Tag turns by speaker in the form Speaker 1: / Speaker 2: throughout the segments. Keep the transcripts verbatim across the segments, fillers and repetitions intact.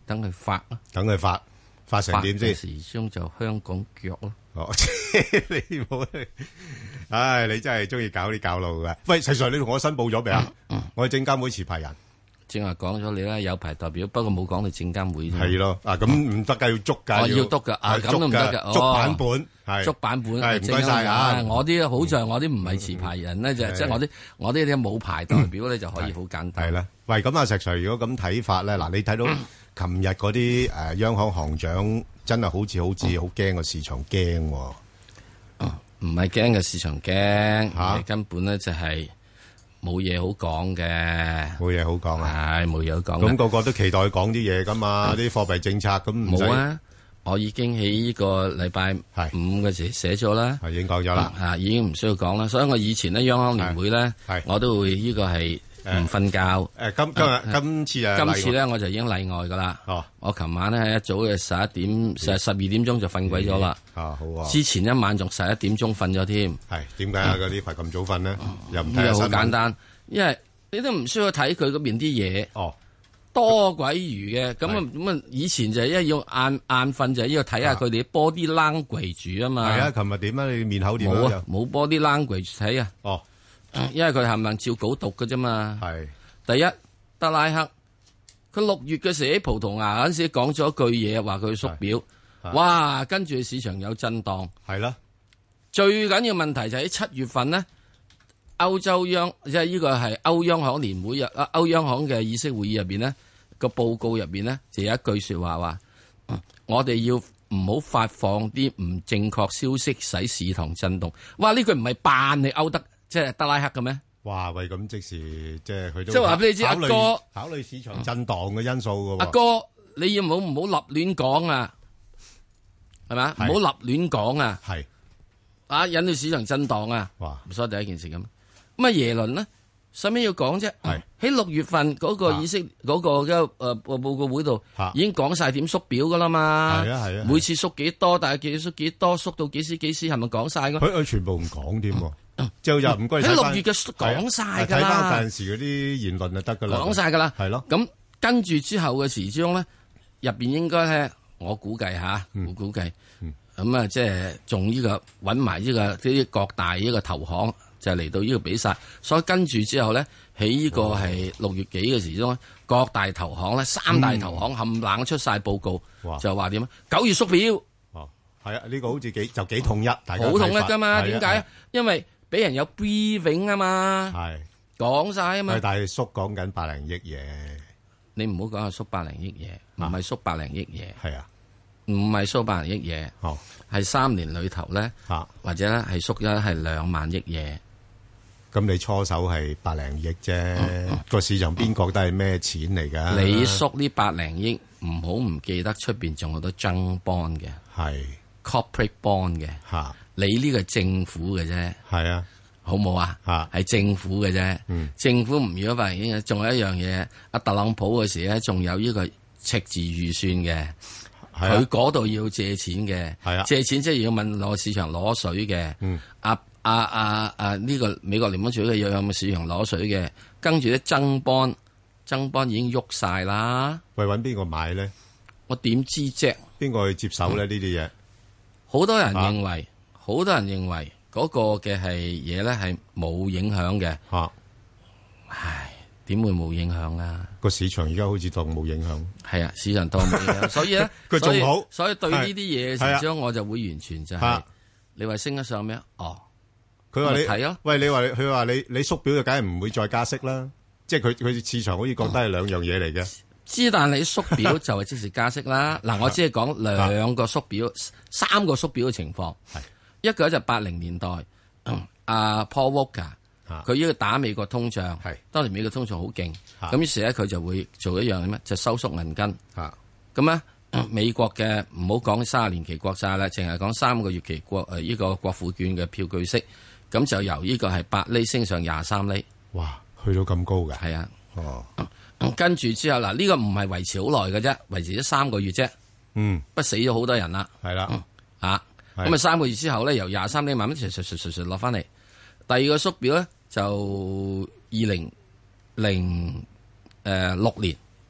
Speaker 1: 等佢發啊，
Speaker 2: 等佢發發成點先？
Speaker 1: 時鐘就香港腳咯。
Speaker 2: 哦，你冇，唉，你真係中意搞啲搞路嘅。喂，石 Sir，你同我申報咗未啊？我係證監會持牌人。
Speaker 1: 正話講咗你啦，有牌代表，不過冇講到證監會啫。
Speaker 2: 係咯，啊咁唔得㗎，要捉㗎，
Speaker 1: 要督㗎，啊咁都唔得㗎，
Speaker 2: 捉版本係
Speaker 1: 捉版本。
Speaker 2: 係唔該曬啊！
Speaker 1: 我啲好在我啲唔係持牌人咧，就即係我啲我啲啲冇牌代表咧就可以好簡單。
Speaker 2: 係啦，喂，咁啊石 Sir，如果咁睇法咧，嗱，你睇到琴日嗰啲誒央行行長真係好似好似好驚個市場驚喎。
Speaker 1: 唔係驚嘅市場驚，嚇根本咧就係。冇嘢好講嘅，
Speaker 2: 冇嘢好講啊！
Speaker 1: 係冇嘢好講。
Speaker 2: 咁個個都期待講啲嘢噶嘛，啲貨幣政策咁唔使。
Speaker 1: 冇啊！我已經喺呢個禮拜五嘅時寫咗啦，
Speaker 2: 係已經講咗啦，
Speaker 1: 啊已經唔需要講啦。所以我以前咧央行年會咧，我都會呢個係唔瞓覺。
Speaker 2: 誒今今日今次啊，
Speaker 1: 今次咧我就已經例外噶啦。
Speaker 2: 哦，
Speaker 1: 我琴晚咧一早嘅十一點，十十二點鐘就瞓鬼咗啦。
Speaker 2: 啊好啊！
Speaker 1: 之前一晚仲十一點鐘瞓咗添。
Speaker 2: 係點解啊？嗰啲排咁早瞓咧？又唔睇
Speaker 1: 新聞？好簡單，因為你都唔需要睇佢嗰邊啲嘢。
Speaker 2: 哦，
Speaker 1: 多鬼餘嘅，咁啊咁啊！以前就係因為要晏晏瞓，就係要睇下佢哋啲 body language 住啊嘛。
Speaker 2: 係啊，琴日點啊？你面口點
Speaker 1: 冇啊？冇 body language 睇啊。
Speaker 2: 哦，
Speaker 1: 因為佢係唔能照稿讀嘅啫嘛。
Speaker 2: 係
Speaker 1: 第一，德拉克佢六月嘅時喺葡萄牙嗰陣時講咗一句嘢，話佢縮表，哇！跟住市場有震盪。
Speaker 2: 係啦，
Speaker 1: 最緊要問題就喺七月份呢。歐洲央即係呢個係歐央行年會日啊，歐央行嘅議息會議入邊呢個報告入邊呢，就有一句說話話，嗯、我哋要唔好發放啲唔正確消息，使市場震動。哇！呢句唔係扮你歐德即係德拉克嘅咩？
Speaker 2: 哇！喂，咁即時即係佢都
Speaker 1: 即係話俾你知，阿哥
Speaker 2: 考慮市場震盪嘅因素嘅。
Speaker 1: 阿哥，你要唔好唔好立亂講啊？係咪啊？唔好立亂講啊！
Speaker 2: 係
Speaker 1: 啊，引到市場震盪啊！
Speaker 2: 哇！
Speaker 1: 所以第一件事咁。咁啊耶倫呢，使咩要講啫？喺六月份嗰個議息嗰個嘅誒報告會度，已經講晒點縮表噶啦嘛。
Speaker 2: 係啊係啊，
Speaker 1: 每次縮幾多，但係幾縮幾多，縮到幾時幾時，係咪講晒㗎？
Speaker 2: 佢佢全部唔講添，就又唔該
Speaker 1: 喺六月嘅講晒噶啦。
Speaker 2: 睇翻陣時嗰啲言論就得噶啦，
Speaker 1: 講晒噶啦。
Speaker 2: 係咯。
Speaker 1: 咁跟住之後嘅時鐘咧，入邊應該咧，我估計吓，我估計，咁啊，即係仲呢個搵埋呢個啲各大呢個投行。就嚟到呢個比賽，所以跟住之後咧，喺呢個係六月幾嘅時鐘，各大投行咧，三大投行冚冷、嗯、出晒報告，就話點啊？九月縮表，
Speaker 2: 哦，係啊，呢、這個好似幾就幾統一，大家
Speaker 1: 好統一㗎嘛？點解啊？
Speaker 2: 啊
Speaker 1: 因為俾人有 briefing 啊嘛，
Speaker 2: 係
Speaker 1: 講晒啊嘛。
Speaker 2: 但係縮講緊百零億嘢，
Speaker 1: 你唔好講係縮百零億嘢，唔係縮百零億嘢，
Speaker 2: 係啊，
Speaker 1: 唔係縮百零億嘢，
Speaker 2: 哦，
Speaker 1: 係三年裏頭咧，
Speaker 2: 啊，
Speaker 1: 或者咧係縮咗係兩萬億嘢。
Speaker 2: 咁你初手係百零億啫，個市場邊覺得係咩錢嚟㗎？
Speaker 1: 你縮呢百零億，唔好唔記得出邊仲有好多增 bond 嘅，
Speaker 2: 係
Speaker 1: corporate bond 嘅，
Speaker 2: 嚇。
Speaker 1: 你呢個係政府嘅啫，
Speaker 2: 係啊，
Speaker 1: 好冇啊？
Speaker 2: 嚇，
Speaker 1: 係政府嘅啫。
Speaker 2: 嗯，
Speaker 1: 政府唔如果百零億，仲有一樣嘢，阿特朗普嘅時咧，仲有呢個赤字預算嘅，佢嗰度要借錢嘅，
Speaker 2: 係啊，
Speaker 1: 借錢即係要問攞市場攞水嘅，
Speaker 2: 嗯，
Speaker 1: 阿。啊啊啊！呢、這個美國聯邦儲備要有冇市場攞水嘅，跟住啲增邦增邦已經喐晒啦。
Speaker 2: 喂，揾邊個買咧？
Speaker 1: 我點知啫？
Speaker 2: 邊個去接手咧？呢啲嘢
Speaker 1: 好多人認為，好、啊、多人認為嗰個嘅係嘢咧係冇影響嘅。嚇、啊！唉，點會冇影響啊？
Speaker 2: 個市場而家好似當冇影響。
Speaker 1: 係啊，市場當冇影響，所以咧，
Speaker 2: 佢仲好。
Speaker 1: 所以對呢啲嘢嘅時候，我就會完全就係、是啊、你話升得上咩？哦。
Speaker 2: 佢話你
Speaker 1: 睇咯，
Speaker 2: 喂，你話佢話你你縮表就梗係唔會再加息啦，即係佢佢市場好似覺得係兩樣嘢嚟嘅。
Speaker 1: 之但你縮表就係即時加息啦。嗱，我只係講兩個縮表、三個縮表嘅情況。係一個就八零年代，阿 Paul Volcker 佢呢個打美國通脹，係當年美國通脹好勁，咁於是咧佢就會做一樣咩？就收縮銀根。咁咧。美國嘅唔好講三十年期國債啦，淨係講三個月期國誒呢個國庫券嘅票據息，咁就由呢個係八厘升上廿三厘。
Speaker 2: 哇，去到咁高嘅？
Speaker 1: 係啊。
Speaker 2: 哦。
Speaker 1: 跟住之後嗱，呢個唔係維持好耐嘅啫，維持咗三個月啫。
Speaker 2: 嗯。
Speaker 1: 不死咗好多人啦。
Speaker 2: 係啦。
Speaker 1: 啊。咁啊，三個月之後咧，由廿三厘慢慢隨隨隨隨隨落翻嚟。第二個縮表咧，就二零零誒六年。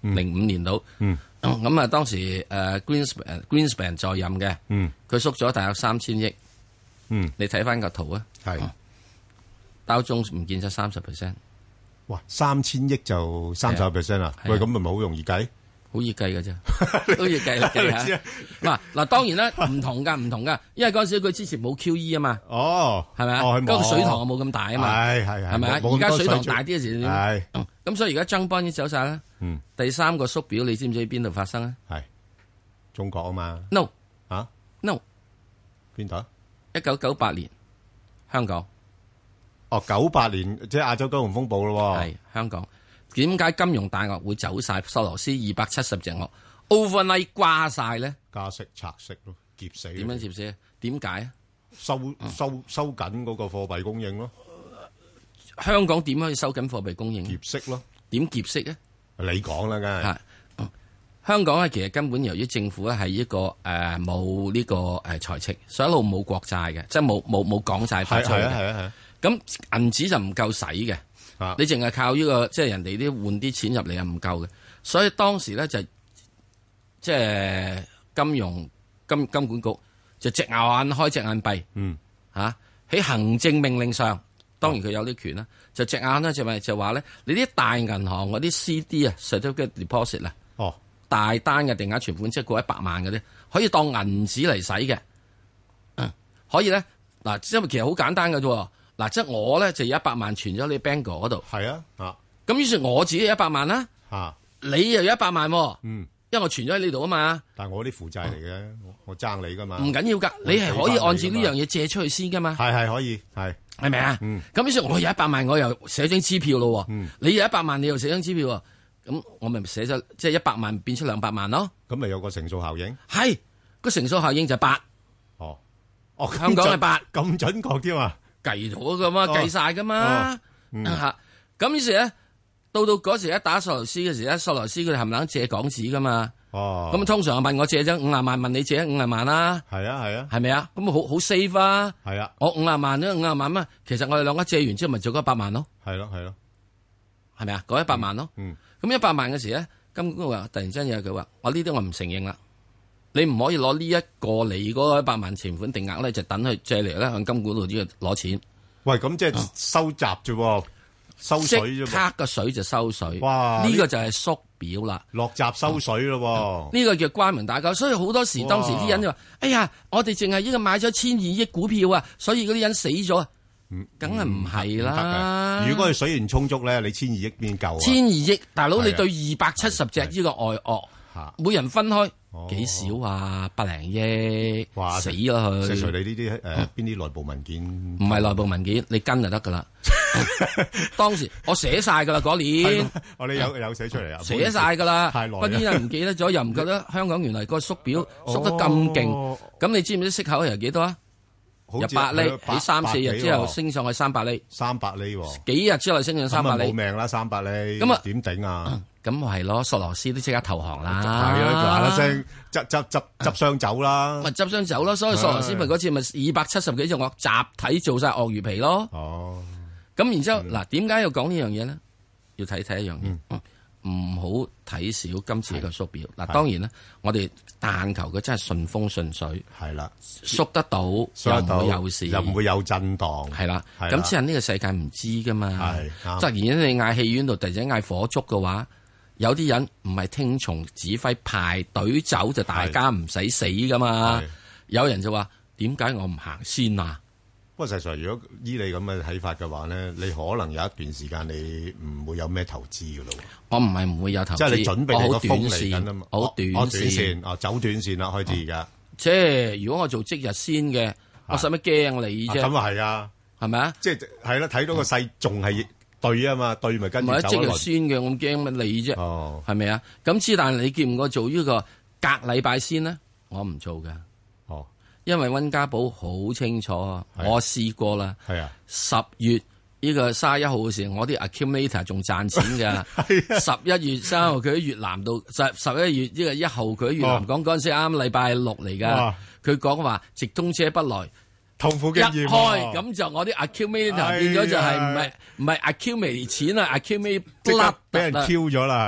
Speaker 1: 零五年到。
Speaker 2: 嗯。
Speaker 1: 咁啊，當時誒 Greenspan Greenspan 在任嘅，
Speaker 2: 嗯，
Speaker 1: 佢縮咗大約三千億。
Speaker 2: 嗯，
Speaker 1: 你睇翻個圖啊，
Speaker 2: 係
Speaker 1: 道中唔見咗三十 percent。
Speaker 2: 哇，三千億就三十 percent 啊！喂，咁咪咪好容易計？
Speaker 1: 好易計嘅啫，好易計計下。嗱嗱，當然啦，唔同噶，唔同噶，因為嗰陣時佢之前冇 Q E 啊嘛。
Speaker 2: 哦，
Speaker 1: 係咪啊？嗰個水塘冇咁大啊嘛。
Speaker 2: 係係係。
Speaker 1: 係咪啊？而家水塘大啲嘅時點？
Speaker 2: 係。
Speaker 1: 咁所以而家爭班已經走晒啦。
Speaker 2: 嗯。
Speaker 1: 第三個縮表，你知唔知喺邊度發生啊？
Speaker 2: 係中國啊嘛。
Speaker 1: No。
Speaker 2: 啊
Speaker 1: ？No。
Speaker 2: 邊度？
Speaker 1: 一九九八年，香港。
Speaker 2: 哦，九八年即係亞洲金融風暴咯。
Speaker 1: 係香港。點解金融大鱷會走晒？索羅斯二百七十隻鱷 overnight 瓜晒咧？
Speaker 2: 加息拆息咯，劫死。
Speaker 1: 點樣劫死？點解啊？
Speaker 2: 收收收緊嗰個貨幣供應咯。
Speaker 1: 香港點可以收緊貨幣供應？
Speaker 2: 劫息咯。
Speaker 1: 點劫息咧？
Speaker 2: 你講啦，梗係。
Speaker 1: 香港咧，其實根本由於政府咧係一個誒冇呢個誒財赤，所以一路冇國債嘅，即係冇冇冇港債發出嘅。
Speaker 2: 係啊係啊係啊。
Speaker 1: 咁銀紙就唔夠使嘅。啊、你淨係靠呢、這個即係人哋啲換啲錢入嚟係唔夠嘅，所以當時咧就即係金融金金管局就隻眼開隻眼閉，嗯嚇喺、啊、行政命令上，當然佢有啲權啦，就隻眼咧就咪就話咧，你啲大銀行嗰啲 C D 啊 certificate deposit 啊，哦大單嘅定額存款即係過一百萬嗰啲，可以當銀紙嚟使嘅，嗯可以咧嗱，因為其實好簡單嘅啫。嗱，即係我咧就有一百萬存咗你 Bangor 嗰度，
Speaker 2: 係啊，啊，
Speaker 1: 咁於是我自己有一百萬啦，啊，你又有一百萬，嗯，因為我存咗喺呢度啊嘛，
Speaker 2: 但係我啲負債嚟嘅，我爭你噶嘛，
Speaker 1: 唔緊要噶，你係可以按照呢樣嘢借出去先噶嘛，
Speaker 2: 係係可以，係
Speaker 1: 係咪啊？咁於是我有一百萬，我又寫張支票咯，嗯，你有一百萬，你又寫張支票，咁我咪寫咗即係一百萬變出兩百萬咯，
Speaker 2: 咁咪有個乘數效應，
Speaker 1: 係個乘數效應就係八，
Speaker 2: 哦，哦，
Speaker 1: 香港係八，
Speaker 2: 咁準確添啊！
Speaker 1: 計咗噶嘛，計晒噶嘛，吓咁於是咧，到到嗰時一打索羅斯嘅時咧，索羅斯佢哋冚唪唥借港紙噶嘛，哦，咁通常問我借咗五廿萬，問你借五廿萬啦，
Speaker 2: 係啊係啊，
Speaker 1: 係咪啊？咁好好 safe 啊，
Speaker 2: 係啊，
Speaker 1: 我五廿萬咧，五廿萬嘛，其實我哋兩個借完之後咪做咗一百萬咯，
Speaker 2: 係咯係咯，
Speaker 1: 係咪啊？嗰一百萬咯，嗯，咁一百萬嘅時咧，金管局話突然之間有佢話，我呢啲我唔承認啦，你唔可以攞呢一個你嗰一百萬存款定額咧，就等佢借嚟咧向金管局呢度攞錢。
Speaker 2: 喂，咁即係收集啫，收水啫，
Speaker 1: 即刻個水就收水。
Speaker 2: 哇！
Speaker 1: 呢個就係縮表啦，
Speaker 2: 落閘收水咯。
Speaker 1: 呢個叫關門打交，所以好多時當時啲人就話：哎呀，我哋淨係呢個買咗千二億股票啊，所以嗰啲人死咗。嗯，梗係唔係啦。
Speaker 2: 如果佢水源充足咧，你千二億邊夠啊？
Speaker 1: 千二億，大佬你對二百七十隻呢個外鱷，每人分開。幾少啊？百零億，死啦佢！
Speaker 2: 石 Sir，你呢啲誒邊啲內部文件？
Speaker 1: 唔係內部文件，你跟就得噶啦。當時我寫晒噶啦嗰年，
Speaker 2: 我哋有有寫出嚟啊，
Speaker 1: 寫晒噶啦。
Speaker 2: 太耐，
Speaker 1: 嗰啲人唔記得咗，又唔覺得香港原來個縮表縮得咁勁。咁你知唔知息口係幾多啊？由八厘喺三四日之後升上去三百厘，
Speaker 2: 三百厘，
Speaker 1: 幾日之後升上三百厘，
Speaker 2: 冇命啦！三百厘，
Speaker 1: 咁啊
Speaker 2: 點頂啊？
Speaker 1: 咁係咯，索羅斯都即刻投降啦，
Speaker 2: 係咯，嗱嗱聲執執執執箱走啦，
Speaker 1: 咪執箱走咯。所以索羅斯咪嗰次咪二百七十幾隻鱷集體做晒鱷魚皮咯。哦，咁然之後嗱，點解要講呢樣嘢咧？要睇睇一樣嘢，唔好睇少今次嘅縮表。嗱，當然啦，我哋但求佢真係順風順水，係啦，縮得到又唔會有事，
Speaker 2: 又唔會有震盪，
Speaker 1: 係啦。咁之後呢個世界唔知噶嘛，突然間你嗌戲院度突然間嗌火燭嘅話。有啲人唔係聽從指揮排隊走就大家唔使死噶嘛，有人就話點解我唔行先啊？
Speaker 2: 不過實在如果依你咁嘅睇法嘅話咧，你可能有一段時間你唔會有咩投資噶咯。
Speaker 1: 我唔係唔會有投資，
Speaker 2: 即係你準備你個風嚟緊啊嘛，
Speaker 1: 好短線，
Speaker 2: 哦走短線啦，開始而家。
Speaker 1: 即係如果我做即日先嘅，我使乜驚你啫？
Speaker 2: 咁啊係啊，
Speaker 1: 係咪啊？
Speaker 2: 即係係啦，睇到個勢仲係。對啊嘛，對咪跟住走
Speaker 1: 即係先嘅，我驚乜你啫？哦，係咪啊？咁之但你見唔我做呢個隔禮拜先呢？我唔做噶。哦，因為溫家寶好清楚，我試過啦。係啊，十月呢個卅一號嘅時候，我啲 accumulator 仲賺錢噶。十一月三號佢喺越南度，十十一月呢個一號佢喺越南講嗰陣時啱禮拜六嚟噶。佢講話直通車不來。
Speaker 2: 痛苦經驗，
Speaker 1: 一開咁就我啲 accumulator 變咗就係唔係唔係 accumulate 錢啊 accumulate blood
Speaker 2: 俾人 Q 咗啦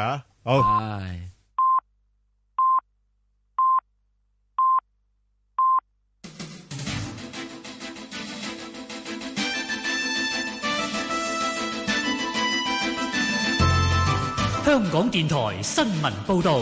Speaker 2: 好。
Speaker 1: 唉
Speaker 3: 香港電台新聞報導。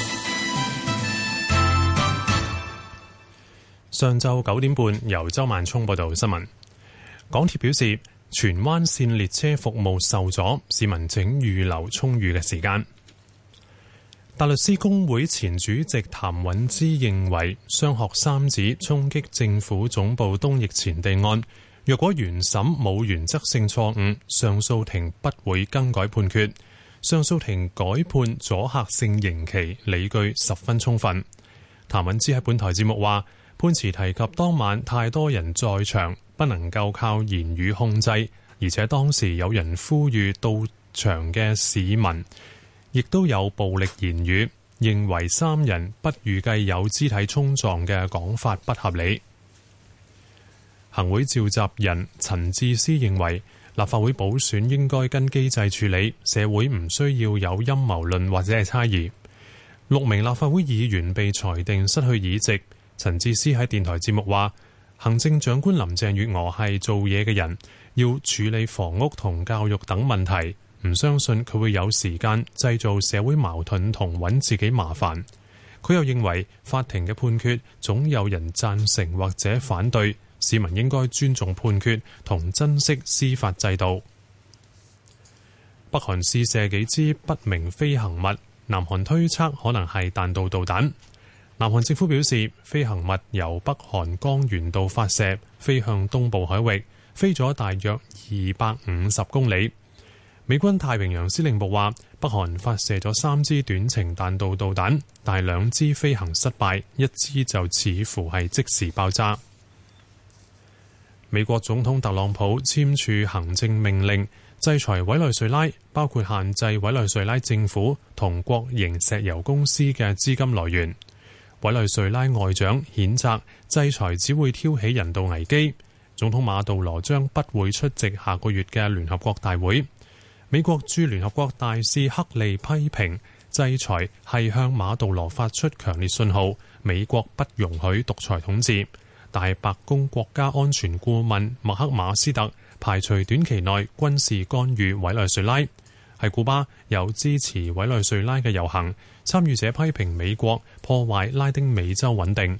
Speaker 4: 上晝九點半，由周萬聰報道新聞。港鐵表示，荃灣線列車服務受阻，市民請預留充裕嘅時間。大律師公會前主席譚允芝認為，雙學三子衝擊政府總部東翼前地案，若果原審冇原則性錯誤，上訴庭不會更改判決。上訴庭改判阻嚇性刑期理據十分充分。譚允芝喺本台節目話，判詞提及當晚太多人在場，不能夠靠言語控制，而且當時有人呼籲到場嘅市民，亦都有暴力言語，認為三人不預計有肢體衝撞嘅講法不合理。行會召集人陳智思認為，立法會補選應該跟機制處理，社會唔需要有陰謀論或者係猜疑。六名立法會議員被裁定失去議席。陳智思喺電台節目話，行政長官林鄭月娥係做嘢嘅人，要處理房屋同教育等問題，唔相信佢會有時間製造社會矛盾同揾自己麻煩。佢又認為法庭嘅判決總有人贊成或者反對，市民應該尊重判決同珍惜司法制度。北韓試射幾支不明飛行物，南韓推測可能係彈道導彈。南韓政府表示，飛行物由北韓江原道發射，飛向東部海域，飛咗大約二百五十公里。美軍太平洋司令部話，北韓發射咗三支短程彈道導彈，但係兩支飛行失敗，一支就似乎係即時爆炸。美國總統特朗普簽署行政命令，制裁委內瑞拉，包括限制委內瑞拉政府同國營石油公司嘅資金來源。委內瑞拉外長譴責制裁只會挑起人道危機。總統馬杜羅將不會出席下個月嘅聯合國大會。美國駐聯合國大使克利批評制裁係向馬杜羅發出強烈信號，美國不容許獨裁統治。但係白宮國家安全顧問麥克馬斯特排除短期內軍事干預委內瑞拉。喺古巴有支持委內瑞拉嘅遊行，參與者批評美國破壞拉丁美洲穩定。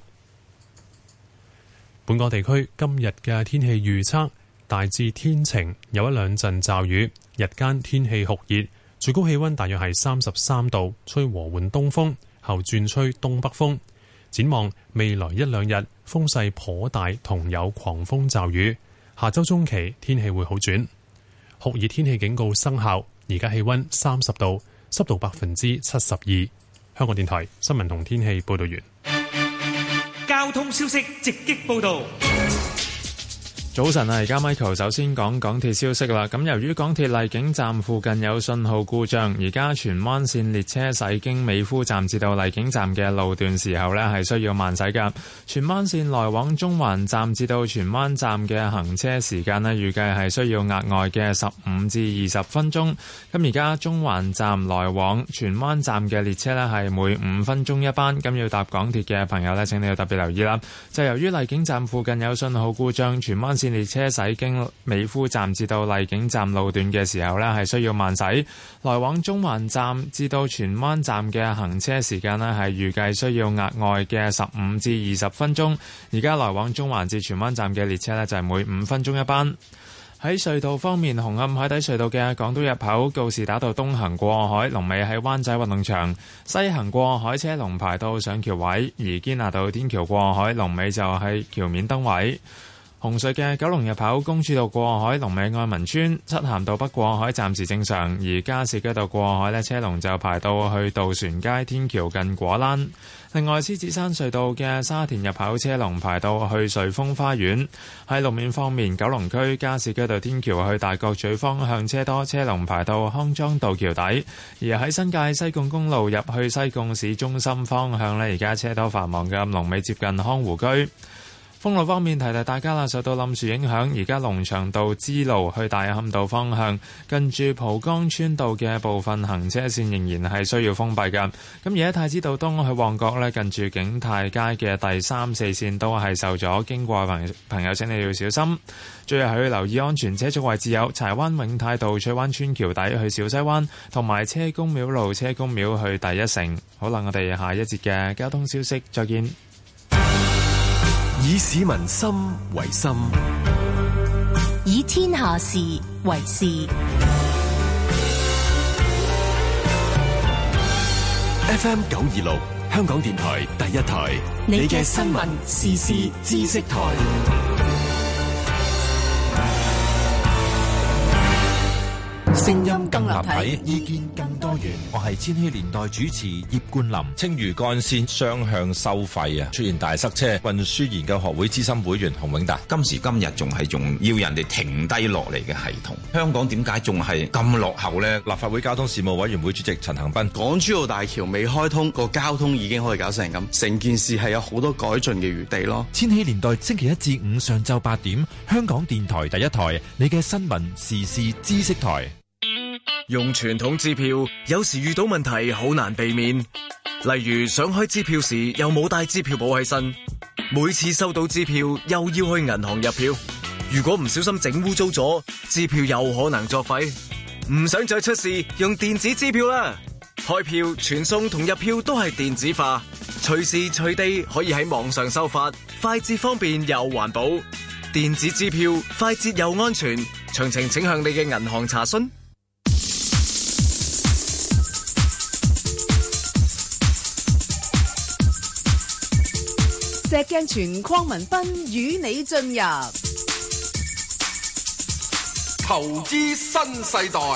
Speaker 4: 本港地區今日嘅天氣預測大致天晴，有一兩陣驟雨，日間天氣酷熱，最高氣溫大約係三十三度，吹和緩東風，後轉吹東北風。展望未來一兩日風勢頗大，同有狂風驟雨。下周中期天氣會好轉，酷熱天氣警告生效。而家氣溫三十度，濕度百分之七十二。香港電台新聞同天氣報道完。
Speaker 3: 交通消息直擊報道。
Speaker 5: 早晨啊，而家 Michael 首先講港鐵消息啦。咁由於港鐵荔景站附近有信號故障，而家荃灣線列車駛經美孚站至到荔景站嘅路段時候呢係需要慢駛㗎。荃灣線來往中環站至到荃灣站嘅行車時間呢，預計係需要額外嘅十五至二十分鐘。咁而家中環站來往荃灣站嘅列車呢，係每五分鐘一班。咁要搭港鐵嘅朋友呢，請你要特別留意啦。就由於荔景站附近有信號故障，荃灣線列車駛經美孚站至到荔景站路段嘅時候呢，係需要慢駛。來往中環站至到荃灣站嘅行車時間呢，係預計需要額外嘅十五至二十分鐘。而家來往中環至荃灣站嘅列車呢，就係每五分鐘一班。喺隧道方面，紅磡海底隧道嘅港島入口告士打道東行過海，龍尾喺灣仔運動場；西行過海車龍排到上橋位，而堅拿道天橋過海龍尾就係橋面燈位。紅隧嘅九龍入口公主道過海龍尾愛民村，漆咸道北過海暫時正常，而加士居道過海呢，車龍就排到去渡船街天橋近果欄。另外，獅子山隧道嘅沙田入口車龍排到去瑞豐花園。喺路面方面，九龍區加士居道天橋去大角咀方向車多，車龍排到康莊道橋底。而喺新界西貢公路入去西貢市中心方向呢，而家車多繁忙嘅龍尾接近康湖居。 封路方面，提提大家啦，受到冧樹影響，而家龍翔道支路去大磡道方向，近住蒲崗村道嘅部分行車線仍然係需要封閉㗎。咁而家太子道東去旺角呢，近住景泰街嘅第三四線都係受阻，經過朋朋友請你要小心。最後係要留意安全車速位置有柴灣永泰道翠灣村橋底去小西灣，同埋車公廟路車公廟去第一城。好啦，我哋下一節嘅交通消息再見。
Speaker 6: 以市民心為心，
Speaker 7: 以天下事為事。
Speaker 6: F M 九二六，香港電台第一台，你嘅新聞時事知識台。聲音更立體，意見更多元。
Speaker 8: 我係千禧年代主持葉冠霖。青嶼幹線雙向收費啊，出現大塞車。運輸研究學會資深會員洪永達，
Speaker 9: 今時今日仲係仲要人哋停低落嚟嘅系統，香港點解仲係咁落後呢？
Speaker 8: 立法會交通事務委員會主席陳恒鑌，
Speaker 10: 港珠澳大橋未開通，個交通已經可以搞成咁，成件事係有好多改進嘅餘地咯。
Speaker 11: 千禧年代星期一至五上晝八點，香港電台第一台，你嘅新聞時事知識台。
Speaker 12: 用傳統支票有時遇到問題好難避免，例如想開支票時又冇帶支票簿喺身，每次收到支票又要去銀行入票，如果唔小心整污糟咗，支票又可能作廢。唔想再出事，用電子支票啦！開票、傳送同入票都係電子化，隨時隨地可以喺網上收發，快捷方便又環保。電子支票快捷又安全，詳情請向你嘅銀行查詢。
Speaker 13: 石鏡泉鄺民彬與你進入
Speaker 14: 投資新世代。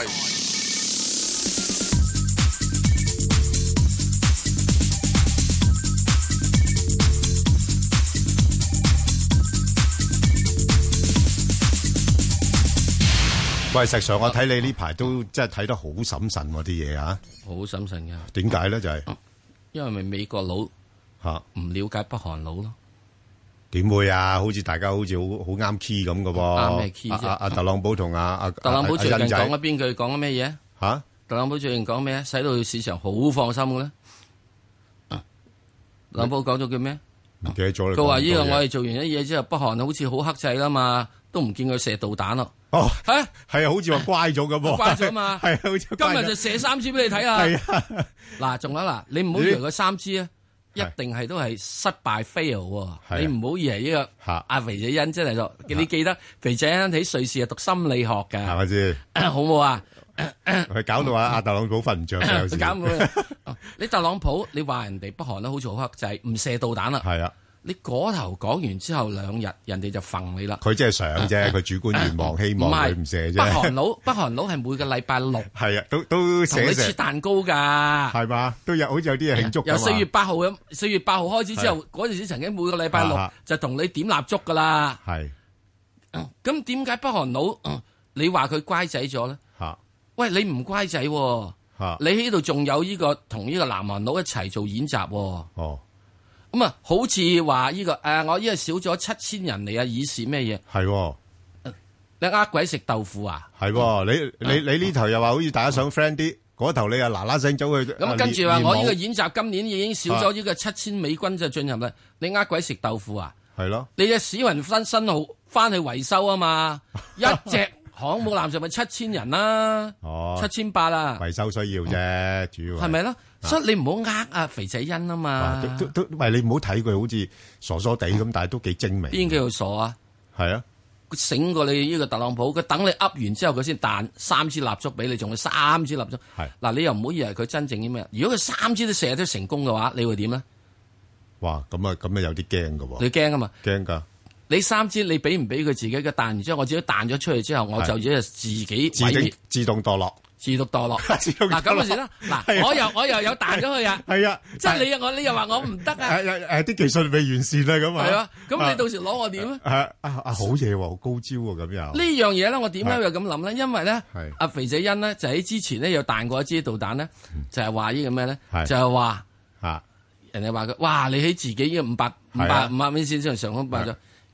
Speaker 2: 喂，石 Sir， 我睇你呢排都真係睇得好審慎喎啲嘢啊！
Speaker 1: 好審慎㗎。
Speaker 2: 點解咧？就係、是、
Speaker 1: 因為咪美國佬。吓，唔了解北韓佬咯？
Speaker 2: 點會啊？好似大家好似好好啱 key 咁嘅喎。
Speaker 1: 啱咩 key 啫？
Speaker 2: 阿阿特朗普同阿阿
Speaker 1: 特朗普最近講咗邊句？講咗咩嘢？
Speaker 2: 吓？
Speaker 1: 特朗普最近講咩啊？使到市場好放心嘅咧。特朗普講咗句咩？
Speaker 2: 唔記得咗啦。
Speaker 1: 佢話呢個我哋做完啲嘢之後，北韓好似好克制啦嘛，都唔見佢射導彈咯。
Speaker 2: 哦，
Speaker 1: 係
Speaker 2: 係啊，好似話乖咗咁喎。
Speaker 1: 乖咗嘛？係
Speaker 2: 好似
Speaker 1: 今日就射三支俾你睇啊！
Speaker 2: 係啊，
Speaker 1: 嗱，仲有嗱，你唔好以為佢三支啊。一定係都係失敗 fail，你唔好以為呢個阿肥仔欣真係咗，你記得肥仔欣喺瑞士係讀心理學㗎，
Speaker 2: 係咪先？
Speaker 1: 好唔好啊？
Speaker 2: 佢搞到阿阿特朗普瞓唔着嘅有時。
Speaker 1: 搞唔到你特朗普，你話人哋北韓都好似好克制，唔射導彈啦。
Speaker 2: 係啊。
Speaker 1: 你嗰頭講完之後兩日，人哋就揈你啦。
Speaker 2: 佢真係想啫，佢主觀願望，希望佢唔射啫。
Speaker 1: 北韓佬，北韓佬係每個禮拜六
Speaker 2: 係啊，都都
Speaker 1: 同你切蛋糕㗎，
Speaker 2: 係嘛？都有好似有啲嘢慶祝㗎嘛。
Speaker 1: 由四月八號咁，四月八號開始之後，嗰陣時曾經每個禮拜六就同你點蠟燭㗎啦。
Speaker 2: 係。
Speaker 1: 咁點解北韓佬你話佢乖仔咗咧？
Speaker 2: 嚇！
Speaker 1: 喂，你唔乖仔喎，你喺度仲有呢個同呢個南韓佬一齊做演習喎。
Speaker 2: 哦。
Speaker 1: 咁啊，好似話呢個誒、呃，我依家少咗七千人嚟啊，以示咩嘢？
Speaker 2: 係、哦，
Speaker 1: 你呃鬼食豆腐啊？
Speaker 2: 係、哦，你你你呢頭又話好似大家想 friend 啲，嗰頭你又嗱嗱聲走去。
Speaker 1: 咁跟住話我呢個演習今年已經少咗呢個七千美軍就進入啦，你呃鬼食豆腐啊？
Speaker 2: 係咯，
Speaker 1: 你隻史雲分新號翻去維修啊嘛，一隻航母艦就咪七千人啦，
Speaker 2: 哦，
Speaker 1: 七千八啦，
Speaker 2: 維修需要啫，主要
Speaker 1: 係咪咯？所以你唔好呃啊肥仔欣啊嘛，
Speaker 2: 都都都，喂，你唔好睇佢好似傻傻地咁，但係都幾精明。
Speaker 1: 邊叫傻啊？
Speaker 2: 係啊，
Speaker 1: 醒過你呢個特朗普，佢等你噏完之後，佢先彈三支蠟燭俾你，仲有三支蠟燭。
Speaker 2: 係
Speaker 1: 嗱，你又唔好以為佢真正啲咩？如果佢三支都射得成功嘅話，你會點咧？
Speaker 2: 哇，咁啊，咁啊有啲驚噶喎。
Speaker 1: 你驚啊嘛？
Speaker 2: 驚噶。
Speaker 1: 你三支你俾唔俾佢自己嘅彈完之後，我自己彈咗出去之後，我就只係自己
Speaker 2: 自動自動墮落。
Speaker 1: 自動墮落，嗱咁嘅事啦，嗱我又我又有彈咗去啊，
Speaker 2: 係啊，
Speaker 1: 即係你我你又話我唔得啊，
Speaker 2: 誒誒啲技術未完善啊咁啊，
Speaker 1: 係啊，咁你到時攞我點咧？
Speaker 2: 啊啊啊好嘢喎，好高招喎咁又。呢
Speaker 1: 樣嘢咧，我點解又咁諗咧？因為咧，阿肥仔欣咧就喺之前咧有彈過一支導彈咧，就係話呢個咩咧？就係話啊，人哋話佢哇，你喺自己嘅五百五百五百米線上上空爆咗，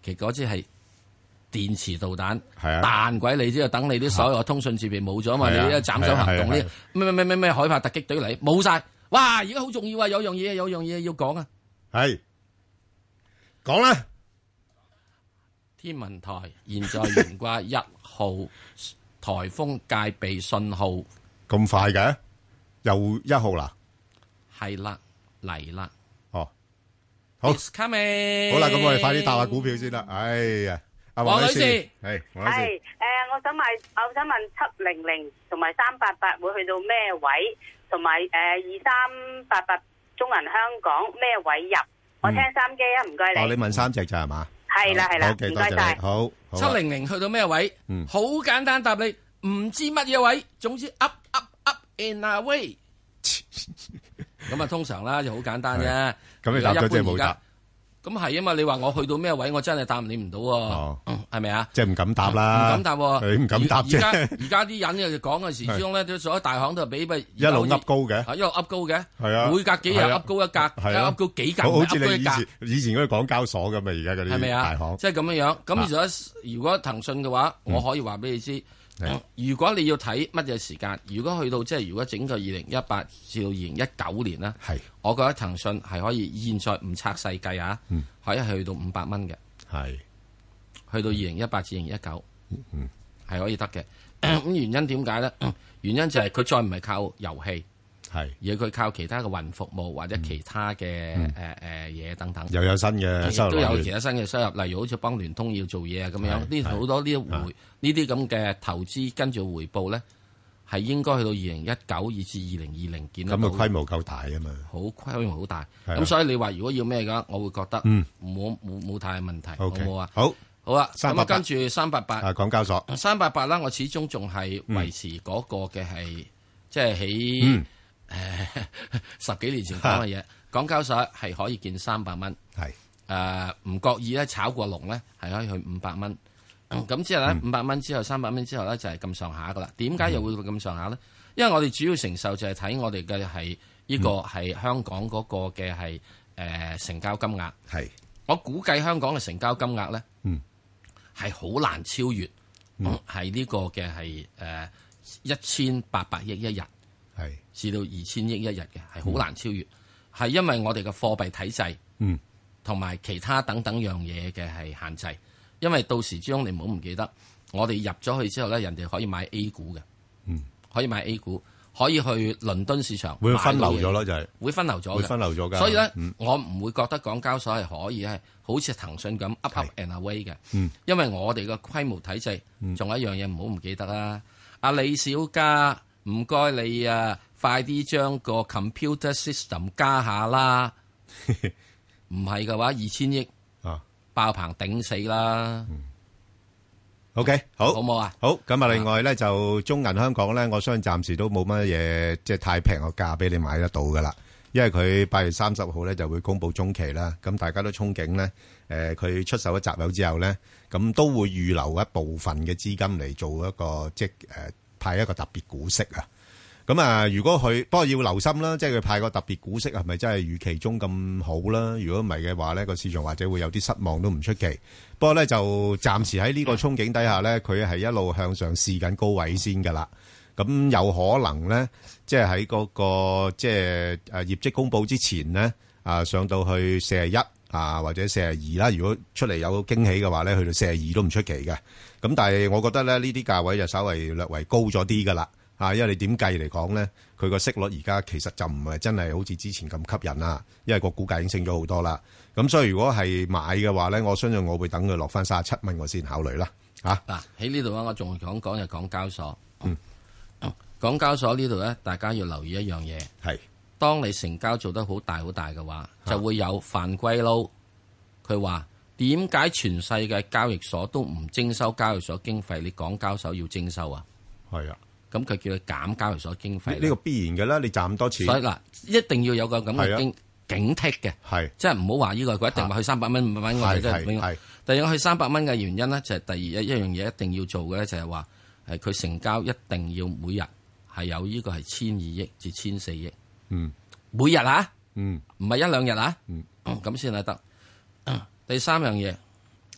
Speaker 1: 其嗰支係電磁導彈，
Speaker 2: 係啊，
Speaker 1: 彈鬼你之後，等你啲所有通訊設備冇咗嘛，你一斬首行動呢咩咩咩咩咩海豹突擊隊嚟冇晒，哇！而家好重要啊，有樣嘢有樣嘢要講啊，
Speaker 2: 係講啦。
Speaker 1: 天文台現在懸掛一號颱風戒備信號，
Speaker 2: 咁快嘅，又一號啦，
Speaker 1: 係啦嚟啦，
Speaker 2: 哦，好
Speaker 1: It's coming，
Speaker 2: 好啦，咁我哋快啲答下股票先啦。哎呀，阿黃女士，係黃女士，
Speaker 15: 係誒，我想買，我想問七零零同埋三八八會去到咩位，同埋誒二三八八中銀香港咩位入？我聽三機啊，唔該你。
Speaker 2: 哦，你問三隻咋係嘛？
Speaker 15: 係啦係啦，唔該晒。
Speaker 2: 好，
Speaker 1: 七零零去到咩位？
Speaker 2: 嗯，
Speaker 1: 好簡單答你，唔知乜嘢位，總之 up up up and away。咁啊，通常啦就好簡單啫。
Speaker 2: 咁你答咗即係冇答。
Speaker 1: 咁係啊嘛，你話我去到咩位，我真係答你唔到喎，係咪啊？
Speaker 2: 即係唔敢答啦，
Speaker 1: 唔敢答喎，
Speaker 2: 你唔敢答啫。
Speaker 1: 而家而家啲人就講嘅時鐘咧，都所有大行都係俾咪
Speaker 2: 一路噏高嘅，
Speaker 1: 一路噏高嘅，
Speaker 2: 係啊，
Speaker 1: 每隔幾日噏高一格，噏高幾格，
Speaker 2: 好似你以前以前嗰啲港交所咁嘛，而家嗰啲大行，
Speaker 1: 即係咁樣樣。咁如果如果騰訊嘅話，我可以話俾你知。如果你要睇乜嘢時間，如果去到即係如果整個二零一八至到二零一九年咧，
Speaker 2: 係我
Speaker 1: 覺得騰訊係可以現在唔拆細計啊，嗯、可以去到五百蚊嘅，
Speaker 2: 係
Speaker 1: 去到二零一八至二零一九，嗯，係可以得嘅。咁、嗯、原因點解咧？原因就係佢再唔係靠遊戲。係，而係佢靠其他嘅雲服務或者其他嘅誒誒嘢等等，
Speaker 2: 又有新嘅收入，
Speaker 1: 都有其他新嘅收入，例如好似幫聯通要做嘢啊咁樣，呢好多呢回呢啲咁嘅投資跟住回報咧，係應該去到二零一九以至二零二零見到。
Speaker 2: 咁嘅規模夠大啊嘛，
Speaker 1: 好規模好大，咁所以你話如果要咩嘅話，我會覺得冇冇冇太問題，好冇啊？
Speaker 2: 好，
Speaker 1: 好啊，咁啊跟住三八八
Speaker 2: 啊，港交所
Speaker 1: 三八八啦，我始終仲係維持嗰個嘅係即係喺。誒，十幾年前講嘅嘢，港交所係可以見三百蚊，
Speaker 2: 係
Speaker 1: 誒唔覺意咧炒過龍咧，係可以去五百蚊。咁之後咧，五百蚊之後三百蚊之後咧就係咁上下噶啦。點解又會咁上下咧？因為我哋主要承受就係睇我哋嘅係呢個係香港嗰個嘅係誒成交金額。
Speaker 2: 係
Speaker 1: 我估計香港嘅成交金額咧，嗯，係好難超越，嗯，係呢個嘅係誒一千八百億一日。
Speaker 2: 係
Speaker 1: 至到二千億一日嘅，係好難超越，係、嗯、因為我哋嘅貨幣體制，嗯，同埋其他等等樣嘢嘅係限制。因為到時之中你唔好唔記得，我哋入咗去之後咧，人哋可以買 A 股嘅，嗯，可以買 A 股，可以去倫敦市場
Speaker 2: 會分流咗咯，就係
Speaker 1: 會分流咗，
Speaker 2: 會分流咗㗎。
Speaker 1: 所以咧，
Speaker 2: 嗯、
Speaker 1: 我唔會覺得港交所係可以係好似騰訊咁 up up and away 嘅，
Speaker 2: 嗯，
Speaker 1: 因為我哋嘅規模體制，仲、嗯、有一樣嘢唔好唔記得啦，阿李小加。唔該你啊，快啲將個 computer system 加下啦！唔係嘅話，二千億啊，爆棚頂死啦！
Speaker 2: 嗯、OK， 好，
Speaker 1: 好冇啊？
Speaker 2: 好，咁啊，另外咧就中銀香港咧，我相信暫時都冇乜嘢，即係太平個價俾你買得到噶啦。因為佢八月三十號咧就會公布中期啦，咁大家都憧憬咧，誒、呃，佢出售咗集友之後咧，咁都會預留一部分嘅資金嚟做一個即係誒。呃派一個特別股息啊，咁啊，如果佢不過要留心啦，即係佢派個特別股息係咪真係預期中咁好啦？如果唔係嘅話咧，個市場或者會有啲失望都唔出奇。不過咧就暫時喺呢個憧憬底下咧，佢係一路向上試緊高位先噶啦。咁有可能咧，即係喺嗰個即係誒業績公佈之前咧，啊上到去四十一啊或者四十二啦。如果出嚟有驚喜嘅話咧，去到四十二都唔出奇嘅。咁但係我覺得咧，呢啲價位就稍微略為高咗啲噶啦，啊，因為你點計嚟講咧，佢個息率而家其實就唔係真係好似之前咁吸引啦，因為個股價已經升咗好多啦。咁所以如果係買嘅話咧，我相信我會等佢落翻三十七蚊，我先考慮啦。嚇嗱，
Speaker 1: 喺呢度咧，我仲講講就港交所。嗯，港交所呢度咧，大家要留意一樣嘢，
Speaker 2: 係
Speaker 1: 當你成交做得好大好大嘅話，就會有犯規撈。佢話。點解全世界交易所都唔徵收交易所經費？你港交所要徵收啊？
Speaker 2: 係啊，
Speaker 1: 咁佢叫你減交易所經費。
Speaker 2: 呢個必然嘅啦，你賺咁多錢。
Speaker 1: 所以嗱，一定要有個咁嘅警警惕嘅，
Speaker 2: 係
Speaker 1: 即係唔好話呢個佢一定話去三百蚊、五百蚊，我哋真係永遠。第二個去三百蚊嘅原因咧，就係第二一一樣嘢一定要做嘅咧，就係話係佢成交一定要每日係有呢個係千二億至千四億。
Speaker 2: 嗯，
Speaker 1: 每日啊，
Speaker 2: 嗯，
Speaker 1: 唔係一兩日啊，
Speaker 2: 嗯，
Speaker 1: 咁先係得。第三樣嘢，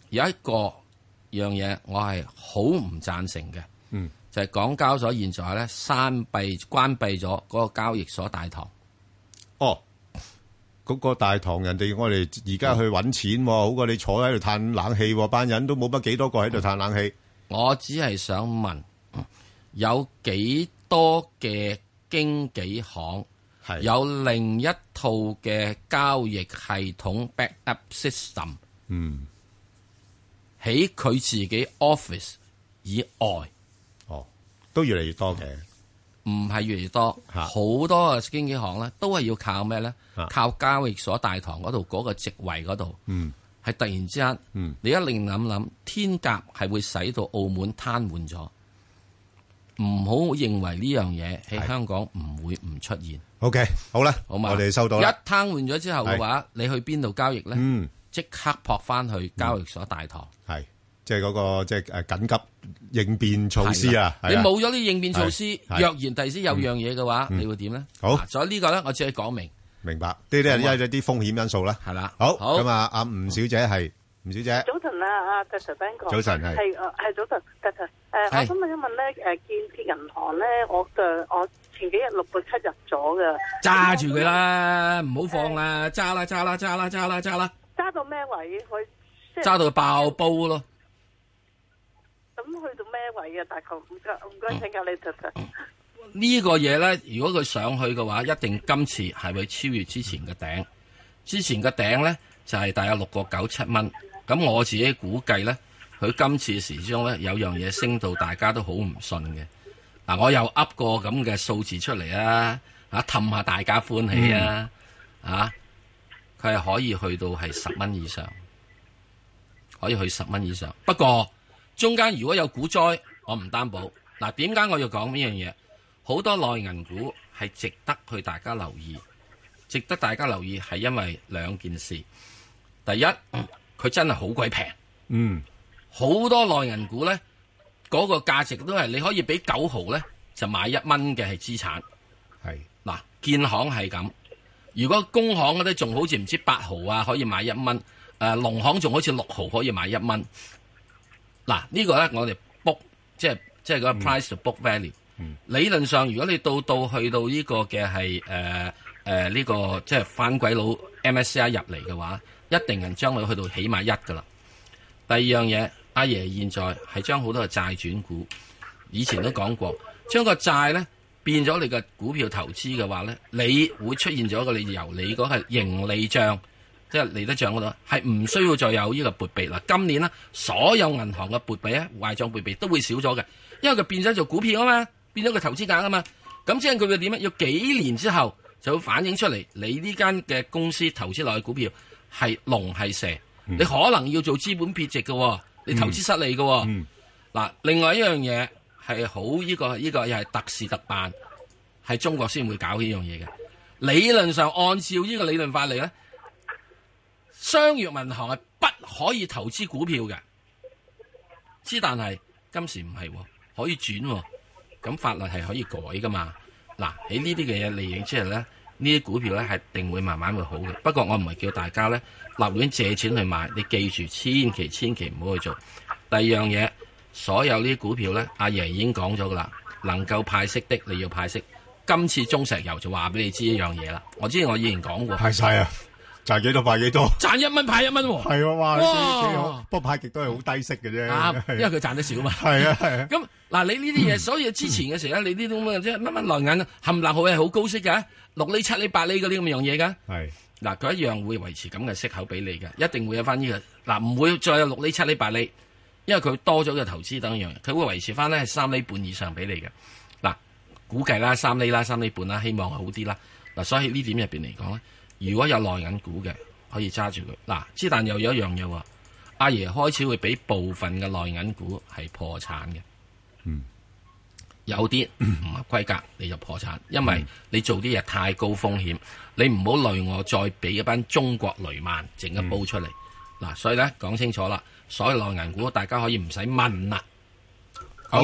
Speaker 1: 有一個樣嘢我係好唔贊成嘅，
Speaker 2: 嗯，
Speaker 1: 就係港交所現在咧關閉關閉咗嗰個交易所大堂。
Speaker 2: 哦，嗰、那個大堂人哋我哋而家去揾錢、嗯，好過你坐喺度嘆冷氣，班人都冇乜幾多個喺度嘆冷氣。
Speaker 1: 我只係想問，有幾多嘅經紀行有另一套嘅交易系統 backup system？
Speaker 2: 嗯，
Speaker 1: 喺佢自己 office 以外，
Speaker 2: 哦，都越嚟越多嘅，
Speaker 1: 唔係越嚟越多，好多嘅經紀行咧都係要靠咩咧？靠交易所大堂嗰度嗰個席位嗰度，
Speaker 2: 嗯，
Speaker 1: 係突然之間，
Speaker 2: 嗯，
Speaker 1: 你一令諗諗，天鴿係會使到澳門癱瘓咗，唔好認為呢樣嘢喺香港唔會唔出現。
Speaker 2: OK， 好啦，
Speaker 1: 好嘛，
Speaker 2: 我哋收到啦。
Speaker 1: 一癱瘓咗之後嘅話，你去邊度交易咧？
Speaker 2: 嗯。
Speaker 1: 即刻撲翻去交易所大堂，
Speaker 2: 係即係嗰個即係誒緊急應變措施啊！
Speaker 1: 你冇咗啲應變措施，若然第時有樣嘢嘅話，你會點咧？
Speaker 2: 好，
Speaker 1: 所以呢個咧，我只係講明，
Speaker 2: 明白呢啲係一啲風險因素啦。
Speaker 1: 係啦，
Speaker 2: 好咁啊，阿吳小姐係吳小姐，
Speaker 16: 早晨啊，阿 Doctor Ben 哥，
Speaker 2: 早晨係
Speaker 16: 係誒係早晨 Doctor 誒，我想問一問咧，誒建設銀行咧，我嘅我前幾日六個七入咗嘅，
Speaker 1: 揸住佢啦，唔好放啦，揸啦揸啦揸啦揸啦揸啦。
Speaker 16: 揸到咩位？佢
Speaker 1: 揸到佢爆煲咯。
Speaker 16: 咁去到咩位啊？大概唔該唔該，請教你特特。
Speaker 1: 呢個嘢咧，如果佢上去嘅話，一定今次係會超越之前嘅頂。之前嘅頂咧就係、是、大約六個九七蚊。咁我自己估計咧，佢今次時鐘咧有樣嘢升到大家都好唔信嘅。嗱、啊，我又噏個咁嘅數字出嚟啊！啊，氹下大家歡喜啊！嗯、啊！佢係可以去到係十蚊以上，可以去十蚊以上。不過中間如果有股災，我唔擔保。嗱，點解我要講呢樣嘢？好多內銀股係值得去大家留意，值得大家留意係因為兩件事。第一，佢、嗯、真係好鬼平。
Speaker 2: 嗯，
Speaker 1: 好多內銀股咧，嗰、那個價值都係你可以俾九毫咧就買一蚊嘅係資產。
Speaker 2: 係
Speaker 1: 嗱，建行係咁。如果工行嗰啲仲好似唔知八毫啊，可以買一蚊。誒、呃，農行仲好似六毫可以買一蚊。嗱，這個、呢個咧我哋 book 即係即係個 price to book value。嗯、理論上，如果你到到去到呢個嘅係誒誒呢個即係反鬼佬 M S C I 入嚟嘅話，一定係將佢去到起碼一噶啦。第二樣嘢，阿爺現在係將好多嘅債轉股，以前都講過，將個債咧。變咗你嘅股票投資嘅話咧，你會出現咗一個你由你嗰係盈利帳，即係利得帳嗰度，係唔需要再有呢個撥備啦。今年呢，所有銀行嘅撥備咧，壞帳撥備都會少咗嘅，因為佢變咗做股票啊嘛，變咗個投資額啊嘛。咁即係佢會點咧？要幾年之後就會反映出嚟，你呢間嘅公司投資落去股票係龍係蛇，嗯、你可能要做資本撇值嘅，你投資失利嘅。嗱、嗯嗯，另外一樣嘢。係好呢個呢、這個又係特事特辦，係中國先會搞呢樣嘢嘅。理論上按照呢個理論法嚟咧，商業銀行係不可以投資股票嘅。之但係今時唔係，可以轉，咁法律係可以改噶嘛。嗱，喺呢啲嘅嘢利益之後咧，呢啲股票咧係定會慢慢會好嘅。不過我唔係叫大家咧立亂借錢去買，你記住千祈千祈唔好去做。第二樣嘢。所有呢啲股票咧，阿爺已經講咗噶啦，能夠派息的你要派息。今次中石油就話俾你知一樣嘢啦。我之前我以前講過，
Speaker 2: 派晒啊，賺幾多派幾多，
Speaker 1: 賺一蚊派一蚊喎。
Speaker 2: 係啊，哇，幾好。不過派極都係好低息嘅啫。
Speaker 1: 啱，因為佢賺得少嘛。
Speaker 2: 係啊係啊。
Speaker 1: 咁嗱，你呢啲嘢，所以之前嘅時候咧，你呢啲咁嘅即係乜乜內銀冚唪唥好係好高息嘅，六厘七厘八厘嗰啲咁樣嘢噶。係。嗱，佢一樣會維持咁嘅息口俾你嘅，一定會有翻呢個。嗱，唔會再有六厘七厘八厘。因為佢多咗嘅投資等樣，佢會維持翻咧係三厘半以上俾你嘅。嗱，估計啦三厘啦三厘半啦，希望好啲啦。嗱，所以呢點入邊嚟講咧，如果有內銀股嘅，可以揸住佢。嗱，之但又有一樣嘢喎，阿爺開始會俾部分嘅內銀股係破產嘅。
Speaker 2: 嗯，
Speaker 1: 有啲唔合規格你就破產，因為你做啲嘢太高風險，你唔好累我再俾一班中國雷曼整一煲出嚟。嗱、嗯，所以咧講清楚啦。所有內銀股，大家可以唔使問啦。
Speaker 2: 好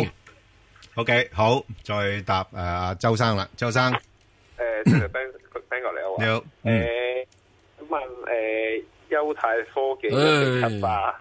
Speaker 2: ，OK， 好，再答誒阿周生啦，周生。
Speaker 17: 誒，即係 Ben Ben 哥你好。
Speaker 2: 你好。
Speaker 17: 誒，問誒優泰科技一零七八，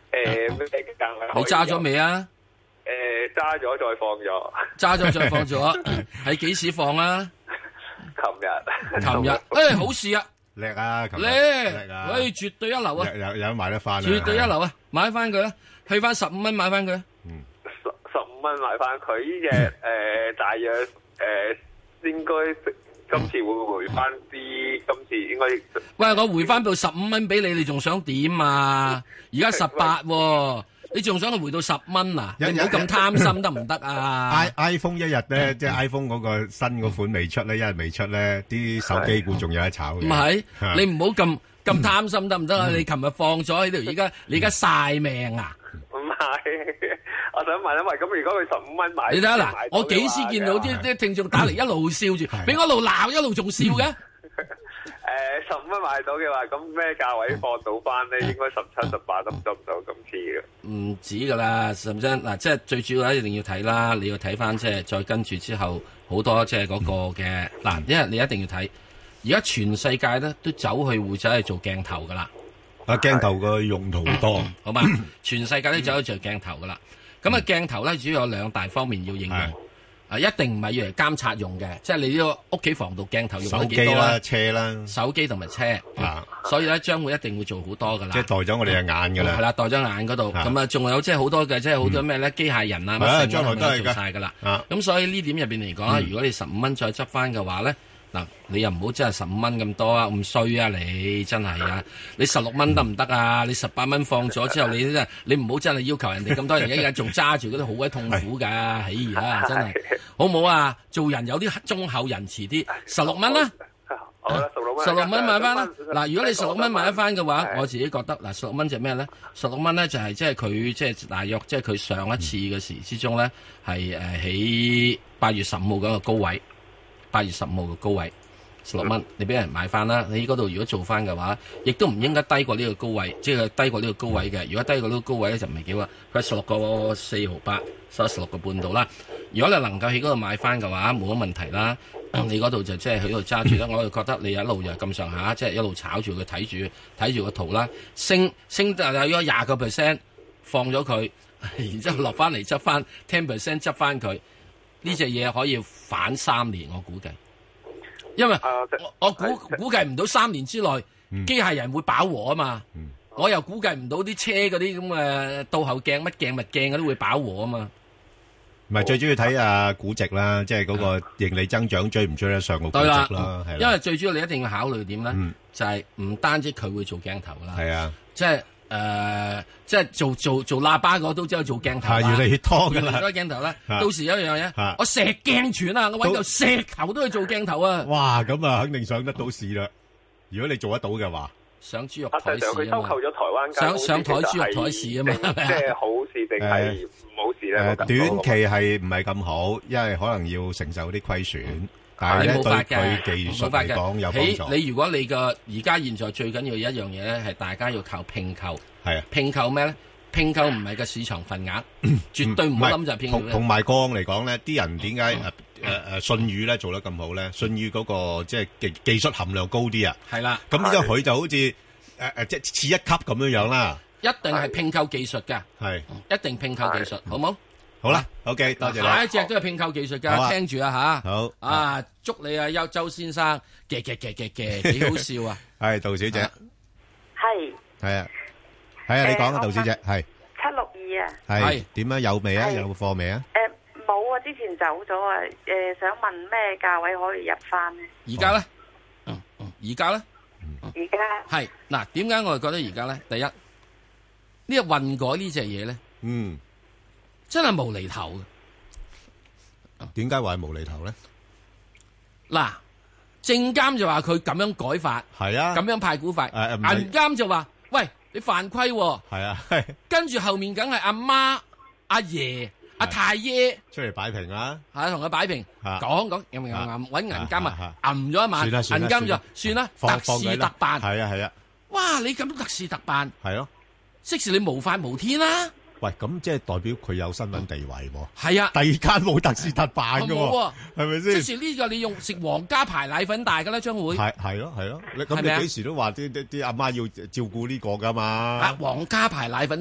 Speaker 17: 誒咩價位？
Speaker 1: 你揸咗未啊？
Speaker 17: 誒揸咗再放咗。
Speaker 1: 揸咗再放咗，喺幾時放啊？
Speaker 17: 琴日。
Speaker 1: 琴日，誒好事啊！
Speaker 2: 叻啊！
Speaker 1: 叻
Speaker 2: 叻啊！
Speaker 1: 喂，絕對一流啊！
Speaker 2: 有有有買得翻，
Speaker 1: 絕對一流啊！買翻佢啦，去翻十五蚊買翻佢。
Speaker 2: 嗯，
Speaker 17: 十十五蚊買翻佢呢隻誒，大約誒應該今次會回翻啲，今次應該。
Speaker 1: 喂，我回翻到十五蚊俾你，你仲想點啊？而家十八喎。你仲想佢回到十蚊啊？你唔好咁貪心得唔得啊
Speaker 2: ？i iPhone 一日咧，即係 iPhone 嗰個新嗰款未出咧，一日未出咧，啲手機股仲有得炒嘅。
Speaker 1: 唔係，你唔好咁咁貪心得唔得啊？你琴日放咗喺度，而家你而家晒命啊！
Speaker 17: 唔係，我想問一問，咁如果佢十五蚊買，
Speaker 1: 你睇下嗱，我幾時見到啲啲聽眾打嚟一路笑住，俾我一路鬧一路仲笑嘅？
Speaker 17: 誒，十五蚊買到嘅話，咁咩價位放到翻咧？應該十七、十八得唔得唔到咁次嘅？
Speaker 1: 唔止噶啦，甚至嗱，即係最主要咧，一定要睇啦。你要睇翻即係再跟住之後好多即係嗰個嘅嗱，因為你一定要睇。而家全世界咧都走去會走去做鏡頭噶啦。
Speaker 2: 啊，鏡頭個用途多，
Speaker 1: 好嘛？全世界都走去做鏡頭噶啦。咁啊，鏡頭咧主要有兩大方面要應用。啊，一定唔係要嚟監察用嘅，即係你呢個屋企防盜鏡頭用得幾多啦？
Speaker 2: 手機啦，車啦，
Speaker 1: 手機同埋車啊，所以咧將會一定會做好多噶啦。
Speaker 2: 即係代咗我哋嘅眼噶啦。
Speaker 1: 係啦，代咗眼嗰度，咁啊，仲有即係好多嘅，即係好多咩咧？機械人啊，乜
Speaker 2: 將來都係
Speaker 1: 做晒噶啦。咁所以呢點入邊嚟講咧，如果你十五蚊再執翻嘅話咧，嗱，你又唔好真係十五蚊咁多啊，咁衰啊你真係啊！你十六蚊得唔得啊？你十八蚊放咗之後，你真係你唔好真係要求人哋咁多，人而家仲揸住嗰啲好鬼痛苦㗎，哎呀真係好唔好啊？做人有啲忠厚仁慈啲，十六蚊啦，
Speaker 17: 好啦，十六蚊，
Speaker 1: 十六蚊買翻啦。嗱，如果你十六蚊買得翻嘅話，我自己覺得嗱，十六蚊就咩咧？十六蚊咧就係即係佢即係大約即係佢上一次嘅時之中咧係誒喺八月十五號嗰個高位。八月十五號嘅高位十六蚊，你俾人買翻啦。你嗰度如果做翻嘅話，亦都唔應該低過呢個高位，即係低過呢個高位嘅。如果低過呢個高位咧，就唔係幾好。佢係十六個四毫八，收十六個半度啦。如果你能夠喺嗰度買翻嘅話，冇乜問題啦。你嗰度就即係喺度揸住啦。我就覺得你一路就咁上下，即係一路炒住佢，睇住睇住個圖啦。升升得有咗廿個 percent，放咗佢，然之後落翻嚟執翻 ten percent 執翻佢。呢隻嘢可以反三年，我估計，因為我我估估計唔到三年之內機械人會飽和啊嘛，我又估計唔到啲車嗰啲咁嘅倒後鏡乜鏡乜鏡嗰啲會飽和啊嘛。
Speaker 2: 唔係最主要睇啊估值啦，即係嗰個盈利增長追唔追得上個估值啦，係啦。
Speaker 1: 因為最主要你一定要考慮點咧，就係唔單止佢會做鏡頭啦，
Speaker 2: 係啊，
Speaker 1: 即係。誒、呃，即係做做做喇叭嗰都知道做鏡頭啦，
Speaker 2: 越嚟越多噶啦，
Speaker 1: 越嚟越多鏡頭啦。到時有一樣嘢，我石鏡泉啊，我搵嚿石頭都去做鏡頭啊！
Speaker 2: 哇，咁啊，肯定上得到市啦。如果你做得到嘅話，
Speaker 1: 上豬肉台市啊嘛，
Speaker 17: 佢收購咗台灣間公司，
Speaker 1: 上上台豬肉台市啊嘛，
Speaker 17: 即係好事定係唔好事咧？
Speaker 2: 短期係唔係咁好，因為可能要承受啲虧損。但係咧，對佢技術嚟講有幫助。
Speaker 1: 你如果你個而家現在最緊要一樣嘢咧，係大家要靠併購。
Speaker 2: 係啊，
Speaker 1: 併購咩咧？併購唔係個市場份額，絕對唔好諗就係併購。
Speaker 2: 同同埋過往嚟講咧，啲人點解誒誒誒信譽咧做得咁好咧？信譽嗰個即係技技術含量高啲啊。
Speaker 1: 係啦。
Speaker 2: 咁呢個佢就好似誒誒即係次一級咁樣樣啦。
Speaker 1: 一定係併購技術㗎。
Speaker 2: 係。
Speaker 1: 一定併購技術，好冇？
Speaker 2: 好啦 ，OK，多謝你。
Speaker 1: 下一隻都係併購技術噶，聽住啊吓。
Speaker 2: 好
Speaker 1: 啊，祝你啊，邱周先生嘅嘅嘅嘅嘅，幾好笑啊！
Speaker 2: 係杜小姐，
Speaker 18: 係
Speaker 2: 係啊，係啊，你講啊，杜小姐，係
Speaker 18: 七六二啊，
Speaker 2: 係點啊？有未啊？有貨未啊？
Speaker 18: 誒，冇啊，之前走咗啊。誒，想問咩價位可以入翻呢？
Speaker 1: 而家咧，嗯嗯，而家咧，
Speaker 18: 而家
Speaker 1: 係嗱，點解我哋覺得而家咧？第一，呢個混改呢隻嘢咧，
Speaker 2: 嗯。
Speaker 1: 真係無厘頭嘅，
Speaker 2: 點解話係無厘頭咧？
Speaker 1: 嗱，證監就話佢咁樣改法，
Speaker 2: 係啊，
Speaker 1: 咁樣派股法，
Speaker 2: 誒
Speaker 1: 銀監就話，喂，你犯規，
Speaker 2: 係啊，
Speaker 1: 跟住後面梗係阿媽、阿爺、阿太爺
Speaker 2: 出嚟擺平啊，
Speaker 1: 係同佢擺平，講講，又搵銀監啊，揞咗一晚，銀監就算啦，特事特辦，
Speaker 2: 係啊係啊，
Speaker 1: 哇，你咁特事特辦，
Speaker 2: 係咯，
Speaker 1: 即時你無法無天啦。
Speaker 2: 喂，咁即係代表佢有新聞地位喎。
Speaker 1: 係啊，
Speaker 2: 第二間冇特事特辦㗎喎，係咪先？
Speaker 1: 即是呢個你用食皇家牌奶粉大㗎啦，將會
Speaker 2: 係係咯係咯。咁你幾時都話啲啲啲阿媽要照顧呢個㗎嘛？
Speaker 1: 啊，皇家牌奶粉大，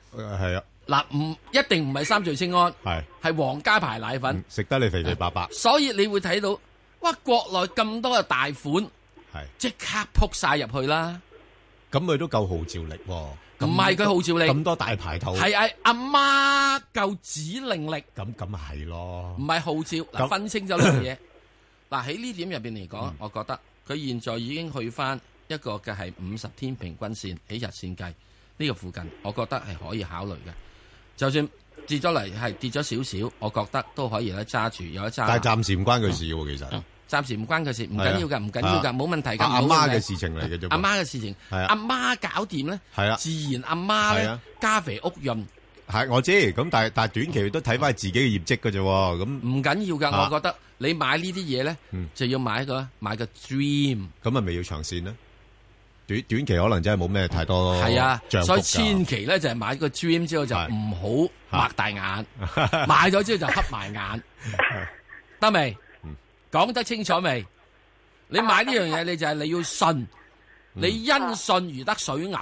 Speaker 2: 係啊。
Speaker 1: 嗱，唔一定唔係三聚氰胺，
Speaker 2: 係
Speaker 1: 係皇家牌奶粉，
Speaker 2: 食得你肥肥白白。
Speaker 1: 所以你會睇到，哇！國內咁多嘅大款，
Speaker 2: 係
Speaker 1: 即刻撲晒入去啦。
Speaker 2: 咁佢都夠號召力喎。
Speaker 1: 唔係佢號召力，
Speaker 2: 咁多大牌頭，
Speaker 1: 係係阿媽夠指令力。
Speaker 2: 咁咁咪係咯，
Speaker 1: 唔係號召。嗱，分清咗呢樣嘢。嗱喺呢點入邊嚟講，我覺得佢現在已經去翻一個嘅係五十天平均線喺日線計呢個附近，我覺得係可以考慮嘅。就算跌咗嚟係跌咗少少，我覺得都可以咧揸住，有得揸。
Speaker 2: 但係暫時唔關佢事喎，其實。
Speaker 1: 暫時唔關佢事，唔緊要㗎，唔緊要㗎，冇問題㗎。
Speaker 2: 阿媽嘅事情嚟嘅啫。
Speaker 1: 阿媽嘅事情，阿媽搞掂咧，自然阿媽咧加肥屋潤。
Speaker 2: 係我知，咁但係但係短期都睇翻自己嘅業績㗎啫喎，咁
Speaker 1: 唔緊要㗎。我覺得你買呢啲嘢咧，就要買個買個 dream。
Speaker 2: 咁係咪要長線咧？短短期可能真係冇咩太多
Speaker 1: 係啊，
Speaker 2: 漲幅㗎。
Speaker 1: 所以千祈咧就係買個 dream 之後就唔好擘大眼，買咗之後就黑埋眼，得未？講得清楚未？你買呢樣嘢，你就係你要信，你因信如得水牛。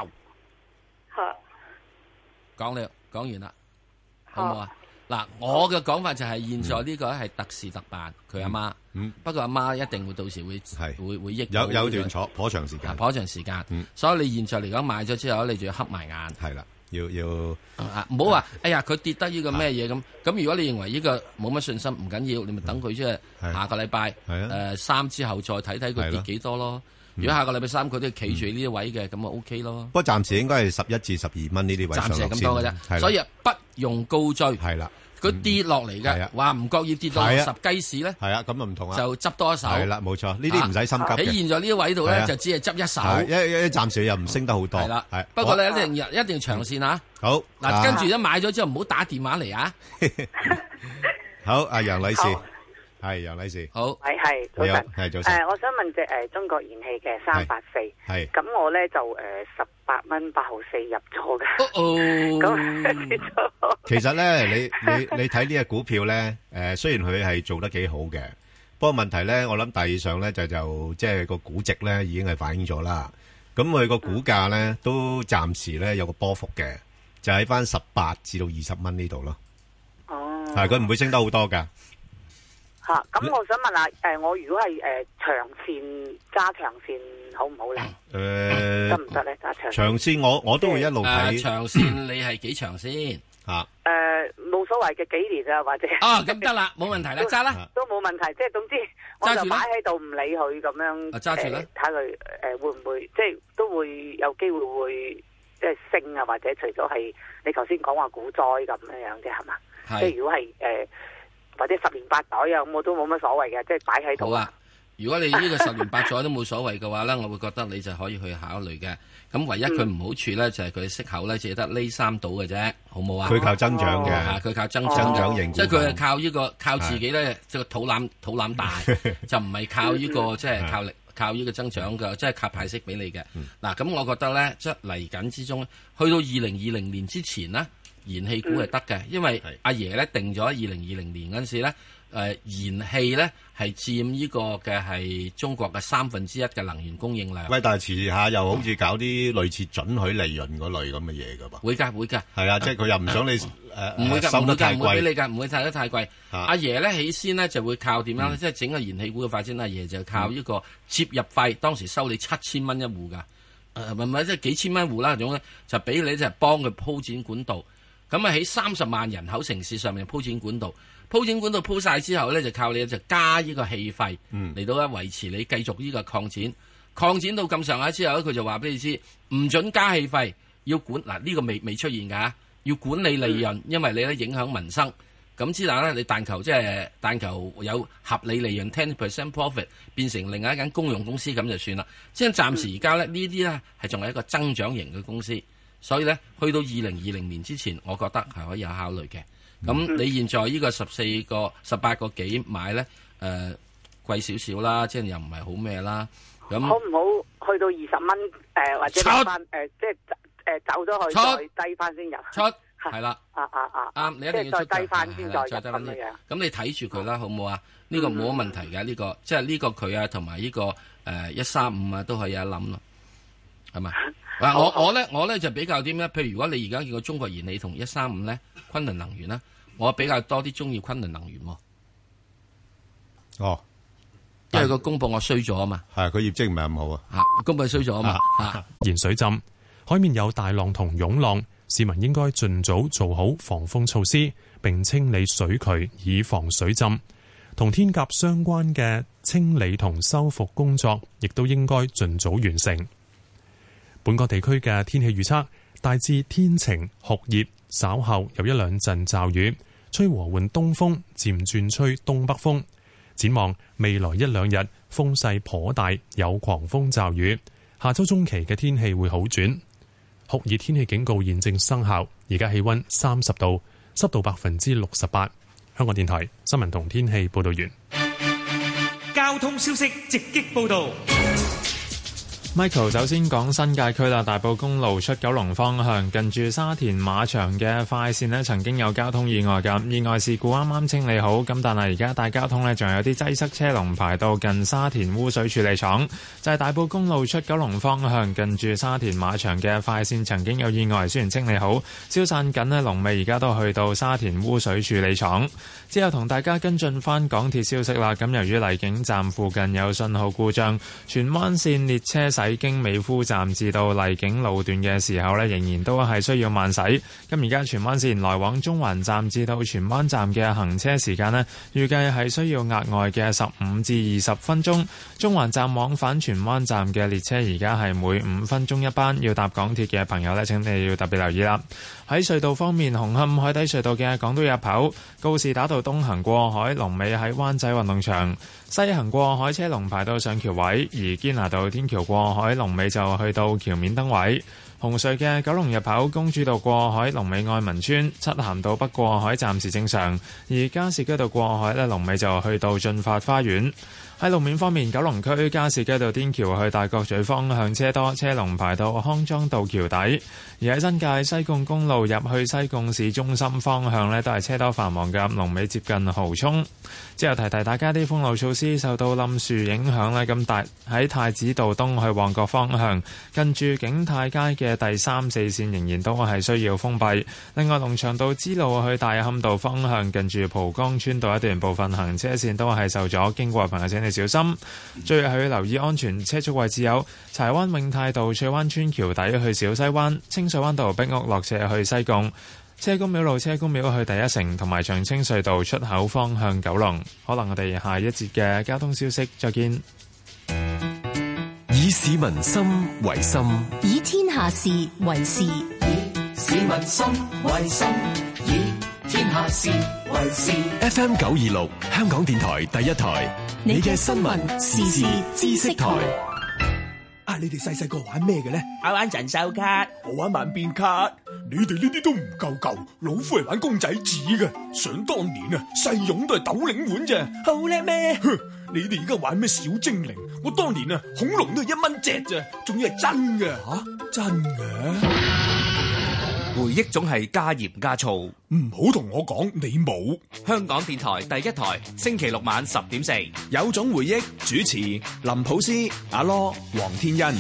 Speaker 1: 講了，講完啦，好唔好啊？嗱，我嘅講法就係現在呢個係特事特辦，佢阿媽。嗯。不過阿媽一定會到時會會會益。
Speaker 2: 有有段坐頗長時間。
Speaker 1: 頗長時間。嗯。所以你現在嚟講買咗之後，你就要黑埋眼。
Speaker 2: 係啦。要要
Speaker 1: 唔好話，哎呀，佢跌得呢個咩嘢咁？咁如果你認為呢個冇乜信心，唔緊要，你咪等佢即係下個禮拜誒三之後再睇睇佢跌幾多咯。如果下個禮拜三佢都企住呢啲位嘅，咁啊 OK 咯。
Speaker 2: 不過暫時應該係十一至十二蚊呢啲位上落先。暫時係咁多嘅啫，所以不用高追。係啦。佢跌落嚟嘅，話唔覺意跌到十雞屎咧， 係啊，咁啊唔同啊，
Speaker 1: 就執多一手。
Speaker 2: 係啦，冇錯，呢啲唔使心急嘅。
Speaker 1: 喺現在呢啲位度咧，就只係執一手。
Speaker 2: 一一暫時又唔升得好多。係啦，係。
Speaker 1: 不過你一定一定長線啊。
Speaker 2: 好。
Speaker 1: 嗱，跟住一買咗之後，唔好打電話嚟啊。
Speaker 2: 好，阿楊女士，係楊女士。
Speaker 1: 好。
Speaker 19: 係係早晨，
Speaker 2: 係早晨。
Speaker 19: 誒，我想問隻誒中國燃氣嘅三八四，
Speaker 2: 係。
Speaker 19: 咁我咧就誒十八蚊八毫四入咗嘅。
Speaker 1: 哦。
Speaker 19: 咁跌咗。
Speaker 2: 其實咧，你你你睇呢隻股票咧，誒，雖然佢係做得幾好嘅，不過問題咧，我諗大致上咧就就即係個估值咧已經係反映咗啦。咁佢個股價咧都暫時咧有個波幅嘅，就喺翻十八至到二十蚊呢度咯。
Speaker 19: 哦。
Speaker 2: 係，佢唔會升得好多噶。
Speaker 19: 吓，咁我想問下，誒，我如果係誒長線加長線好唔好咧？
Speaker 2: 誒，
Speaker 19: 得唔得咧？加長
Speaker 2: 長線我我都會一路睇。
Speaker 1: 長線你係幾長先？
Speaker 2: 吓。
Speaker 19: 誒，冇所謂嘅幾年啊，或者。
Speaker 1: 啊，咁得啦，冇問題啦，揸啦。
Speaker 19: 都冇問題，即係總之，我就擺喺度唔理佢咁樣。
Speaker 1: 揸住啦。
Speaker 19: 睇佢誒會唔會，即係都會有機會會即係升啊，或者除咗係你頭先講話股災咁樣樣啫，係嘛？係。即係如果係誒。或者十年八載啊，咁我都冇乜所謂嘅，即係擺喺度。
Speaker 1: 好啊，如果你呢個十年八載都冇所謂嘅話咧，我會覺得你就可以去考慮嘅。咁唯一佢唔好處咧，就係佢息口咧，只係得呢三度嘅啫，好冇啊？
Speaker 2: 佢靠增長嘅，
Speaker 1: 佢靠增長，
Speaker 2: 增長型，
Speaker 1: 即係佢係靠呢個靠自己咧，即係個肚腩肚腩大，就唔係靠呢個即係靠力靠呢個增長嘅，即係靠派息俾你嘅。嗱，咁我覺得咧，即係嚟緊之中，去到二零二零年之前呢。燃氣股係得嘅，因為阿爺咧定咗二零二零年嗰陣時咧，誒、呃、燃氣咧係佔呢個嘅係中國嘅三分之一嘅能源供應量。
Speaker 2: 喂，但係遲下又好似搞啲類似準許利潤嗰類咁嘅嘢㗎噃。
Speaker 1: 會㗎會㗎。係
Speaker 2: 啊，即係佢又唔想你誒
Speaker 1: 唔會㗎，
Speaker 2: 收得太貴，
Speaker 1: 唔會俾你㗎，唔會睇得太貴。阿、啊、爺咧起先呢就會靠點樣咧？即係、嗯、整個燃氣股嘅發展，阿爺就靠呢個接入費，當時收你七千蚊一戶㗎。誒唔係即係幾千蚊戶啦，總咧就俾你就係幫佢鋪展管道。咁啊喺三十萬人口城市上面鋪展管道，鋪展管道鋪晒之後咧，就靠你就加呢個氣費嚟到咧維持你繼續呢個擴展，擴展到咁上下之後咧，佢就話俾你知唔准加氣費，要管嗱呢、呢個未未出現㗎，要管理利潤，因為你咧影響民生。咁之但咧，你但求即係但求有合理利潤 ten percent profit 變成另外一間公用公司咁就算啦。即係暫時而家咧呢啲咧係仲係一個增長型嘅公司。所以咧，去到二零二零年之前，我覺得係可以有考慮嘅。咁、嗯、你現在呢個十四個、十八個幾買咧，誒、呃、貴少少啦，即係又唔係好咩啦。咁
Speaker 19: 好唔好去到二十蚊誒，或者翻誒、呃，即係誒、呃、走咗去再低翻先入
Speaker 1: 出，係啦。
Speaker 19: 啊啊啊！
Speaker 1: 啱，你一定要出
Speaker 19: 再低翻先再入
Speaker 1: 咁
Speaker 19: 樣。
Speaker 1: 咁你睇住佢啦，好唔好啊？呢、這個冇乜問題嘅，呢、嗯這個即係呢個佢啊，同埋呢個誒一三五啊，都可以一諗咯，係咪？ 嗱，我我咧我咧就比較啲咩？譬如如果你而家叫個中國燃氣同一三五咧，昆侖能源咧，我比較多啲中意昆侖能源喎。
Speaker 2: 哦，
Speaker 1: 因為個公佈我衰咗啊嘛，
Speaker 2: 係佢業績唔係咁好啊，
Speaker 1: 嚇公佈衰咗啊嘛，嚇
Speaker 4: 鹽水浸，海面有大浪同湧浪，市民應該盡早做好防風措施，並清理水渠以防水浸。同天鴿相關嘅清理同修復工作，亦都應該盡早完成。本港地區嘅天氣預測大致天晴酷熱，稍後有一兩陣驟雨，吹和緩東風，漸轉吹東北風。展望未來一兩日風勢頗大，有狂風驟雨。下周中期嘅天氣會好轉，酷熱天氣警告現正生效。而家氣溫三十度，濕度百分之六十八。香港電台新聞同天氣報道完。
Speaker 3: 交通消息直擊報道。
Speaker 5: Michael 首先講新界區啦，大埔公路出九龍方向，近住沙田馬場嘅快線呢曾經有交通意外㗎，意外事故啱啱清理好，咁但係而家大交通呢仲有啲擠塞車龍排到近沙田污水處理廠，就係、是、大埔公路出九龍方向，近住沙田馬場嘅快線曾經有意外，雖然清理好，消散緊呢龍尾而家都去到沙田污水處理廠。之後同大家跟進翻港鐵消息啦，咁由於荔景站附近有信號故障，荃灣線列車駛經美孚站至到荔景路段嘅時候呢，仍然都係需要慢駛。咁而家荃灣線來往中環站至到荃灣站嘅行車時間呢，預計係需要額外嘅十五至二十分鐘。中環站往返荃灣站嘅列車而家係每五分鐘一班，要搭港鐵嘅朋友呢，請你要特別留意啦。喺隧道方面，紅磡海底隧道嘅港島入口告士打道東行過海，龍尾喺灣仔運動場；西行過海車龍排到上橋位，而堅拿道天橋過海龍尾就去到橋面燈位。紅隧嘅九龍入口公主道過海龍尾愛民村，漆咸道北過海暫時正常，而加士居道過海呢龍尾就去到進發花園。喺路面方面，九龍區加士居道天橋去大角咀方向車多，車龍排到康莊道橋底；而喺新界西貢公路入去西貢市中心方向呢都係車多繁忙嘅，龍尾接近蠔涌。之後提提大家啲封路措施，受到冧樹影響呢，咁大喺太子道東去旺角方向，近住景泰街嘅第三四線仍然都係需要封閉。另外，龍翔道支路去大磡道方向，近住蒲崗村道一段部分行車線都係受阻，經過朋友請你小心。最後要留意安全車速位置有柴灣永泰道翠灣村橋底去小西灣，清水灣道壁屋落斜去西貢，車公廟路車公廟去第一城，同埋長青隧道出口方向九龍。可能我哋下一節嘅交通消息再見。
Speaker 6: 以市民心為心，
Speaker 7: 以天下事為事，以
Speaker 3: 市民心為心，以天下事為事。
Speaker 6: F M 九二六香港電台第一台，你嘅新聞時事知識台。
Speaker 20: 啊！你哋細細個玩咩嘅咧？
Speaker 21: 我玩神獸卡，
Speaker 20: 我玩萬變卡。你哋呢啲都唔夠舊，老夫係玩公仔紙嘅。想當年啊，細勇都係斗領碗咋，
Speaker 21: 好叻咩？
Speaker 20: 哼！你哋而家玩咩小精靈？我當年啊，恐龍都係一蚊隻咋，仲要係真嘅吓、啊，真嘅。
Speaker 21: 回憶總係加鹽加醋，
Speaker 20: 唔好同我講你冇。
Speaker 21: 香港電台第一台，星期六晚十點四，
Speaker 20: 有種回憶，主持林普斯、阿羅、黃天恩。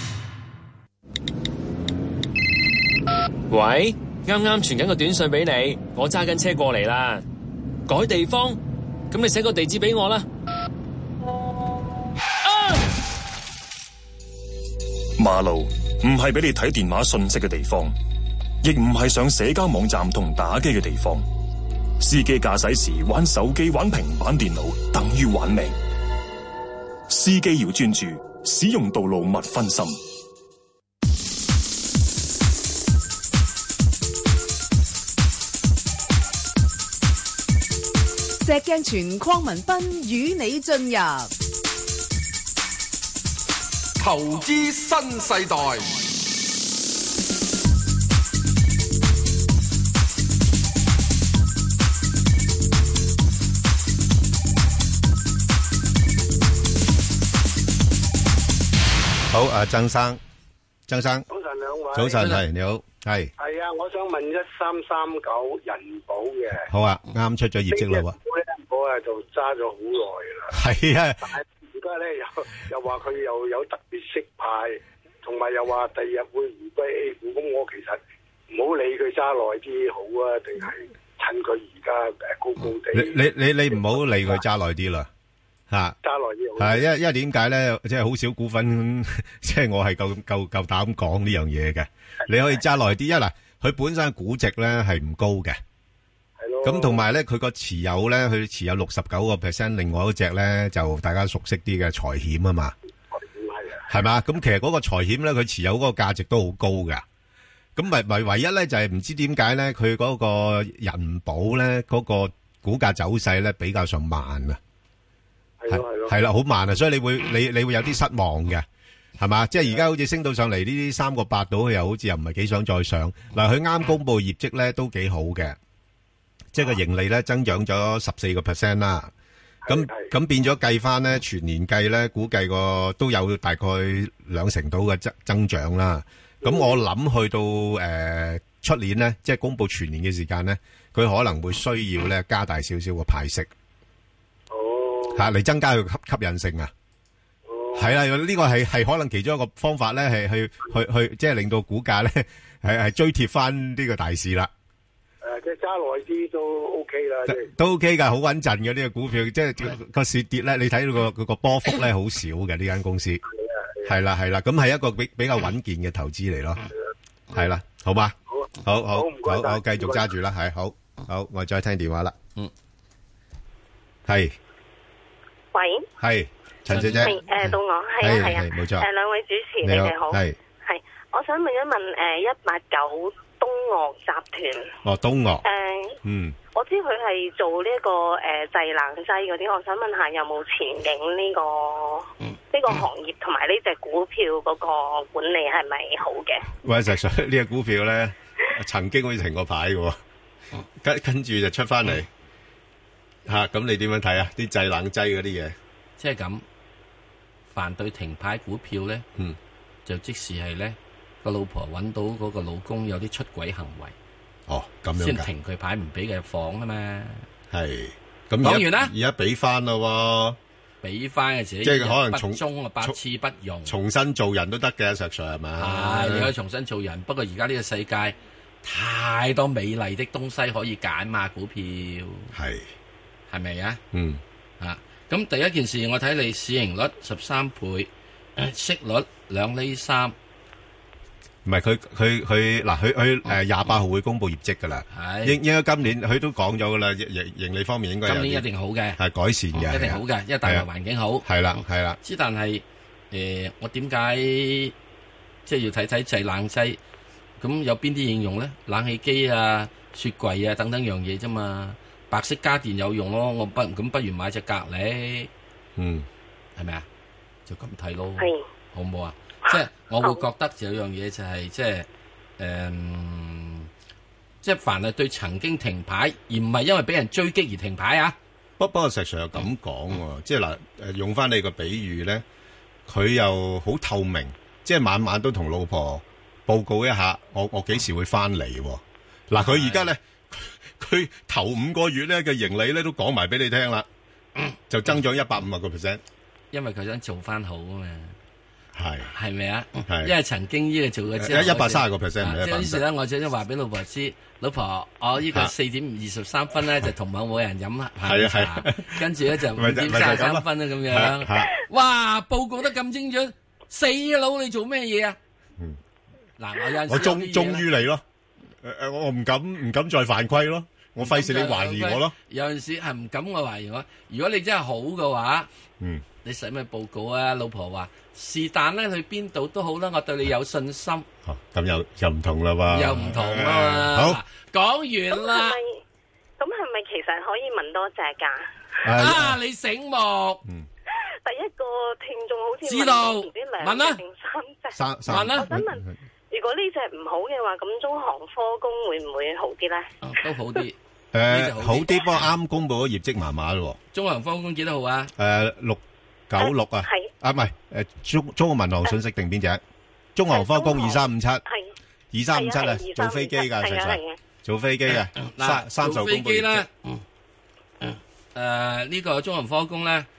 Speaker 22: 喂，啱啱傳緊個短信俾你，我揸緊車過嚟啦。改地方，咁你寫個地址俾我啦。啊！
Speaker 23: 馬路唔係俾你睇電話信息嘅地方，亦唔係上社交網站同打機嘅地方。司機駕駛時玩手機、玩平板電腦，等於玩命。司機要專注，使用道路勿分心。
Speaker 13: 石鏡泉鄺民彬與你進入
Speaker 14: 投資新世代。
Speaker 2: 好，阿曾生，曾生，
Speaker 24: 早晨兩位，
Speaker 2: 早晨係你好，係
Speaker 24: 係啊，我想問一三三九人保嘅，
Speaker 2: 好啊，啱出咗業績啦喎，
Speaker 24: 我啊就揸咗好耐啦，
Speaker 2: 係啊，
Speaker 24: 但係而家咧又又話佢又有特別息派，同同埋又話第二日會回歸 A 股，咁我其實唔好理佢揸耐啲好啊，定係趁佢而家誒高高地？
Speaker 2: 你你你你唔好理佢揸耐啲啦，嚇
Speaker 24: 揸耐啲好。
Speaker 2: 係因為因為點解咧？即係好少股份，即係我係夠夠夠膽講呢樣嘢嘅。你可以揸耐啲，一嗱佢本身估值咧係唔高嘅。咁同埋咧，佢個持有咧，佢持有六十九個 percent， 另外一隻咧就大家熟悉啲嘅財險啊嘛，係嘛？咁其實嗰個財險咧，佢持有嗰個價值都好高噶。咁咪咪唯一咧就係唔知點解咧，佢嗰個人保咧嗰個股價走勢咧比較上慢啊，
Speaker 24: 係咯係咯，
Speaker 2: 係啦，好慢啊，所以你會你你會有啲失望嘅，係嘛？即係而家好似升到上嚟呢啲三個八度，佢又好似又唔係幾想再上。嗱，佢啱公布業績咧都幾好嘅。即係個盈利咧增長咗十四個 percent 啦，咁咁變咗計翻咧全年計咧，估計個都有大概兩成到嘅增增長啦。咁我諗去到誒出年咧，即係公布全年嘅時間咧，佢可能會需要咧加大少少個派息，
Speaker 24: 哦，
Speaker 2: 嚇嚟增加佢吸吸引性啊。係啦，呢個係係可能其中一個方法咧，係去去去即係令到股價咧係係追貼翻呢個大市啦。
Speaker 24: 誒，即係揸耐啲都 OK 啦，即係
Speaker 2: 都 OK 噶，好穩陣嘅呢個股票，即係個市跌咧，你睇到個個波幅咧好少嘅呢間公司，係啦係啦，咁係一個比比較穩健嘅投資嚟咯，係啦，好嘛？好好好，好好繼續揸住啦，係好好，我再聽電話啦，嗯，係，
Speaker 8: 喂，
Speaker 2: 係陳小姐，
Speaker 8: 誒到我係啊係啊，
Speaker 2: 冇錯，
Speaker 8: 誒兩位主持你哋好，係係，我想問一問誒一八九。東嶽集團
Speaker 2: 哦，東嶽
Speaker 8: 誒，
Speaker 2: 嗯，
Speaker 8: 我知佢係做呢、這個誒製冷劑嗰啲，我想問下有冇前景呢、這個呢、嗯、個行業同埋呢隻股票嗰個管理係咪好嘅？
Speaker 2: 喂，實在呢隻股票咧，曾經好似停過牌嘅，跟跟住就出翻嚟吓，咁、啊、你點樣睇啊？啲製冷劑嗰啲嘢，
Speaker 1: 即係咁，凡對停牌股票咧，嗯，就即時係咧。個老婆揾到嗰個老公有啲出軌行為，
Speaker 2: 哦咁樣
Speaker 1: 先停佢牌唔俾佢入房啊嘛。
Speaker 2: 係咁
Speaker 1: 講完啦，
Speaker 2: 而家俾翻咯，
Speaker 1: 俾翻嘅時
Speaker 2: 即係可能重
Speaker 1: 中啊，百次不用，
Speaker 2: 重新做人都得嘅，石 Sir 係咪？
Speaker 1: 係你可以重新做人，不過而家呢個世界太多美麗的東西可以揀嘛，股票
Speaker 2: 係
Speaker 1: 係咪啊？
Speaker 2: 嗯
Speaker 1: 啊，咁第一件事我睇你市盈率十三倍，息率兩厘三。
Speaker 2: 唔係佢佢佢嗱佢佢誒廿八號會公布業績噶啦，應應該今年佢都講咗噶啦，盈盈利方面應該有
Speaker 1: 今年一定好嘅，
Speaker 2: 係改善嘅，
Speaker 1: 一定好嘅，因為大環環境好。
Speaker 2: 係啦係啦，
Speaker 1: 之但係誒，我點解即係要睇睇製冷劑？咁有邊啲應用咧？冷氣機啊、雪櫃啊等等樣嘢啫嘛。白色家電有用咯，我不咁不如買隻格力，
Speaker 2: 嗯，
Speaker 1: 係咪啊？就咁睇咯，
Speaker 8: 係
Speaker 1: 好唔好啊？即係我會覺得有樣嘢就係即係誒，即係凡係對曾經停牌而唔係因為俾人追擊而停牌啊。
Speaker 2: 不不過石 Sir 又咁講喎，即係嗱誒用翻你個比喻咧，佢又好透明，即係晚晚都同老婆報告一下，我我幾時會翻嚟。嗱佢而家咧，佢頭五個月咧嘅盈利咧都講埋俾你聽啦，就增長一百五十個 percent，
Speaker 1: 因為佢想做翻好啊嘛。
Speaker 2: 係
Speaker 1: 係咪啊？
Speaker 2: 係，
Speaker 1: 因為曾經呢個做嘅之後，
Speaker 2: 一百三十個 percent 唔係一百。
Speaker 1: 於是咧，我就想話俾老婆知，老婆，我呢個四點二十三分咧就同某某人飲下午茶，跟住咧就五點三十三分啦咁樣。哇！報告得咁精準，死佬你做咩嘢啊？
Speaker 2: 嗯，
Speaker 1: 嗱，我有陣時
Speaker 2: 我忠忠於你咯，誒誒，我唔敢唔敢再犯規咯，我費事你懷疑我咯。
Speaker 1: 有陣時係唔敢我懷疑我，如果你真係好嘅話，
Speaker 2: 嗯。
Speaker 1: 你使咩報告啊？老婆話是但咧，去邊度都好啦，我對你有信心。
Speaker 2: 哦，咁又又唔同啦喎。
Speaker 1: 又唔同啦嘛。好，講完啦。
Speaker 8: 咁係咪其實可以問多隻㗎？
Speaker 1: 啊，你醒目。
Speaker 2: 嗯。
Speaker 8: 第一個聽眾好似
Speaker 1: 知道。
Speaker 8: 唔知兩隻定三隻。
Speaker 2: 三三。
Speaker 8: 我想問，如果呢隻唔好嘅話，咁中航科工會唔會好啲咧？
Speaker 1: 都好啲。
Speaker 2: 誒，好啲，不過啱公布咗業績麻麻咯。
Speaker 1: 中航科工幾多號啊？
Speaker 2: 誒，六。九六啊，係啊，唔係誒，中中國民航信息定邊隻？中航科工二三五七，係二三五七啊，做飛機噶，實實做飛機嘅，三三十公里。
Speaker 1: 做飛機咧，誒呢個中航科工咧，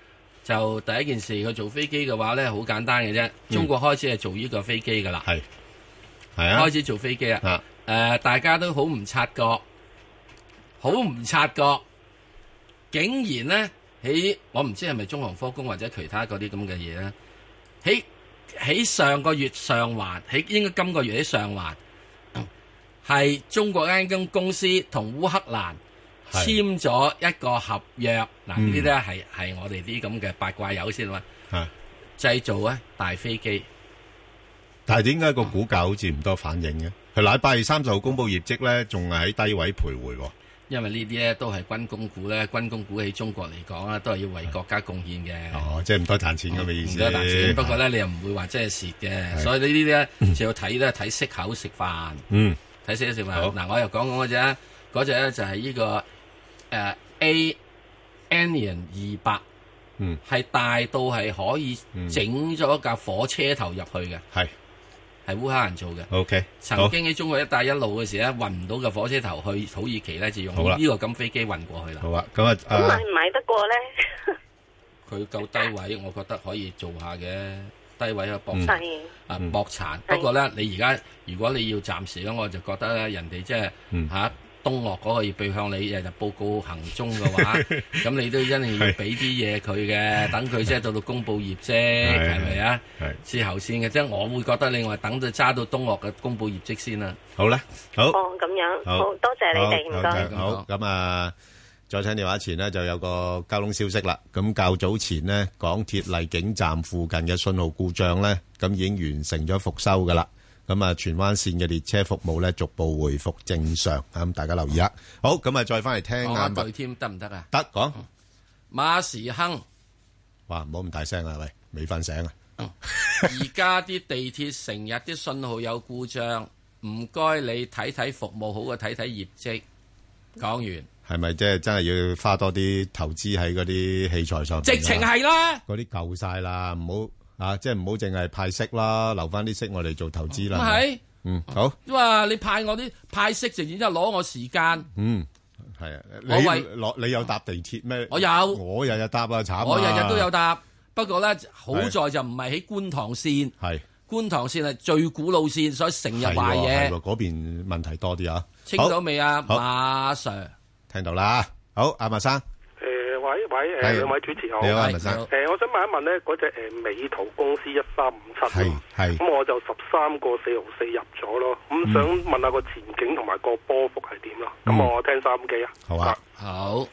Speaker 1: 就第一件事佢做飛機嘅話咧，好簡單嘅啫。中國開始係做呢個飛機噶啦，
Speaker 2: 係係啊，
Speaker 1: 開始做飛機啊。誒、呃，大家都好唔察覺，好唔察覺，竟然咧喺我唔知係咪中航科工或者其他嗰啲咁嘅嘢咧，喺喺上個月上環，喺應該今個月喺上環。係中國間間公司同烏克蘭簽咗一個合約，嗱呢啲咧係係我哋啲咁嘅八卦友先啦，製造咧大飛機。
Speaker 2: 但係點解個股價好似唔多反應嘅？佢禮拜二三十號公布業績咧，仲係喺低位徘徊。
Speaker 1: 因為呢啲咧都係軍工股咧，軍工股喺中國嚟講啊，都係要為國家貢獻嘅。
Speaker 2: 哦，即係唔多賺錢咁嘅意思。
Speaker 1: 唔多賺錢，不過咧你又唔會話即係蝕嘅，所以呢啲咧就要睇咧睇息口食飯。嗯。睇死咗食飯嗱，我又講講嗰隻啊，嗰隻咧就係呢、這個誒、呃、A Anion 二百，嗯，係大到係可以整咗架火車頭入去嘅，係係烏克蘭做嘅。O K， 曾經喺中國一帶一路嘅時咧，運唔到嘅火車頭去土耳其咧，就用呢個咁飛機運過去啦。
Speaker 2: 好啊，咁啊，
Speaker 8: 咁買唔買得過咧？
Speaker 1: 佢夠低位，我覺得可以做下嘅。低位啊，搏殘、嗯、啊，搏殘。不過咧，你而家如果你要暫時咧，我就覺得咧，人哋即係嚇東岳嗰個要背向你日日報告行蹤嘅話，咁你都一定要俾啲嘢佢嘅，等佢即係到到公佈業績，係咪啊？之後先嘅，即係我會覺得你話等到揸到東岳嘅公佈業績先啦。
Speaker 2: 好啦，好。
Speaker 8: 哦，咁樣，好，好多謝你哋，唔該。
Speaker 2: 好，咁啊。再聽電話前呢，就有個交通消息啦。咁較早前呢，港鐵荔景站附近嘅信號故障呢，咁已經完成咗復修噶啦。咁啊，荃灣線嘅列車服務呢，逐步回復正常。咁大家留意下。好，咁啊，再翻嚟聽下。
Speaker 1: 對添得唔得啊？
Speaker 2: 得講。
Speaker 1: 馬時亨。
Speaker 2: 哇，唔好咁大聲啊！喂，未瞓醒啊？
Speaker 1: 而家啲地鐵成日啲信號有故障，唔該你睇睇服務好過睇睇業績。講完。
Speaker 2: 係咪即係真係要花多啲投資喺嗰啲器材上？
Speaker 1: 直情係啦，
Speaker 2: 嗰啲夠晒啦，唔好啊！即係唔好淨係派息啦，留翻啲息我哋做投資啦。
Speaker 1: 咁係，
Speaker 2: 嗯好。
Speaker 1: 哇！你派我啲派息，直然之後攞我時間。
Speaker 2: 嗯，係啊。
Speaker 1: 我為
Speaker 2: 攞你有搭地鐵咩？
Speaker 1: 我有，
Speaker 2: 我日日搭啊，慘啊！
Speaker 1: 我日日都有搭，不過咧好在就唔係喺觀塘線。係觀塘線係最古老線，所以成日壞嘢。
Speaker 2: 嗰邊問題多啲啊？
Speaker 1: 清咗未啊，馬 Sir？
Speaker 2: 聽到啦，好，阿麥生。
Speaker 24: 誒，喂喂，誒，兩位主持好。
Speaker 2: 你好，阿麥生。
Speaker 24: 誒，我想問一問咧，嗰隻誒美圖公司一三五七，
Speaker 2: 係係。
Speaker 24: 咁我就十三個四毫四入咗咯，咁想問下個前景同埋個波幅係點咯？咁我聽收音機啊。
Speaker 2: 好啊，
Speaker 1: 好。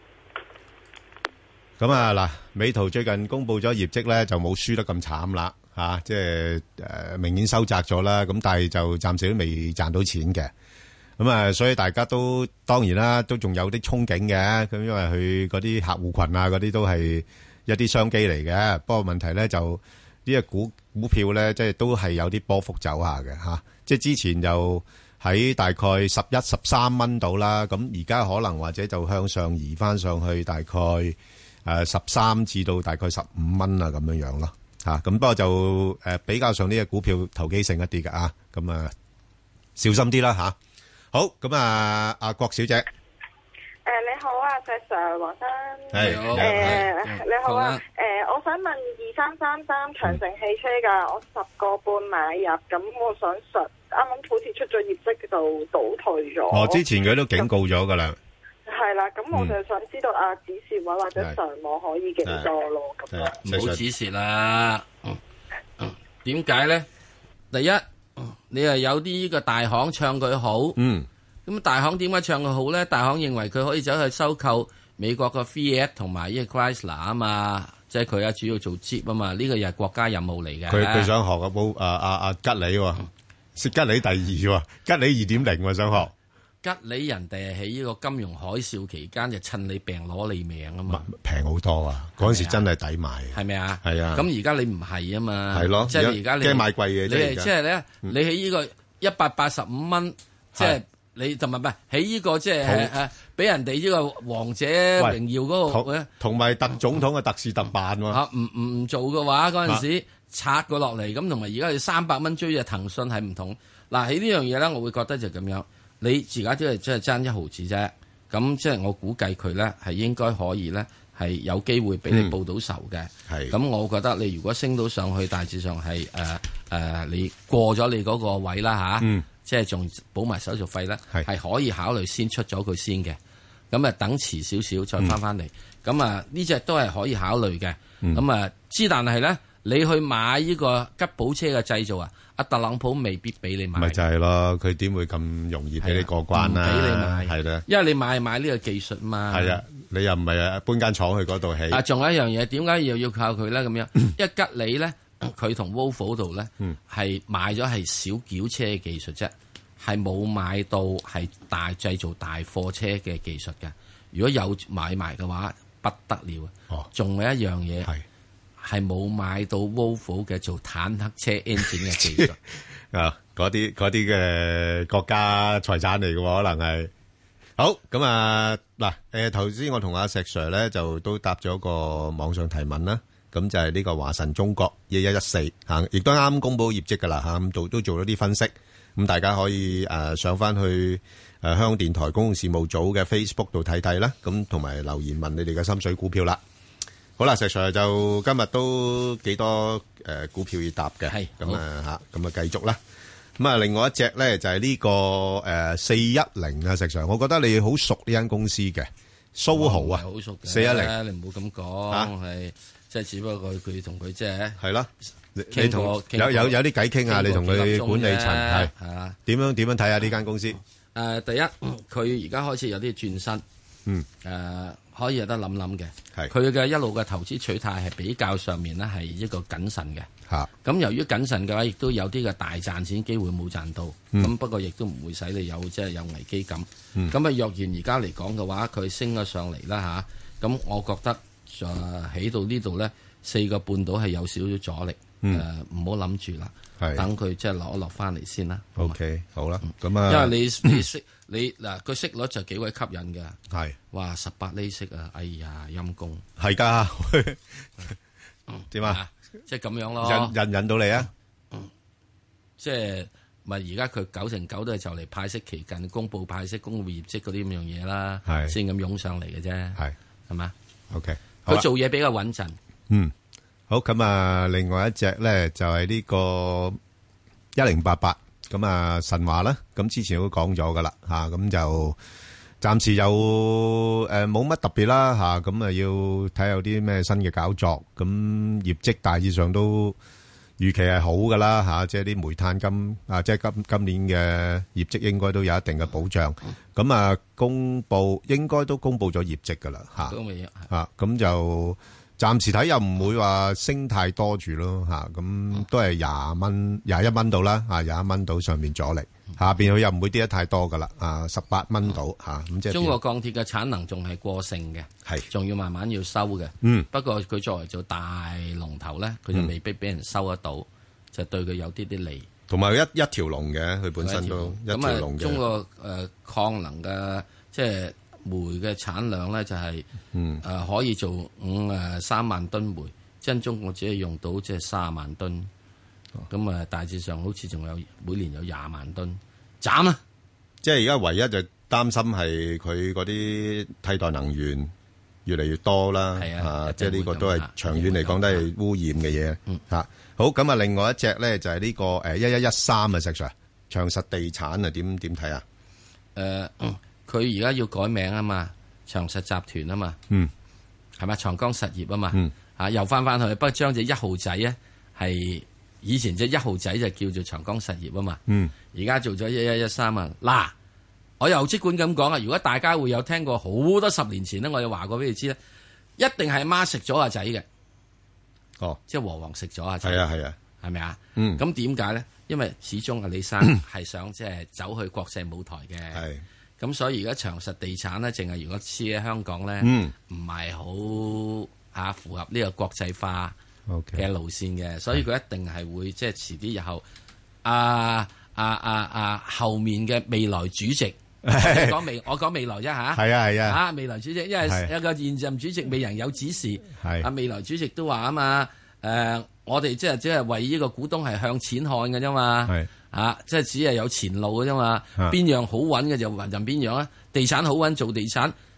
Speaker 2: 咁啊嗱，美圖最近公布咗業績咧，就冇輸得咁慘啦，吓，即係誒明顯收窄咗啦，咁但係就暫時都未賺到錢嘅。咁啊，所以大家都當然啦，都仲有啲憧憬嘅。咁因為佢嗰啲客戶群啊，嗰啲都係一啲商機嚟嘅。不過問題咧就呢個股股票咧，即係都係有啲波幅走下嘅吓。即係之前就喺大概十一、十三蚊度啦。咁而家可能或者就向上移翻上去，大概誒十三至到大概十五蚊啊咁樣樣咯吓。咁不過就誒比較上呢個股票投機性一啲嘅啊。咁啊小心啲啦吓。好，咁啊，阿郭小姐，誒、
Speaker 18: 呃、你好啊，石 Sir 黃生，
Speaker 2: 係，
Speaker 18: 誒、呃、你好啊，誒、呃、我想問二三三三長城汽車噶，我十個半買入，咁我想實啱啱好似出咗業績就倒退咗。
Speaker 2: 哦，之前佢都警告咗噶啦。
Speaker 18: 係啦，咁我就想知道啊，止蝕位或者上網可以幾多咯？咁樣
Speaker 1: 唔好止蝕啦。點解咧？第一。你係有啲呢個大行唱佢好，嗯，咁大行點解唱佢好咧？大行認為佢可以走去收購美國嘅 Fiat 同埋呢個 Chrysler 啊嘛，即係佢啊主要做 Jeep 啊嘛，呢個又係國家任務嚟嘅。
Speaker 2: 佢佢想學個寶啊啊啊吉利喎，是吉利第二喎，吉利二點零喎想學。
Speaker 1: 吉利人哋係喺呢個金融海嘯期間就趁你病攞你命啊嘛，
Speaker 2: 平好多啊！嗰陣時真係抵買，
Speaker 1: 係咪啊？
Speaker 2: 係啊！
Speaker 1: 咁而家你唔係啊嘛，
Speaker 2: 係咯，
Speaker 1: 即係而家你
Speaker 2: 驚買貴嘢，
Speaker 1: 你係即係咧，你喺呢個一百八十五蚊，即係你同埋唔係喺呢個即係誒俾人哋呢個王者榮耀嗰個
Speaker 2: 同埋特總統嘅特事特辦喎
Speaker 1: 嚇，唔唔唔做嘅話嗰陣時拆過落嚟，咁同埋而家你三百蚊追嘅騰訊係唔同。嗱喺呢樣嘢咧，我會覺得就咁樣。你而家都係即係爭一毫子啫，咁即係我估計佢咧係應該可以咧， 係有機會俾你報到仇嘅。
Speaker 2: 係
Speaker 1: 咁、我覺得你如果升到上去，大致上係誒誒，你過咗你嗰個位啦吓，
Speaker 2: 嗯、
Speaker 1: 即係仲補埋手續費咧，係可以考慮先出咗佢先嘅。咁啊，等遲少少再翻翻嚟。咁、嗯、啊，呢隻都係可以考慮嘅。咁、嗯、啊，之但係咧，你去買呢個吉普車嘅製造啊，阿特朗普未必俾你買。
Speaker 2: 咪就係咯，佢點會咁容易俾你過關啊？
Speaker 1: 唔俾你買，
Speaker 2: 係啦，
Speaker 1: 因為你買買呢個技術嘛。
Speaker 2: 係啊，你又唔係啊搬間廠去嗰度起。
Speaker 1: 啊，仲有一樣嘢，點解又要靠佢咧？咁樣，因為吉利咧，佢同 Volvo 度咧，係買咗係小轎車嘅技術啫，係冇買到係大製造大貨車嘅技術嘅。如果有買埋嘅話，不得了啊！仲、哦、有一樣嘢係係冇買到 Volvo 嘅做坦克車 engine 嘅技術
Speaker 2: 啊！嗰啲嗰啲嘅國家財產嚟嘅，可能係好咁啊！嗱，誒頭先我同阿石 Sir 咧就都答咗個網上提問啦，咁就係呢個華晨中國一一一四嚇，亦都啱公佈業績㗎啦嚇，咁做都做咗啲分析，咁大家可以誒、呃、上翻去。誒、呃、香港電台公共事務組嘅 Facebook 度睇睇啦，咁同埋留言問你哋嘅心水股票啦。好啦，石 Sir 就今日都幾多誒、呃、股票要答嘅，係咁啊嚇，咁啊繼續啦。咁啊，另外一隻咧就係、是、呢、這個誒四一零啊，石 Sir，我覺得你好熟呢間公司嘅蘇豪啊，
Speaker 1: 好熟嘅
Speaker 2: 四一零，
Speaker 1: 你唔好咁講，係即係只不過佢同佢即係
Speaker 2: 係啦。你同有有有啲偈傾啊，你同佢管理層係係啊，點樣點樣睇下呢間公司？
Speaker 1: 誒、呃，第一，佢而家開始有啲轉身，
Speaker 2: 嗯，
Speaker 1: 誒、呃，可以有得諗諗嘅，
Speaker 2: 係
Speaker 1: 佢嘅一路嘅投資取態係比較上面咧係一個謹慎嘅，
Speaker 2: 吓、啊，
Speaker 1: 咁由於謹慎嘅話，亦都有啲嘅大賺錢機會冇賺到，咁、嗯、不過亦都唔會使你有即係、就是、有危機感，咁、嗯、啊，若然而家嚟講嘅話，佢升咗上嚟啦吓，咁、啊、我覺得誒、呃、起到呢度咧四個半島係有少少阻力，誒唔好諗住啦。等佢即係落一落翻嚟先啦。
Speaker 2: O K，好啦，咁啊，
Speaker 1: 因為你你息你嗱個息率就幾鬼吸引嘅，
Speaker 2: 係
Speaker 1: 哇十八厘息啊，哎呀陰公，
Speaker 2: 係噶，點啊？
Speaker 1: 即係咁樣咯，
Speaker 2: 引引引到你啊？
Speaker 1: 即係咪而家佢九成九都係就嚟派息期近，公布派息、公布業績嗰啲咁樣嘢啦，係先咁湧上嚟嘅啫，係係嘛
Speaker 2: ？O K，
Speaker 1: 佢做嘢比較穩陣，
Speaker 2: 嗯。好咁啊！另外一隻咧就係呢個一零八八咁啊神華啦。咁之前都講咗噶啦吓，咁就暫時有誒冇乜特別啦吓。咁啊要睇下有啲咩新嘅搞作。咁業績大致上都預期係好噶啦吓，即係啲煤炭金啊，即係今今年嘅業績應該都有一定嘅保障。咁啊公布應該都公布咗業績噶啦吓，啊咁就。暫時睇又唔會話升太多住咯嚇，咁都係廿蚊、廿一蚊到啦嚇，廿一蚊到上面阻力，下邊佢又唔會跌得太多噶啦，啊十八蚊到嚇，咁即係中國
Speaker 1: 鋼鐵嘅產能仲係過剩嘅，係仲要慢慢要收嘅。
Speaker 2: 嗯，
Speaker 1: 不過佢作為做大龍頭咧，佢就未必俾人收得到，嗯、就對佢有啲啲利。
Speaker 2: 同埋一一條龍嘅，佢本身都一條龍嘅。
Speaker 1: 中國誒礦能嘅即係。煤嘅產量咧就係、是，誒、
Speaker 2: 嗯
Speaker 1: 呃、可以做五誒三萬噸煤，真中國只係用到即係卅萬噸，咁啊、哦、大致上好似仲有每年有廿萬噸，斬啊！
Speaker 2: 即係而家唯一就擔心係佢嗰啲替代能源越嚟越多啦，
Speaker 1: 係啊，
Speaker 2: 啊即係呢個都係長遠嚟講都係污染嘅嘢，
Speaker 1: 嗯
Speaker 2: 嚇。好咁啊，另外一隻咧就係呢個誒一一一三啊，石 Sir 長實地產啊，點點睇啊？
Speaker 1: 誒。嗯佢而家要改名啊嘛，長實集團啊嘛，
Speaker 2: 嗯，
Speaker 1: 係咪長江實業啊嘛，
Speaker 2: 嗯，
Speaker 1: 啊又翻翻去，不過將隻一號仔咧係以前隻一號仔就叫做長江實業啊嘛，
Speaker 2: 嗯，
Speaker 1: 而家做咗一一一三啊，嗱，我又即管咁講啊，如果大家會有聽過好多十年前咧，我又話過俾你知咧，一定係媽食咗阿仔嘅，
Speaker 2: 哦，
Speaker 1: 即係和黃食咗阿仔，
Speaker 2: 係啊係啊，
Speaker 1: 係咪啊？
Speaker 2: 嗯，
Speaker 1: 咁點解咧？因為始終阿李生係想即係走去國際舞台嘅，
Speaker 2: 係。
Speaker 1: 咁所以而家長實地產咧，淨係如果黐喺香港咧，唔係好嚇符合呢個國際化嘅路線嘅， okay. 所以佢一定係會即係遲啲日後，啊啊啊啊後面嘅未來主席，我講未，我講未來啫嚇，
Speaker 2: 係啊係啊，
Speaker 1: 啊未來主席，因為有個現任主席未人有指示，
Speaker 2: 係啊
Speaker 1: 未來主席都話啊嘛，誒、呃、我哋即係即係為呢個股東係向錢看嘅啫嘛。
Speaker 2: 係。
Speaker 1: 啊！即係只係有前路嘅啫嘛，邊樣好穩嘅就任邊樣啊！地產好穩做地產，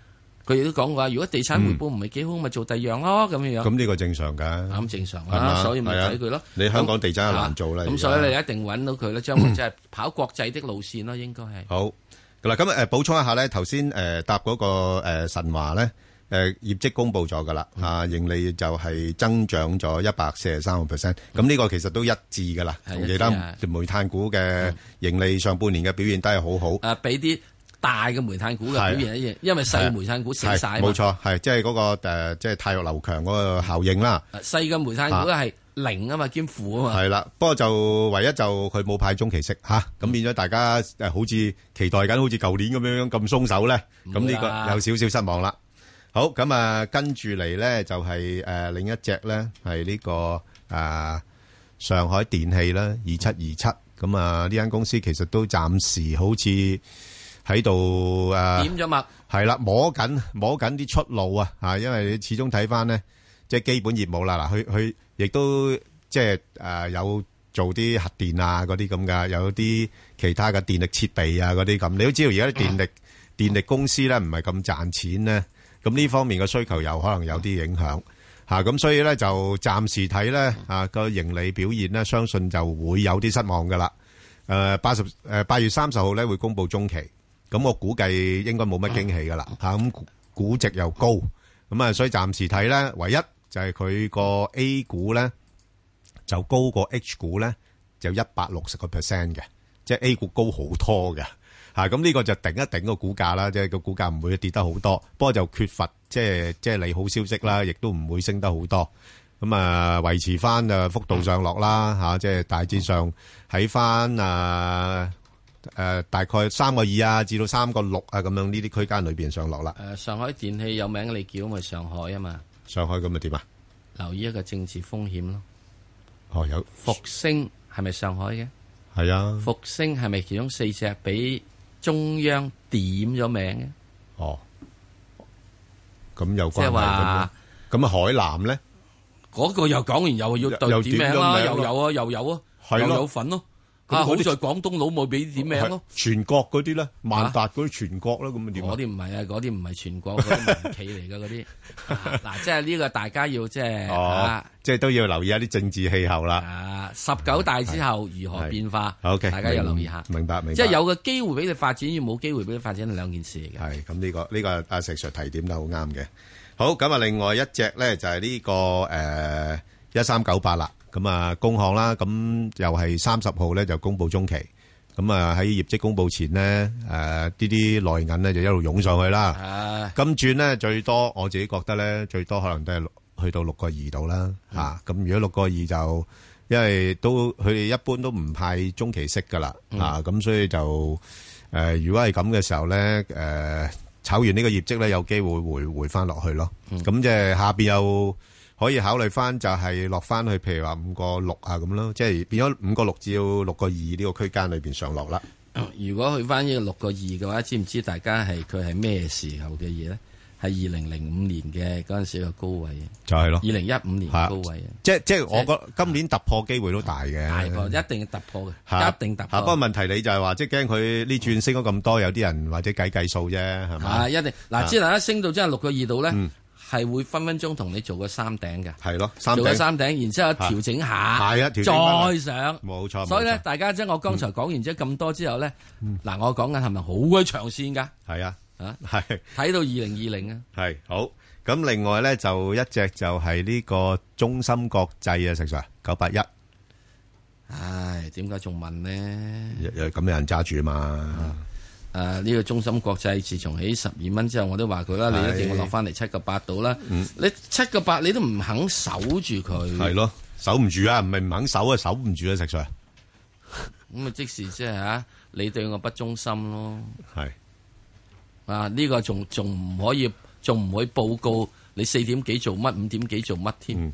Speaker 1: 佢亦都講過，如果地產回報唔係幾好，咪做第二樣咯，咁樣樣。
Speaker 2: 咁呢個正常㗎，
Speaker 1: 咁正常啦，所以咪睇佢咯。
Speaker 2: 你香港地產係難做啦，
Speaker 1: 咁所以你一定揾到佢咧，將會即係跑國際的路線咯，應該係。
Speaker 2: 好嗱，咁誒補充一下咧，頭先誒答嗰個誒神華咧。誒業績公布咗㗎啦，啊盈利就係增長咗一百四十三個 percent，咁呢個其實都一致㗎啦，同其他煤炭股嘅盈利上半年嘅表現都係好好。
Speaker 1: 誒比啲大嘅煤炭股嘅表現一樣，因為細煤炭股死曬。
Speaker 2: 冇錯，係即係嗰個誒，即係太弱流強嗰個效應啦。
Speaker 1: 細嘅煤炭股係零啊嘛，兼負啊嘛。
Speaker 2: 係啦，不過就唯一就佢冇派中期息嚇，咁變咗大家誒好似期待緊，好似舊年咁樣樣咁鬆手咧，咁呢個有少少失望啦。好咁啊，跟住嚟咧就係誒另一隻咧係呢個誒上海電氣啦，二七二七咁啊，呢間公司其實都暫時好似喺度誒
Speaker 1: 點咗脈，
Speaker 2: 係啦，摸緊摸緊啲出路啊嚇，因為你始終睇翻咧即係基本業務啦嗱，佢佢亦都即係誒有做啲核電啊嗰啲咁噶，有啲其他嘅電力設備啊嗰啲咁，你都知道而家啲電力電力公司咧唔係咁賺錢咧。咁呢方面嘅需求又可能有啲影響嚇，咁所以咧就暫時睇咧啊個盈利表現咧，相信就會有啲失望噶啦。誒八十誒八月三十號咧會公布中期，咁我估計應該冇乜驚喜噶啦嚇，咁估值又高，咁啊所以暫時睇咧，唯一就係佢個 A 股咧就高過 H 股咧，就一百六十個 percent 嘅，即係 A 股高好多嘅。嚇咁呢個就頂一頂個股價啦，即係個股價唔會跌得好多，不過就缺乏即係即係利好消息啦，亦都唔會升得好多。咁啊維持翻啊幅度上落啦嚇，即係大致上喺翻啊誒大概三個二啊至到三個六啊咁樣呢啲區間裏邊上落啦。
Speaker 1: 誒上海電氣有名你叫咪上海啊嘛？
Speaker 2: 上海咁咪點啊？
Speaker 1: 留意一個政治風險咯。
Speaker 2: 哦有
Speaker 1: 復星係咪上海嘅？
Speaker 2: 係啊。復
Speaker 1: 星係咪其中四隻俾中央點咗名嘅？
Speaker 2: 哦，咁有關係。
Speaker 1: 即係話，
Speaker 2: 咁啊海南咧，
Speaker 1: 嗰個又講完又要對點名啦，又有啊，又有啊，又有份咯。啊，好在廣東佬冇俾點名咯。
Speaker 2: 全國嗰啲咧，萬達嗰啲全國啦，咁啊點？
Speaker 1: 嗰啲唔係啊，嗰啲唔係全國，嗰啲民企嚟噶嗰啲。嗱，即係呢個大家要即係啊，
Speaker 2: 即係都要留意一啲政治氣候啦。
Speaker 1: 啊，十九大之後如何變化
Speaker 2: ？OK，
Speaker 1: 大家要留意下。
Speaker 2: 明白，明白。
Speaker 1: 即係有個機會俾你發展，要冇機會俾你發展係兩件事嚟嘅。
Speaker 2: 係咁呢個呢個阿石 Sir 提點得好啱嘅。好，咁啊，另外一隻咧就係呢個誒一三九八啦。咁啊，工行啦，咁又係三十號咧就公布中期，咁啊喺業績公布前咧，誒呢啲內銀咧就一路湧上去啦。金轉咧最多，我自己覺得咧最多可能都係去到六個二度啦。嚇，咁如果六個二就，因為都佢哋一般都唔派中期息噶啦。啊，咁所以就誒，如果係咁嘅時候咧，誒炒完呢個業績咧，有機會回回翻落去咯。咁即係下邊又可以考慮翻就係落翻去，譬如話五個六啊咁咯，即係變咗五個六至到六個二呢個區間裏邊上落啦。
Speaker 1: 如果去翻呢個六個二嘅話，知唔知大家係佢係咩時候嘅嘢咧？係二零零五年嘅嗰陣時嘅高位，
Speaker 2: 就係咯。
Speaker 1: 二零一五年高位啊，
Speaker 2: 即係即係我覺得今年突破機會都大嘅，
Speaker 1: 大破一定突破嘅，一定突破。
Speaker 2: 不過問題你就係話，即係驚佢呢轉升咗咁多，有啲人或者計計數啫，係嘛？
Speaker 1: 啊，一定嗱，之後一升到真係六個二度咧。係會分分鐘同你做個三頂嘅，
Speaker 2: 係咯，
Speaker 1: 做個三頂，然之後調整下，
Speaker 2: 係啊，
Speaker 1: 再上，
Speaker 2: 冇錯。
Speaker 1: 所以咧，大家即係我剛才講完之後咁多之後咧，嗱，我講緊係咪好鬼長線噶？
Speaker 2: 係啊，
Speaker 1: 啊，
Speaker 2: 係
Speaker 1: 睇到二零二零啊，
Speaker 2: 係好。咁另外咧就一隻就係呢個中芯國際啊，石 Sir 九八一。
Speaker 1: 唉，點解仲問呢？
Speaker 2: 咁有人揸住啊嘛。
Speaker 1: 誒，呢個中芯國際自從起十二蚊之後，我都話佢啦，你一定要落翻嚟七個八度啦。你七個八你都唔肯守住佢，
Speaker 2: 係咯，守唔住啊，唔係唔肯守啊，守唔住啊，石 Sir。
Speaker 1: 咁啊，即時即係吓，你對我不忠心咯。
Speaker 2: 係
Speaker 1: 啊，呢個仲仲唔可以，仲唔可以報告你四點幾做乜，五點幾做乜添？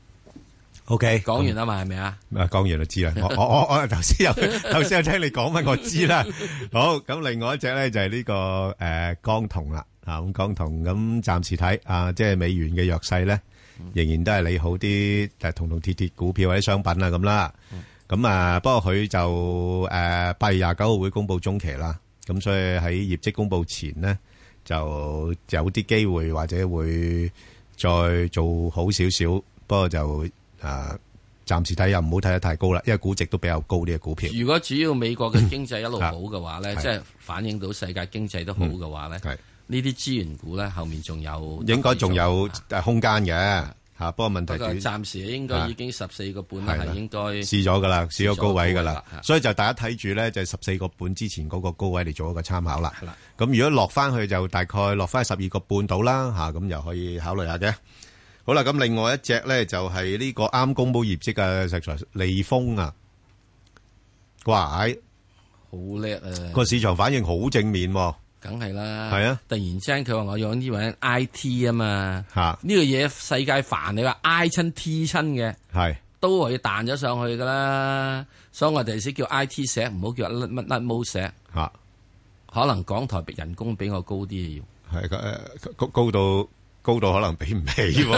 Speaker 2: O K，
Speaker 1: 講完啦嘛，係咪啊？
Speaker 2: 啊，講完就知啦。我我我我頭先有頭先有聽你講乜，我知啦。好，咁另外一隻咧就係呢個誒江銅啦。啊，咁江銅咁暫時睇啊，即係美元嘅弱勢咧，仍然都係利好啲誒銅銅鐵鐵股票或者商品啊咁啦。咁啊，不過佢就誒八月廿九號會公布中期啦。咁所以喺業績公布前咧， 就有啲機會或者會再做好少少，不過就誒暫時睇又唔好睇得太高啦，因為估值都比較高啲嘅股票。
Speaker 1: 如果主要美國嘅經濟一路好嘅話咧，即係反映到世界經濟都好嘅話咧，呢啲資源股咧後面仲有
Speaker 2: 應該仲有空間嘅。吓，不過問題，
Speaker 1: 不過暫時應該已經十四個半啦，係應該
Speaker 2: 試咗噶啦，試咗高位噶啦，所以就大家睇住咧，就十四個半之前嗰個高位嚟做一個參考啦。咁如果落翻去就大概落翻十二個半到啦，吓咁又可以考慮下嘅。好啦，咁另外一隻咧就係呢個啱公布業績嘅石材利豐啊，哇，好
Speaker 1: 叻啊！
Speaker 2: 個市場反應好正面。
Speaker 1: 梗係啦，
Speaker 2: 係啊！
Speaker 1: 突然之間佢話我用呢樣 I T 啊嘛，呢個嘢世界煩你話 I 親 T 親嘅，
Speaker 2: 係
Speaker 1: 都係彈咗上去噶啦。所以我哋先叫 I T 石，唔好叫乜乜乜毛石。
Speaker 2: 吓，
Speaker 1: 可能港台人工比我高啲要，
Speaker 2: 係誒高高到高到可能比唔起，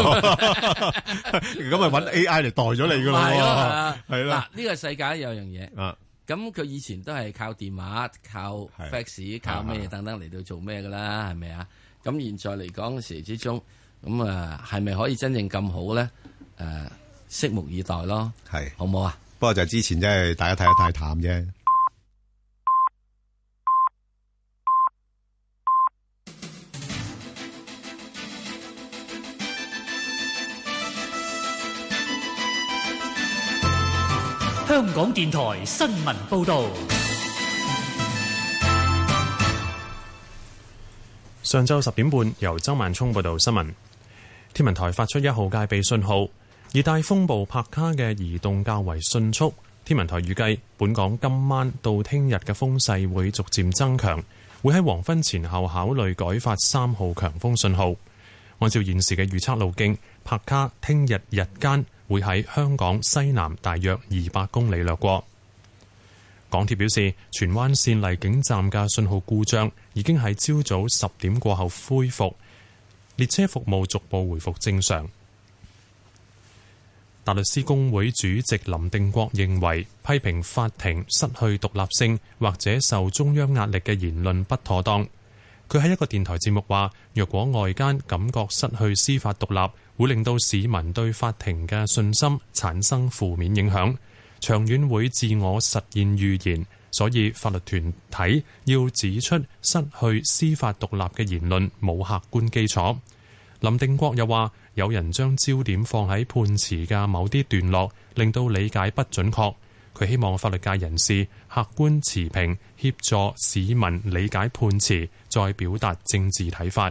Speaker 2: 咁咪揾 A I 嚟代咗你噶咯。係啦，係啦。
Speaker 1: 嗱，呢個世界有樣嘢。
Speaker 2: 啊。
Speaker 1: 咁佢以前都係靠電話、靠 fax、靠咩等等嚟到做咩噶啦，係咪啊？咁現在嚟講嘅時之中，咁啊係咪可以真正咁好咧？誒，拭目以待咯，
Speaker 2: 係
Speaker 1: 好唔好啊？
Speaker 2: 不過就之前真係大家睇得太淡啫。
Speaker 9: 香港電台新聞報道。
Speaker 4: 上晝十點半，由周萬聰報道新聞。天文台發出一號戒備信號，熱帶風暴帕卡嘅移動較為迅速。天文台預計，本港今晚到聽日嘅風勢會逐漸增強，會喺黃昏前後考慮改發三號強風信號。按照現時嘅預測路徑，帕卡聽日日間會喺香港西南大約二百公里掠過。港鐵表示，荃灣線荔景站嘅信號故障已經喺朝早十點過後恢復，列車服務逐步回復正常。大律師公會主席林定國認為，批評法庭失去獨立性或者受中央壓力嘅言論不妥當。佢喺一個電台節目話，若果外間感覺失去司法獨立，會令到市民對法庭嘅信心產生負面影響，長遠會自我實現預言，所以法律團體要指出失去司法獨立嘅言論冇客觀基礎。林定國又話，有人將焦點放喺判詞嘅某啲段落，令到理解不準確。佢希望法律界人士客觀持平，協助市民理解判詞，再表達政治睇法。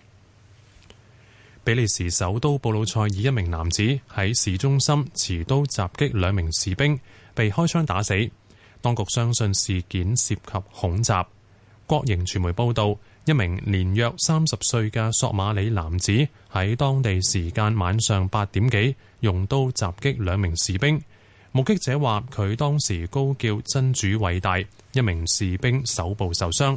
Speaker 4: 比利時首都布魯塞爾一名男子喺市中心持刀襲擊兩名士兵，被開槍打死。當局相信事件涉及恐襲。國營傳媒報道，一名年約三十歲嘅索馬里男子喺當地時間晚上八點幾用刀襲擊兩名士兵。目擊者話，佢當時高叫真主偉大，一名士兵手部受傷。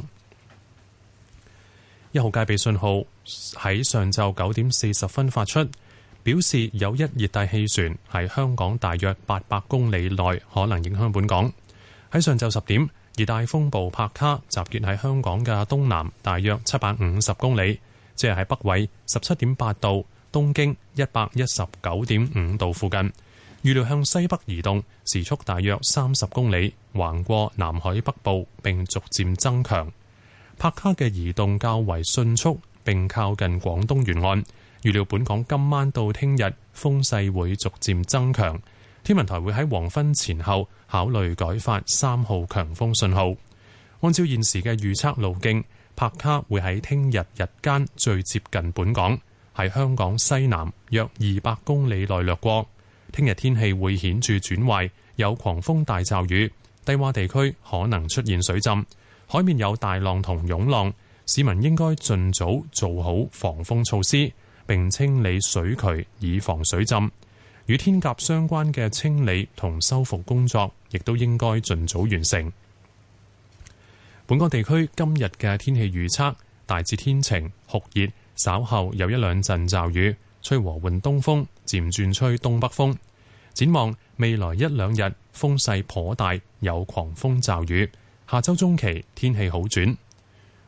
Speaker 4: 一號戒備信號喺上晝九點四十分發出，表示有一熱帶氣旋喺香港大約八百公里內可能影響本港。喺上晝十點，熱帶風暴帕卡集結喺香港嘅東南大約七百五十公里，即係喺北緯十七點八度、東經一百一十九點五度附近。預料向西北移動，時速大約三十公里，橫過南海北部並逐漸增強。帕卡嘅移動較為迅速，並靠近廣東沿岸。預料本港今晚到聽日風勢會逐漸增強。天文台會喺黃昏前後考慮改發三號強風信號。按照現時嘅預測路徑，帕卡會喺聽日日間最接近本港，喺香港西南約二百公里內掠過。聽日天氣會顯著轉壞，有狂風大驟雨，低洼地區可能出現水浸，海面有大浪同湧浪，市民應該盡早做好防風措施，並清理水渠以防水浸。與天鴿相關嘅清理同修復工作，亦都應該盡早完成。本港地區今日嘅天氣預測，大致天晴酷熱，稍後有一兩陣驟雨，吹和緩東風，漸轉吹東北風。展望未來一兩日風勢頗大，有狂風驟雨。下周中期天氣好轉。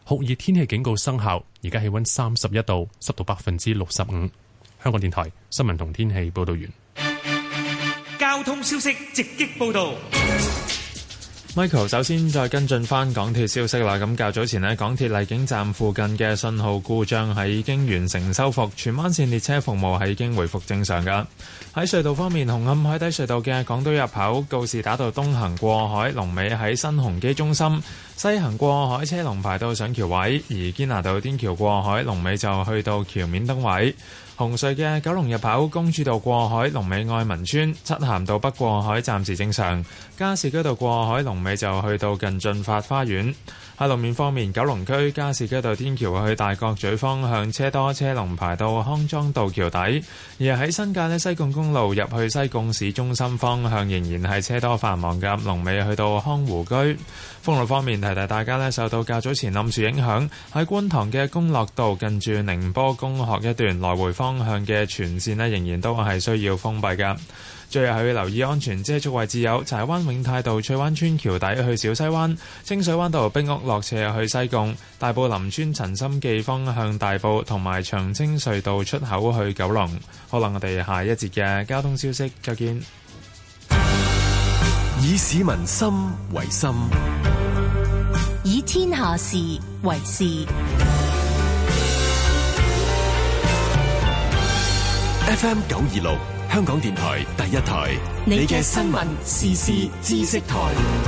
Speaker 4: 酷熱天氣警告生效，而家氣溫三十一度，濕度百分之六十五。香港電台新聞同天氣報道完。
Speaker 9: 交通消息直擊報道。
Speaker 5: Michael 首先再跟進翻港鐵消息啦。咁較早前呢，港鐵荔景站附近嘅信號故障係已經完成修復，荃灣線列車服務係已經回復正常噶。喺隧道方面，紅磡海底隧道嘅港島入口告士打道東行過海龍尾喺新鴻基中心，西行過海車龍排到上橋位，而堅拿道天橋過海龍尾就去到橋面燈位。紅隧嘅九龍入口公主道過海龍尾愛民村，漆咸道北過海暫時正常，加士居道過海龍尾就去到近駿發花園。喺路面方面，九龍區加士居道天橋去大角咀方向車多，車龍排到康莊道橋底；而喺新界呢，西貢公路入去西貢市中心方向仍然係車多繁忙嘅，龍尾去到康湖居。封路方面，提提大家呢，受到較早前冧樹影響，喺觀塘嘅公樂道近住寧波公學一段來回方向嘅全線呢，仍然都係需要封閉嘅。最後係要留意安全遮足位置有柴灣永泰道翠灣村橋底去小西灣、清水灣道冰屋落斜去西貢、大埔林村陳心記方向大埔同埋長青隧道出口去九龍。好啦，我哋下一節嘅交通消息再見。
Speaker 6: 以市民心為心，
Speaker 7: 以天下事為事。
Speaker 6: F M 九二六香港電台第一台，你嘅新聞時事知識台。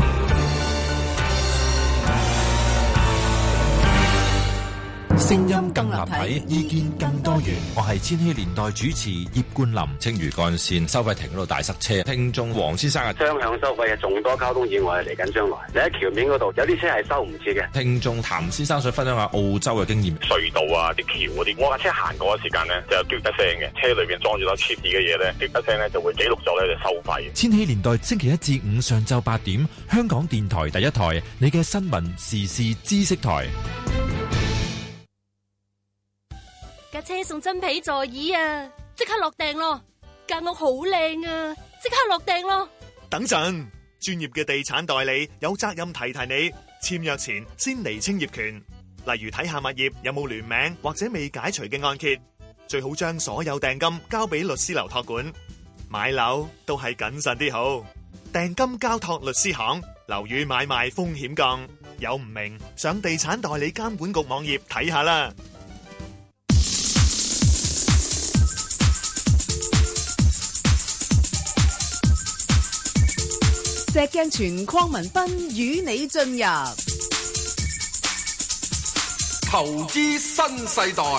Speaker 6: 聲音更立體，意見更多元。
Speaker 10: 我係千禧年代主持葉冠霖。青嶼幹線收費亭嗰度大塞車，聽眾黃先生啊，
Speaker 11: 雙向收費嘅眾多交通意外嚟緊將來。你喺橋面嗰度有啲車係收唔切嘅。
Speaker 10: 聽眾譚先生想分享下澳洲嘅經驗，
Speaker 12: 隧道啊、啲橋嗰啲，我架車行過嘅時間呢，就有嘟一聲嘅，車裏邊裝住咗貼紙嘅嘢咧，嘟一聲咧就會記錄咗咧就收費。
Speaker 10: 千禧年代星期一至五上晝八點，香港電台第一台，你嘅新聞時事知識台。
Speaker 15: 架車送真皮座椅啊！即刻落訂咯！間屋好靚啊！即刻落訂咯！
Speaker 25: 等陣，專業嘅地產代理有責任提提你，簽約前先釐清業權，例如睇下物業有冇聯名或者未解除嘅按揭，最好將所有訂金交俾律師樓託管。買樓都係謹慎啲好，訂金交託律師行，樓宇買賣風險降。有唔明，上地產代理監管局網頁睇下啦。
Speaker 13: 石鏡泉鄺民彬與你進入
Speaker 14: 投資新世代。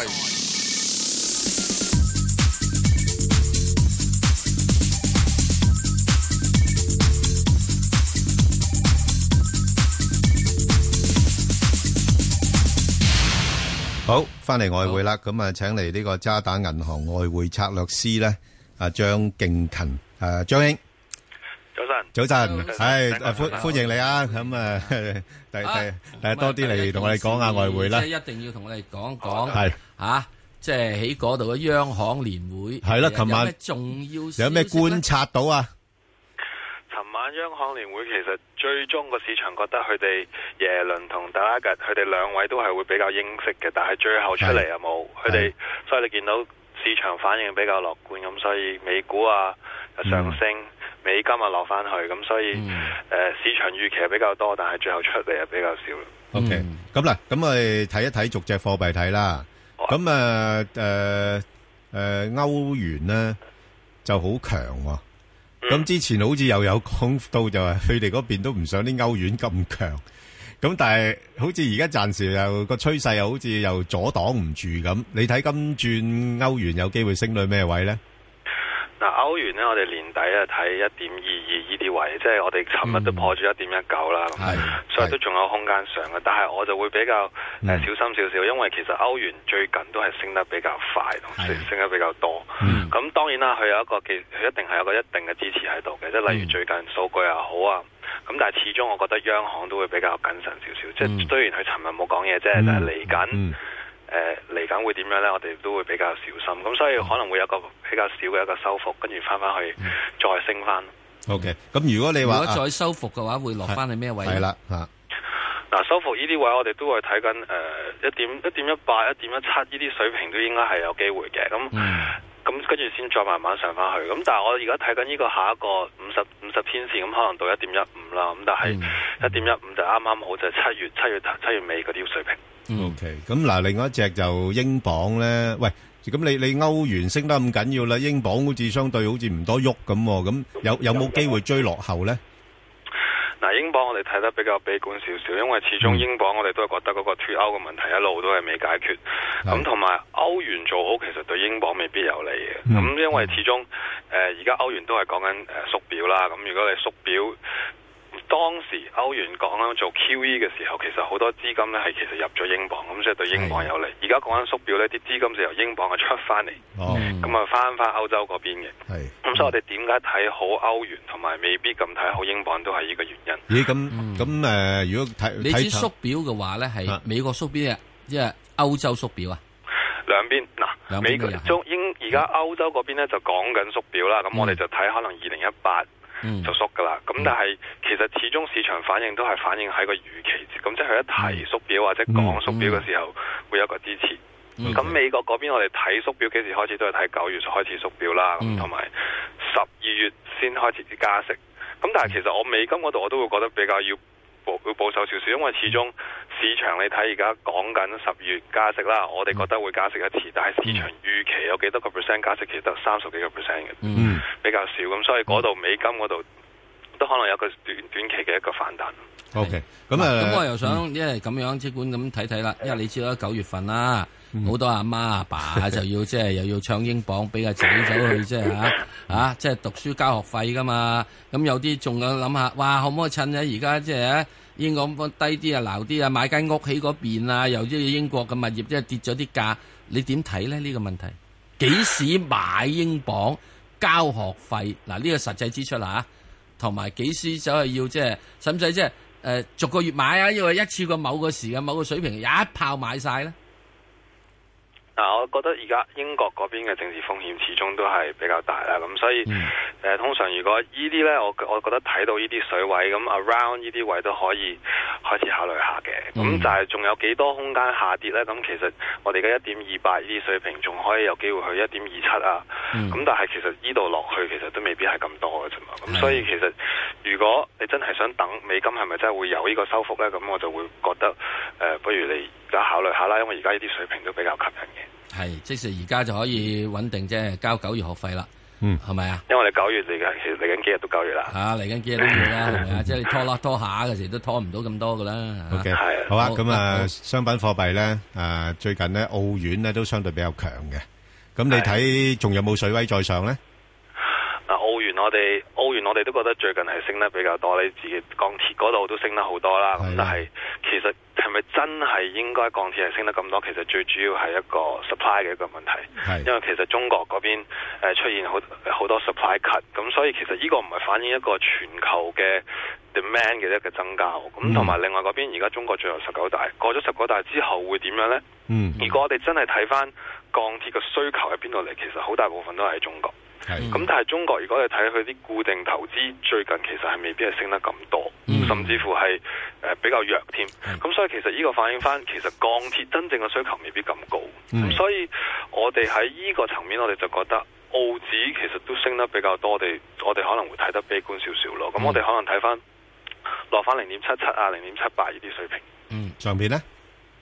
Speaker 2: 好，翻嚟外匯啦，咁啊，請嚟呢個渣打銀行外匯策略師咧，阿張敬勤，誒，張兄。
Speaker 17: 早晨，
Speaker 2: 早晨，係誒歡歡迎你啊！咁誒，第第誒多啲嚟同我哋講下外匯啦。
Speaker 1: 即係一定要同我哋講講，
Speaker 2: 係
Speaker 1: 嚇，即係喺嗰度嘅央行年會
Speaker 2: 係啦。琴晚
Speaker 1: 有咩重要？
Speaker 2: 有咩觀察到啊？
Speaker 17: 尋晚央行年會其實最終個市場覺得佢哋耶倫同德拉吉佢哋兩位都係會比較鷹式嘅，但係最後出嚟有冇佢哋？所以你見到市場反應比較樂觀，咁所以美股啊上升。嗯美金啊落翻去，咁所以誒、嗯呃、市場預期係比較多，但係最後出嚟係比較少。
Speaker 2: OK，咁嗱，咁我哋睇一睇逐隻貨幣睇啦。咁誒誒誒歐元咧就好強喎。咁、嗯、之前好似又有講到就係佢哋嗰邊都唔想啲歐元咁強。咁但係好似而家暫時又個趨勢又好似又阻擋唔住咁。你睇今轉歐元有機會升到咩位咧？
Speaker 17: 嗱，歐元咧，我哋年底啊睇一點二二呢啲位，即係我哋尋日都破住一點一九啦，所以都仲有空間上嘅。但係我就會比較誒、嗯呃、小心少少，因為其實歐元最近都係升得比較快，同升升得比較多。咁、嗯、當然啦，佢有一個佢一定係有一個一定嘅支持喺度嘅，即係例如最近數據又好啊。咁但係始終我覺得央行都會比較謹慎少少，即係、嗯、雖然佢尋日冇講嘢啫，但係嚟緊。嗯誒嚟緊會點樣呢？我哋都會比較小心，咁所以可能會有個比較少嘅一個收復，跟住翻翻去再升翻。
Speaker 2: OK，咁如果你話
Speaker 1: 如果再收復嘅話，會落翻去咩位？
Speaker 2: 係啦嚇。
Speaker 17: 嗱，收復呢啲位我哋都會睇緊誒一點一點一八、一點一七呢啲水平都應該係有機會嘅。咁咁跟住先再慢慢上翻去。咁但係我而家睇緊呢個下一個五十五十天線，咁可能到一點一五啦。咁但係一點一五就啱啱好就係七月七月七月尾嗰啲水平。
Speaker 2: O K，咁嗱，另外一隻就英鎊咧，喂，咁你你歐元升得咁緊要啦，英鎊好似相對好似唔多喐咁，咁有有冇機會追落後咧？
Speaker 17: 嗱，英鎊我哋睇得比較悲觀少少，因為始終英鎊我哋都係覺得嗰個脫歐嘅問題一路都係未解決，咁同埋歐元做好其實對英鎊未必有利嘅，咁、嗯、因為始終誒而家歐元都係講緊誒縮表啦，咁如果你縮表。當時歐元講緊做 Q E 嘅時候，其實好多資金咧係其實入咗英鎊，咁所以對英鎊有利。而家講緊縮表呢啲資金就由英鎊嘅出翻嚟，咁啊翻翻歐洲嗰邊嘅。咁所以我哋點解睇好歐元，同埋未必咁睇好英鎊，都係呢個原因。
Speaker 2: 咦？咁咁誒，如果睇
Speaker 1: 你知縮表嘅話咧，係美國縮表啊，即係歐洲縮表啊？
Speaker 17: 兩邊嗱，美國中英而家歐洲嗰邊咧就講緊縮表啦，咁、嗯、我哋就睇可能二零一八。就縮噶啦，咁、嗯、但係其實始終市場反應都係反映喺個預期，咁即係佢一提縮表或者講縮表嘅時候、嗯、會有一個支持。咁、嗯、美國嗰邊我哋睇縮表幾時開始都係睇九月開始縮表啦，咁同埋十二月先開始加息。咁但係其實我美金嗰度我都會覺得比較要保要保守少少，因為始終市場你睇而家講緊十月加息啦，我哋覺得會加息一次，但係市場預期有幾多個 percent 加息，其實得三十幾個 percent 嘅，嗯，比較少，咁所以嗰度美金嗰度都可能有個短短期嘅一個反彈。
Speaker 2: OK， 咁啊，
Speaker 1: 咁我又想因為咁樣即管咁睇睇啦，因為你知道九月份啦，好、嗯、多阿媽阿爸，爸就要即係又要唱英鎊，俾個仔走去即係嚇嚇，即係讀書交學費噶嘛。咁有啲仲有諗下，哇，可唔可以趁咧而家即係英鎊低啲啊，撈啲啊，買間屋喺嗰邊啊，又即係英國嘅物業即係跌咗啲價，你點睇咧呢、這個問題？幾時買英鎊交學費？嗱、啊、呢、這個實際支出啦嚇，同埋幾時走去要即係使唔使即係誒逐個月買啊？因為一次過某個時間某個水平一炮買晒咧。
Speaker 17: 嗱、啊，我覺得而家英國嗰邊嘅政治風險始終都係比較大啦，咁所以誒、嗯呃，通常如果呢啲咧，我我覺得睇到呢啲水位，咁 around 呢啲位都可以開始考慮下嘅。咁、嗯、就係仲有幾多空間下跌咧？咁其實我哋嘅一點二八呢啲水平仲可以有機會去一點二七啊。咁、嗯、但係其實呢度落去其實都未必係咁多嘅啫嘛。咁所以其實如果你真係想等美金係咪真係會有呢個收復咧？咁我就會覺得誒、呃，不如你而家考慮下啦，因為而家呢啲水平都比較吸引嘅。
Speaker 1: 係，即使而家就可以穩定啫，交九月學費啦。嗯，係咪啊？
Speaker 17: 因為我哋九月嚟緊，其實嚟緊幾日都九月啦。
Speaker 1: 吓，嚟緊幾日都月啦，係咪啊？即係你拖啦拖下嘅時都拖唔到咁多噶啦。
Speaker 2: OK，係好啊。咁啊，商品貨幣咧，誒，最近咧澳元咧都相對比較強嘅。咁你睇仲有冇水位再上咧？
Speaker 17: 嗱，澳元我哋澳元我哋都覺得最近係升得比較多，你自己鋼鐵嗰度都升得好多啦。咁但係其實係咪真係應該鋼鐵係升得咁多？其實最主要係一個 supply 嘅一個問題。係因為其實中國嗰邊誒出現好好多 supply cut，咁所以其實呢個唔係反映一個全球嘅 demand 嘅一個增加。咁同埋另外嗰邊而家中國最後十九大過咗十九大之後會點樣呢？嗯，如果我哋真係睇翻鋼鐵嘅需求喺邊度嚟，其實好大部分都係中國。咁、嗯、但係中國如果你睇佢啲固定投資最近其實係未必係升得咁多、嗯，甚至乎係誒、呃、比較弱添。咁、嗯、所以其實呢個反映翻其實鋼鐵真正嘅需求未必咁高。咁、嗯、所以我哋喺呢個層面我哋就覺得澳紙其實都升得比較多，我哋我哋可能會睇得悲觀少少咯。咁、嗯、我哋可能睇翻落翻零點七七啊、零點七八呢啲水平。
Speaker 2: 嗯，上邊呢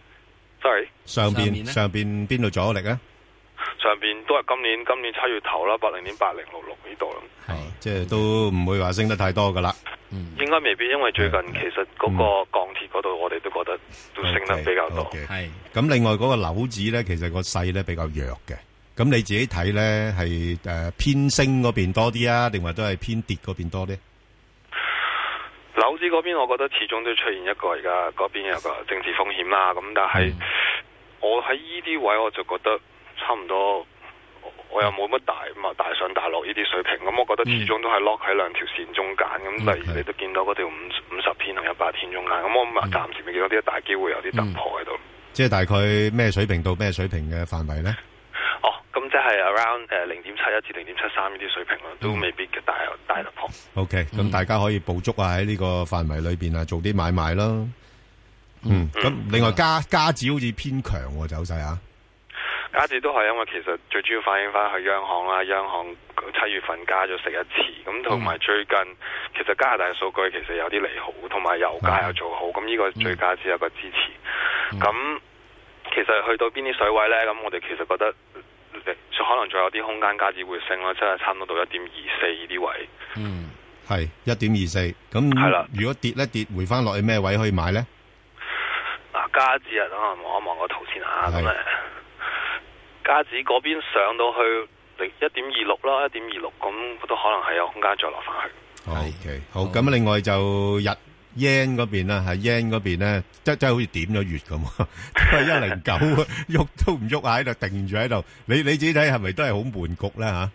Speaker 17: Sorry，
Speaker 2: 上邊上邊邊度阻力啊？
Speaker 17: 上邊都係今年今年七月頭啦，八零點八零六六呢度啦。
Speaker 2: 係，即係都唔會話升得太多噶啦。
Speaker 17: 嗯，應該未必，因為最近其實嗰個鋼鐵嗰度，我哋都覺得都升得比較多。係、
Speaker 2: okay, okay。咁另外嗰個樓指咧，其實個勢咧比較弱嘅。咁你自己睇咧，係誒偏升嗰邊多啲啊，定或都係偏跌嗰邊多啲？
Speaker 17: 樓指嗰邊，我覺得始終都出現一個而家嗰邊有個政治風險啦。咁但係、嗯、我喺呢啲位我就覺得。差唔多，我又冇乜大嘛大上大落呢啲水平，咁我覺得始終都係 lock 喺兩條線中間。咁、嗯、例如你都見到嗰條五五十天同一百天中間，咁我暫時未見到啲大機會有啲突破喺度、嗯。即係大概咩水平到咩水平嘅範圍咧？ 哦，咁即係 around 誒零點七一至零點七三呢啲水平咯，都未必嘅大大突破。
Speaker 2: OK，咁、嗯、大家可以捕捉啊喺呢個範圍裏邊啊做啲買賣咯。 嗯，咁另外加加指好似偏強喎走勢啊。
Speaker 17: 加指都係因為其實最主要反映翻去央行啦，央行七月份加咗息一次，咁同埋最近其實加拿大嘅數據其實有啲利好，同埋油價又做好，咁呢個對加指有個支持。咁、嗯、其實去到邊啲水位呢？咁我哋其實覺得可能仲有啲空間加指會升啦，即係差唔多到一點二四呢啲位。
Speaker 2: 嗯，係一點二四。咁係啦，如果跌一跌回翻落去咩位可以買呢？
Speaker 17: 嗱，加指啊，等我望一望個圖先嚇。咁誒，加指嗰邊上到去一點二六啦，一點二六，咁都可能係有空間再落翻去。
Speaker 2: OK，好。咁另外就日 yen 嗰邊啦，係 yen 嗰邊咧，即即係好似點咗穴咁，都係一零九，喐都唔喐喺度，定住喺度。你你自己睇係咪都係好悶局咧嚇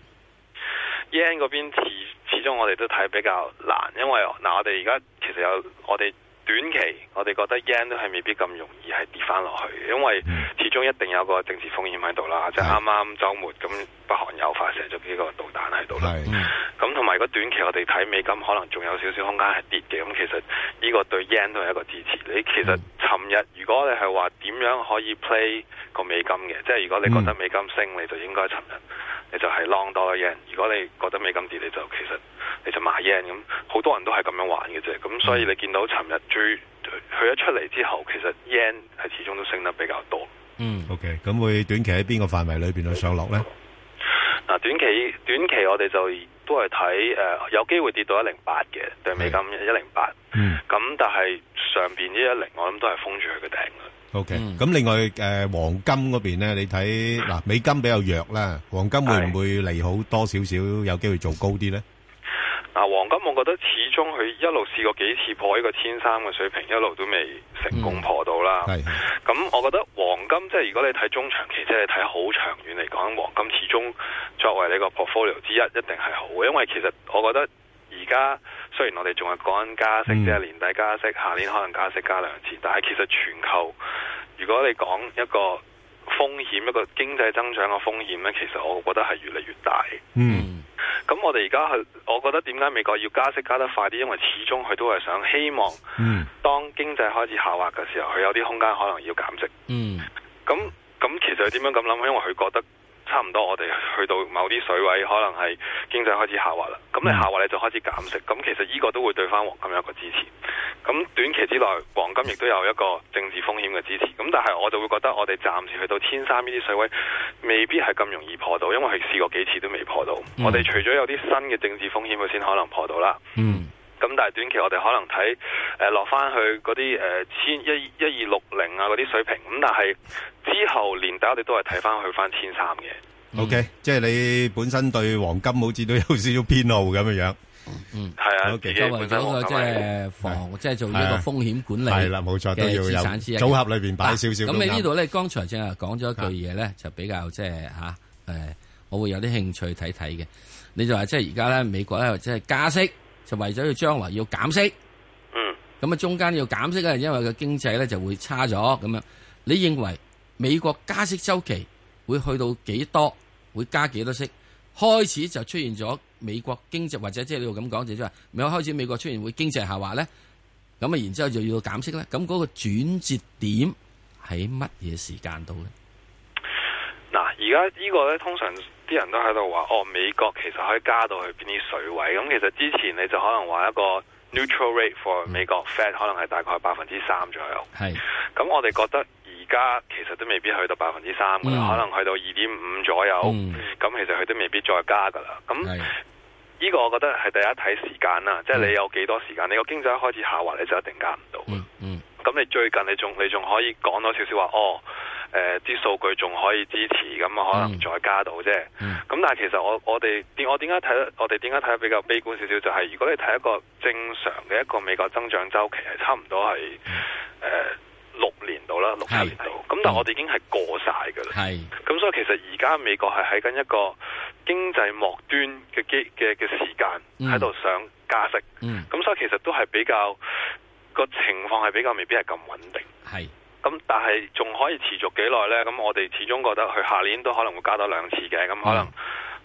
Speaker 17: ？yen 嗰邊始始終我哋都睇比較難，因為嗱我哋而家其實有我哋。短期我哋覺得 yen 都係未必咁容易係跌翻落去，因為始終一定有個政治風險喺度啦。即係啱啱週末咁，北韓又發射咗幾個導彈喺度啦。咁同埋如果短期我哋睇美金可能仲有少少空間係跌嘅，咁其實呢個對 yen 都係一個支持。你其實尋日如果你係話點樣可以 play 個美金嘅，即係如果你覺得美金升，你就應該尋日你就係 long 多 yen。如果你覺得美金跌，你就其實你就買 yen。咁好多人都係咁樣玩嘅啫。咁所以你見到尋日最佢一出嚟之後，其實 yen 係始終都升得比較多。
Speaker 2: 嗯 ，OK， 咁會短期喺邊個範圍裏邊去上落咧？
Speaker 17: 嗱，短期短期我哋就都係睇誒，有機會跌到一零八嘅對美金一零八。嗯，咁但係上邊呢一零，我諗都係封住佢嘅頂啦。
Speaker 2: OK，咁、嗯、另外誒、呃、黃金嗰邊咧，你睇嗱、呃、美金比較弱啦，黃金會唔會利好多少少，有機會做高啲咧？
Speaker 17: 嗱，黃金我覺得始終佢一路試過幾次破呢個千三嘅水平，一路都未成功破到啦。係、嗯，咁我覺得黃金即係如果你睇中長期，即係睇好長遠嚟講，黃金始終作為你個 portfolio 之一，一定係好嘅。因為其實我覺得而家雖然我哋仲係講緊加息，即係、嗯、年底加息，下年可能加息加兩次，但係其實全球如果你講一個風險，一個經濟增長嘅風險咧，其實我覺得係越嚟越大。嗯。咁我哋而家係，我覺得點解美國要加息加得快啲？因為始終佢都係想希望，嗯，當經濟開始下滑嘅時候，佢有啲空間可能要減息。嗯，咁咁其實佢點樣咁諗？因為佢覺得差唔多，我哋去到某啲水位，可能係經濟開始下滑啦。咁你下滑你就開始減息。咁其實呢個都會對翻黃金有一個支持。咁短期之內，黃金亦都有一個政治風險嘅支持。咁但係我就會覺得，我哋暫時去到千三呢啲水位，未必係咁容易破到，因為佢試過幾次都未破到。嗯、我哋除咗有啲新嘅政治風險，佢先可能破到啦。嗯。咁但係短期我哋可能睇誒落翻去嗰啲誒千一一二六零啊嗰啲水平。咁但係之後年底我哋都係睇翻去翻千三嘅。
Speaker 2: O、okay, K， 即係你本身對黃金好似都有少少偏好咁樣樣。
Speaker 17: 嗯，係啊，
Speaker 1: 作為嗰個即係防，即係做呢個風險管理，
Speaker 2: 係啦，冇錯，都要有組合裏邊擺少少。
Speaker 1: 咁你呢度咧，剛才正係講咗一句嘢咧，就比較即係吓誒，我會有啲興趣睇睇嘅。你就話即係而家咧，美國咧即係加息，就為咗要將來要減息。嗯。咁啊，中間要減息咧，因為個經濟咧就會差咗咁樣。你認為美國加息週期會去到幾多？會加幾多息？開始就出現咗美國經濟，或者即係你咁講，就即係未開始美國出現會經濟下滑咧，咁啊，然之後就要減息咧。咁嗰個轉折點喺乜嘢時間度咧？
Speaker 17: 嗱，而家呢個咧，通常啲人都喺度話，哦，美國其實可以加到去邊啲水位？咁其實之前你就可能話一個 neutral rate for 美國 Fed 可能係大概百分之三左右。係。咁我哋覺得。而家其實都未必去到百分之三噶啦，嗯、可能去到二點五左右。咁、嗯、其實佢都未必再加噶啦。咁呢個我覺得係第一睇時間啦，即、就、係、是、你有幾多時間。你個經濟一開始下滑，你就一定加唔到。咁、嗯嗯、你最近你仲你仲可以講多少少話哦？誒啲數據仲可以支持，咁啊可能再加到啫。咁、嗯、但係其實我我哋點我點解睇得我哋點解睇得比較悲觀少少？就係、是、如果你睇一個正常嘅一個美國增長週期係差唔多係誒。呃六年度啦，六七年度，咁但係我哋已經係過晒㗎啦。係，咁所以其實而家美國係喺緊一個經濟末端嘅機嘅嘅時間喺度想加息。嗯，咁所以其實都係比較個情況係比較未必係咁穩定。係，咁但係仲可以持續幾耐咧？咁我哋始終覺得佢下年都可能會加多兩次嘅，咁可能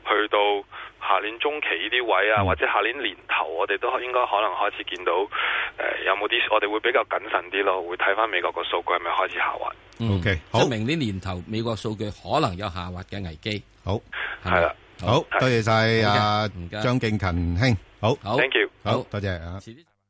Speaker 17: 去到下年中期呢啲位啊，或者下年年頭，我哋都應該可能開始見到誒、呃、有冇啲我哋會比較謹慎啲咯，會睇翻美國個數據係咪開始下滑。
Speaker 1: 嗯、
Speaker 2: OK， 好，
Speaker 1: 即係明年年頭美國數據可能有下滑嘅危機。
Speaker 2: 好，
Speaker 17: 係啦，
Speaker 2: 好多謝晒阿張敬勤兄，好，
Speaker 1: 好
Speaker 17: ，thank you，
Speaker 2: 好多謝啊。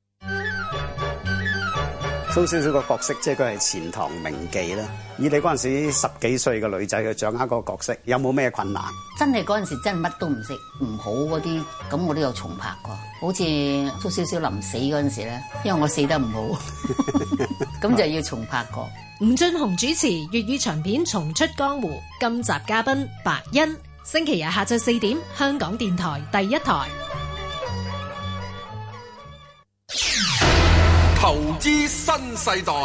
Speaker 3: 蘇少少個角色，即係佢係錢塘名妓啦。以你嗰陣時十幾歲嘅女仔去掌握嗰個角色，有冇咩困難？
Speaker 16: 真係嗰陣時真係乜都唔識，唔好嗰啲，咁我都有重拍過。好似蘇少少臨死嗰陣時咧，因為我死得唔好，咁就要重拍過。
Speaker 19: 吳俊雄主持粵語長片《重出江湖》，今集嘉賓白欣，星期日下晝四點，香港電台第一台。
Speaker 14: 投資新世代，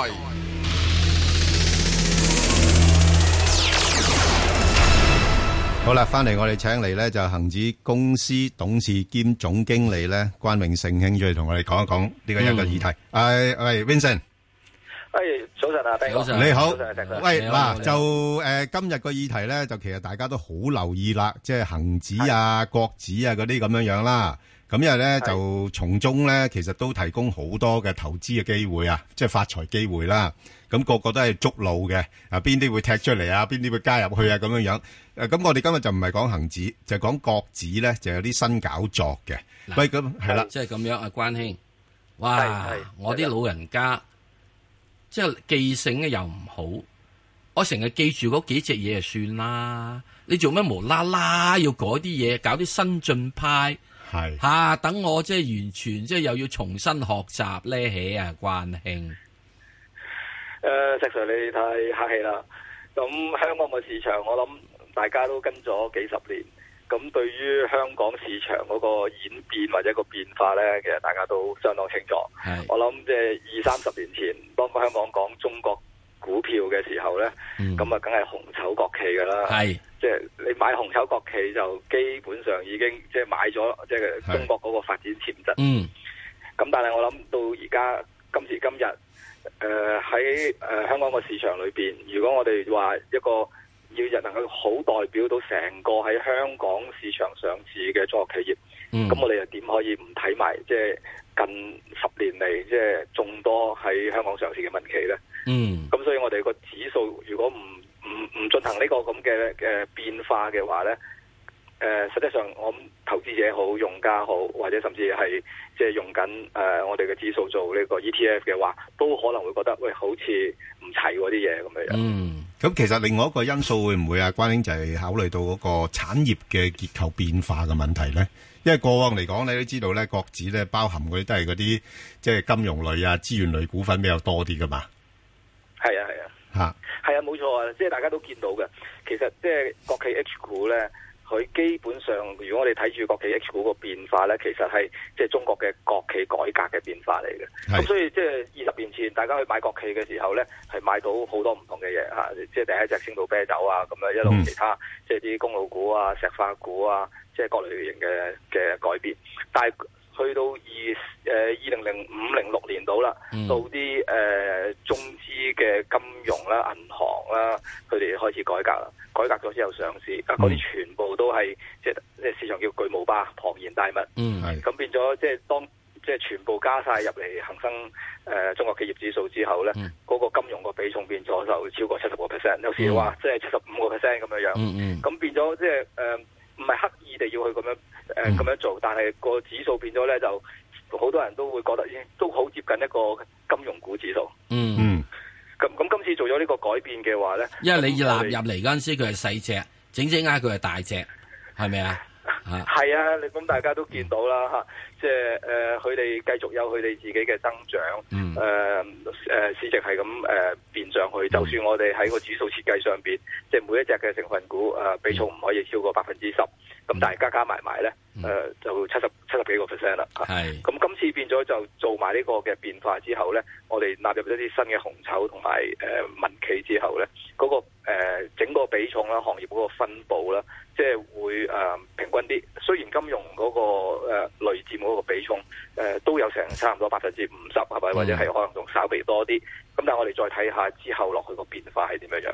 Speaker 2: 好啦，翻嚟我哋請嚟咧就恒指公司董事兼總經理咧關永盛兄出嚟同我哋講一講呢個一個議題。誒，喂 Vincent，
Speaker 20: 誒，早晨啊，
Speaker 2: 早晨，你好，喂，
Speaker 20: 你
Speaker 2: 嗱就誒今日個議題咧就其實大家都好留意啦，即係恒指啊、國指啊嗰啲咁樣樣啦。咁因為咧就從中咧，其實都提供好多嘅投資嘅機會啊，即係發財機會啦。咁個個都係捉路嘅，啊邊啲會踢出嚟啊，邊啲會加入去啊，咁樣樣。誒，咁我哋今日就唔係講恒指，就講國指咧，就有啲新搞作嘅。喂，咁係啦，
Speaker 1: 即係咁樣啊，關兄，哇！我啲老人家即係記性咧又唔好，我成日記住嗰幾隻嘢就算啦。你做咩無啦啦要改啲嘢，搞啲新進派？係吓、啊，等我即係完全即係又要重新學習咧起啊，關兄。誒、
Speaker 20: 呃，石 Sir 你太客氣啦。咁香港嘅市場，我諗大家都跟咗幾十年。咁對於香港市場嗰個演變或者個變化咧，其實大家都相當清楚。我諗即係二三十年前，當香港講中國股票嘅時候咧，咁啊梗係紅籌國企噶啦。係。即係你買紅籌國企就基本上已經即係買咗即係中國嗰個發展潛質。嗯。咁但係我諗到而家今時今日，誒喺誒香港個市場裏邊，如果我哋話一個要人能夠好代表到成個喺香港市場上市嘅中國企業，咁、嗯、我哋又點可以唔睇埋即係近十年嚟即係眾多喺香港上市嘅民企咧？嗯。咁所以我哋個指數如果唔唔唔進行呢個咁嘅嘅變化嘅話咧，誒、呃，實際上我諗投資者好、用家好，或者甚至係即係用緊誒、呃、我哋嘅指數做呢個 E T F 嘅話，都可能會覺得喂，好似唔齊嗰啲嘢咁樣。嗯，
Speaker 2: 咁其實另外一個因素會唔會啊？關兄就係考慮到嗰個產業嘅結構變化嘅問題咧。因為過往嚟講，你都知道咧，國指咧包含嗰啲都係嗰啲即係金融類啊、資源類股份比較多啲噶嘛。
Speaker 20: 係啊，係啊。吓，係啊，冇錯啊，即係大家都見到嘅。其實即係國企 H 股咧，佢基本上，如果我哋睇住國企 H 股個變化咧，其實係即係中國嘅國企改革嘅變化嚟嘅。咁所以即係二十年前，大家去買國企嘅時候咧，係買到好多唔同嘅嘢吓，即係第一隻青島啤酒啊，咁樣一路其他，嗯、即係啲公路股啊、石化股啊，即係各類型嘅嘅改變。但係去到二誒二零零五零六年度啦，嗯、到啲誒、呃、中資嘅金融啦、銀行啦，佢哋開始改革啦，改革咗之後上市，啊嗰啲全部都係即係即係市場叫巨無霸、龐然大物，嗯，咁變咗即係當即係全部加晒入嚟恒生誒、呃、中國企業指數之後咧，嗰、嗯、個金融個比重變咗就超過七十個 percent， 有時話即係七十五個 percent 咁樣樣，嗯嗯，咁變咗即係誒唔係刻意地要去咁樣。誒、呃，咁、嗯、樣做，但係個指數變咗咧，就好多人都會覺得，都好接近一個金融股指數。嗯嗯。咁咁今次做咗呢個改變嘅話咧，因為你納入嚟嗰陣時，佢係細隻，整整下佢係大隻，係咪啊？係啊，你咁大家都見到啦吓、嗯，即係誒，佢、呃、哋繼續有佢哋自己嘅增長，誒、嗯、誒、呃，市值係咁誒變上去。嗯、就算我哋喺個指數設計上邊，即係每一隻嘅成分股誒、呃、比重唔可以超過百分之十，咁但係加加埋埋咧，誒、呃、就七十七十幾個 percent 啦。係，咁今次變咗就做埋呢個嘅變化之後咧，我哋納入咗啲新嘅紅籌同埋誒民企之後咧，嗰、那個誒、呃、整個比重啦，行業嗰個分佈啦。即係會誒、呃、平均啲，雖然金融嗰、那個誒、呃、累佔嗰個比重誒、呃、都有成差唔多百分之五十，係咪？或者係可能仲稍微多啲。咁但係我哋再睇下之後落去個變化係點樣樣。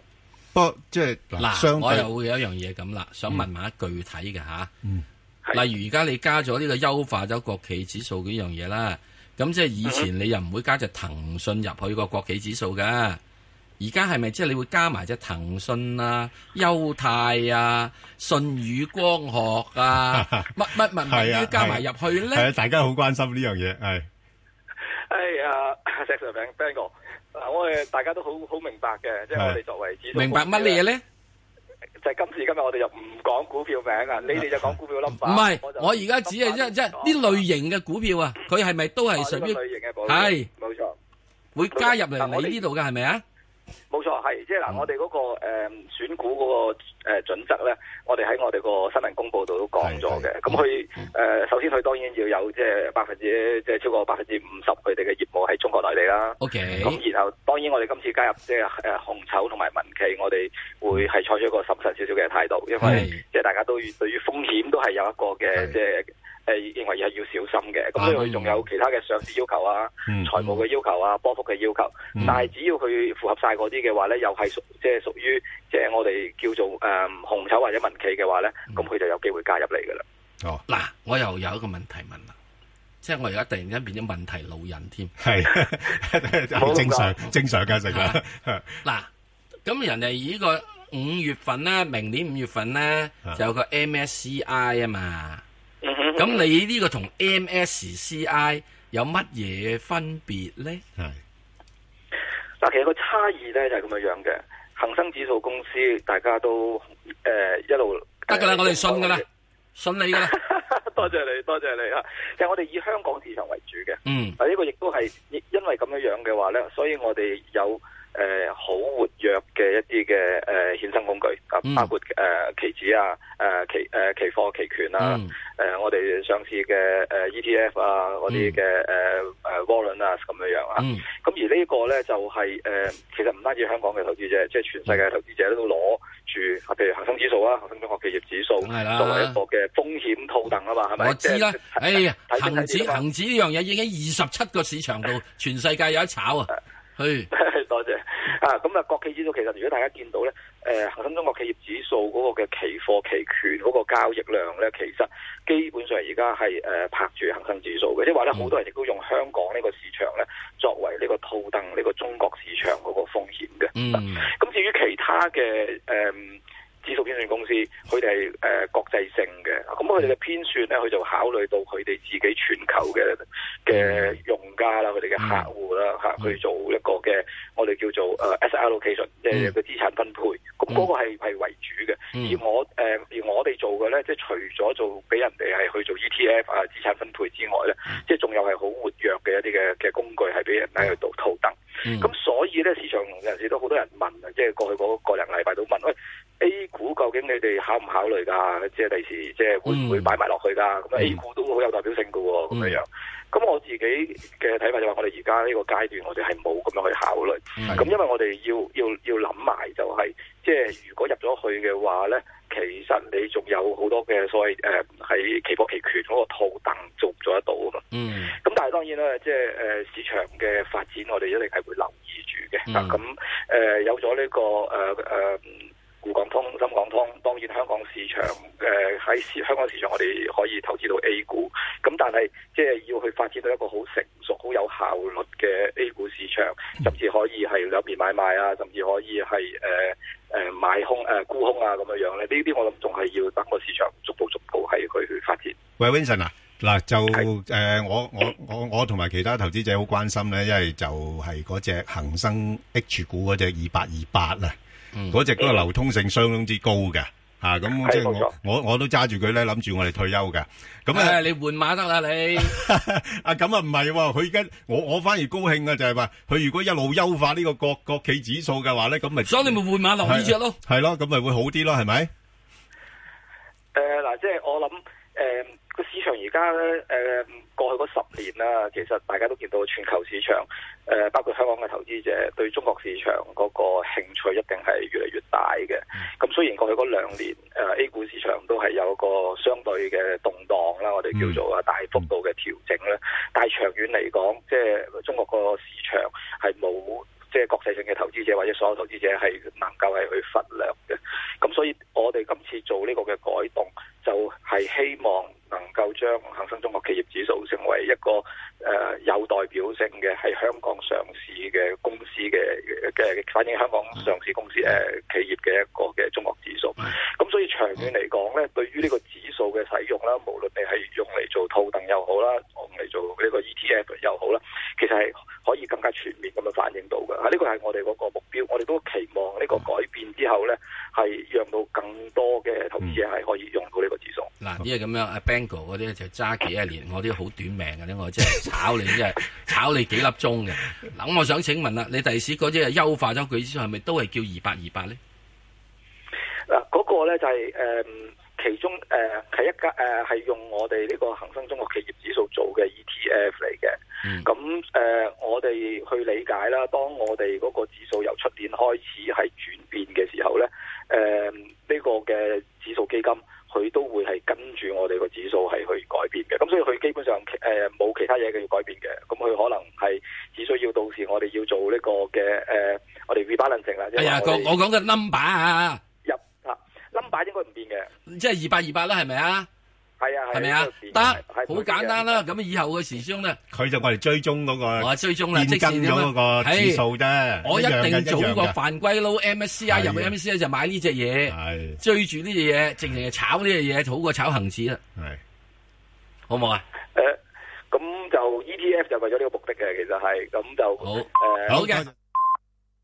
Speaker 2: 不過即係
Speaker 1: 嗱，我又會有一樣嘢咁啦，想問埋一具體嘅吓。嗯。例如而家你加咗呢個優化咗國企指數呢樣嘢啦，咁即係以前你又唔會加隻騰訊入去個國企指數噶，而家係咪即係你會加埋隻騰訊啊、優泰啊、舜宇光學啊、乜乜乜乜都加埋入去咧？
Speaker 2: 係啊，大家好關心呢樣嘢，係。
Speaker 20: 係啊，石 Sir 餅 Ben 哥，嗱，我哋大家都好好明白嘅，即係我哋作為指數，
Speaker 1: 明白乜嘢咧？
Speaker 20: 就係今時今日我哋就唔講股票名啊，你哋就講股票 number。
Speaker 1: 唔係，我而家只係即即呢類型嘅股票啊，佢係咪都係屬於？係，
Speaker 20: 冇錯，
Speaker 1: 會加入嚟你呢度嘅係咪啊？
Speaker 20: 冇錯，係即係嗱，我哋嗰個誒選股嗰個誒準則咧，我哋喺我哋個新聞公佈度都講咗嘅。咁佢誒首先佢當然要有即係百分之即係超過百分之五十佢哋嘅業務喺中國內地啦。
Speaker 1: OK。
Speaker 20: 咁然後當然我哋今次加入即係誒紅籌同埋民企，我哋會係採取一個審慎少少嘅態度，因為即係大家都對於風險都係有一個嘅即係。誒，認為係要小心嘅，咁所以佢仲有其他嘅上市要求啊、
Speaker 1: 嗯、
Speaker 20: 財務嘅要求啊、波幅嘅要求，嗯、但係只要佢符合晒嗰啲嘅話咧，又係屬即係屬於即係我哋叫做誒、呃、紅籌或者民企嘅話咧，咁佢、嗯、就有機會加入嚟噶啦。
Speaker 2: 哦，
Speaker 1: 嗱，我又有一個問題問啦，即係我而家突然間變咗問題老人添，
Speaker 2: 係正常正常嘅成啦。
Speaker 1: 嗱，咁人哋呢個五月份咧，明年五月份咧就有個 M S C I 啊嘛。咁你呢個同 M S C I 有乜嘢分別咧？係
Speaker 20: 嗱，其實個差異咧就係咁樣樣嘅。恒生指數公司大家都誒、呃、一路
Speaker 1: 得噶啦，我哋信噶啦，信你噶啦。
Speaker 20: 多謝你，多謝你啊！其實我哋以香港市場為主嘅。
Speaker 1: 嗯。
Speaker 20: 啊，呢個亦都係因為咁樣樣嘅話咧，所以我哋有誒好、呃、活躍嘅一啲嘅誒衍生工具啊，嗯、包括誒、呃、期指啊、誒、呃、期誒、呃、期貨期權啊。嗯誒、呃，我哋上市嘅誒、呃、E T F 啊，嗰啲嘅誒誒 warrant 啊，咁樣樣啊。咁、嗯、而呢個咧就係、是、誒、呃，其實唔單止香港嘅投資者，即係全世界嘅投資者都攞住，譬如恒生指數啊、恒生中國企業指數，作為一個嘅風險套戥啊嘛，係咪？我知啦。
Speaker 1: 哎呀，恒指恒指呢樣嘢已經喺二十七個市場度，全世界有得炒啊！去，
Speaker 20: 多謝啊！咁啊，國企指數其實如果大家見到咧，誒恒生中國企業指數嗰個嘅期貨期權嗰個交易量咧，其實基本上而家係誒拍住恒生指數嘅，即係話咧好多人亦都用香港呢個市場咧作為呢個套戥呢個中國市場嗰個風險嘅。嗯，咁至於其他嘅誒。嗯指數編算公司，佢哋係誒國際性嘅，咁佢哋嘅編算咧，佢就考慮到佢哋自己全球嘅嘅用家啦，佢哋嘅客戶啦嚇，去做一個嘅我哋叫做誒 asset allocation，即係個資產分配。咁嗰個係係為主嘅。而我誒、呃、而我哋做嘅咧，即係除咗做俾人哋係去做 E T F 啊資產分配之外咧，即係仲有係好活躍嘅一啲嘅嘅工具係俾人喺度套戥。咁、嗯、所以咧，市場有陣時都好多人問啊，即係過去嗰個零禮拜都問，喂 A 股究竟你哋考唔考慮㗎？即係第時即係會唔會擺埋落去㗎？咁、嗯、A 股都好有代表性㗎喎，咁樣樣。咁我自己嘅睇法就話，我哋而家呢個階段，我哋係冇咁樣去考慮。咁、嗯、因為我哋要要要諗埋就係、是，即係如果入咗去嘅話咧，其實你仲有好多嘅所謂誒喺期貨期權嗰個套戥做做得到啊嘛。嗯。咁但係當然啦，即係誒、呃、市場嘅發展，我哋一定係會留意住嘅。咁誒、嗯呃、有咗呢、這個誒誒。呃呃滬港通、深港通，當然香港市場誒喺、呃、香港市場，我哋可以投資到 A 股。咁但係即係要去發展到一個好成熟、好有效率嘅 A 股市場，甚至可以係兩邊買賣啊，甚至可以係誒誒買空誒、呃、沽空啊咁樣樣咧。呢啲我諗仲係要等個市場逐步逐步係去去發展。
Speaker 2: 喂 Vincent 啊，嗱就誒是、呃、我我我我同埋其他投資者好關心咧，因為就係嗰隻恒生 H 股嗰隻二八二八啊。嗰隻嗰個流通性相當之高嘅，吓咁即係我我我都揸住佢咧，諗住我哋退休嘅。咁啊，你換馬得啦你。啊咁啊唔係，佢而家我我反而高興啊，就係話佢如果一路優化呢個國國企指數嘅話咧，咁咪所以你咪換馬落呢隻咯。係咯，咁咪會好啲咯，係咪？
Speaker 20: 誒嗱，即係我諗誒個市場而家咧誒過去嗰十年啦，其實大家都見到全球市場。誒、呃，包括香港嘅投資者對中國市場嗰個興趣一定係越嚟越大嘅。咁、嗯、雖然過去嗰兩年誒、呃、A 股市場都係有個相對嘅動盪啦，我哋叫做啊大幅度嘅調整啦。嗯、但係長遠嚟講，即係中國個市場係冇即係國際性嘅投資者或者所有投資者係能夠係去忽略嘅。咁所以我哋今次做呢個嘅改動，就係希望能夠將恒生中國企業指數成為一個誒、呃、有代表性嘅喺香港上市嘅公司嘅嘅反映香港上市公司誒、呃、企業嘅一個嘅中國指數。咁所以長遠嚟講咧，對於呢個指數嘅使用啦，無論你係用嚟做套戥又好啦，用嚟做呢個 E T F 又好啦，其實係可以更加全面咁樣反映到嘅。呢個係我哋嗰個目標，我哋都期望呢個改變之後咧，係讓到更多嘅投資者係可以用到呢個指數。
Speaker 1: 嗱、嗯，因為咁樣，阿 Bango 嗰啲就揸幾廿年，我啲好短命嘅咧，我即係炒你，即係炒你幾粒鐘嘅。嗱，咁我想請問啦，你第時嗰啲係優化咗佢之後，係咪都係叫二八二八咧？
Speaker 20: 嗱，嗰個咧就係、是、誒、呃、其中誒係、呃、一家誒係用我哋呢個恒生中國企業指數做嘅 E T F 嚟嘅。咁、嗯、誒、呃，我哋去理解啦，當我哋嗰個指數由出年開始係轉變嘅時候咧，誒、呃、呢、這個嘅指數基金佢都會係跟住我哋個指數係去改變嘅。咁所以佢基本上誒冇、呃、其他嘢嘅要改變嘅。咁佢可能係只需要到時我哋要做呢個嘅誒、呃，我哋 rebalancing 啦。
Speaker 1: 係啊，我我講嘅 number 啊。
Speaker 20: number 應該唔變嘅，
Speaker 1: 即係二八二八啦，係咪啊？
Speaker 20: 係啊，
Speaker 1: 係咪啊？得，好簡單啦。咁以後嘅時鐘咧，
Speaker 2: 佢就我哋追蹤嗰個，
Speaker 1: 我追蹤啦，即係
Speaker 2: 變更咗嗰個指數啫。
Speaker 1: 我一定做個犯規撈 M S C I 入去 M S C I 就買呢隻嘢，追住呢隻嘢，淨係炒呢隻嘢，好過炒恒指啦。係，好唔好啊？
Speaker 20: 誒，咁就 E T F 就為咗呢個目的嘅，其實係咁就
Speaker 1: 好
Speaker 20: 誒，
Speaker 1: 好嘅。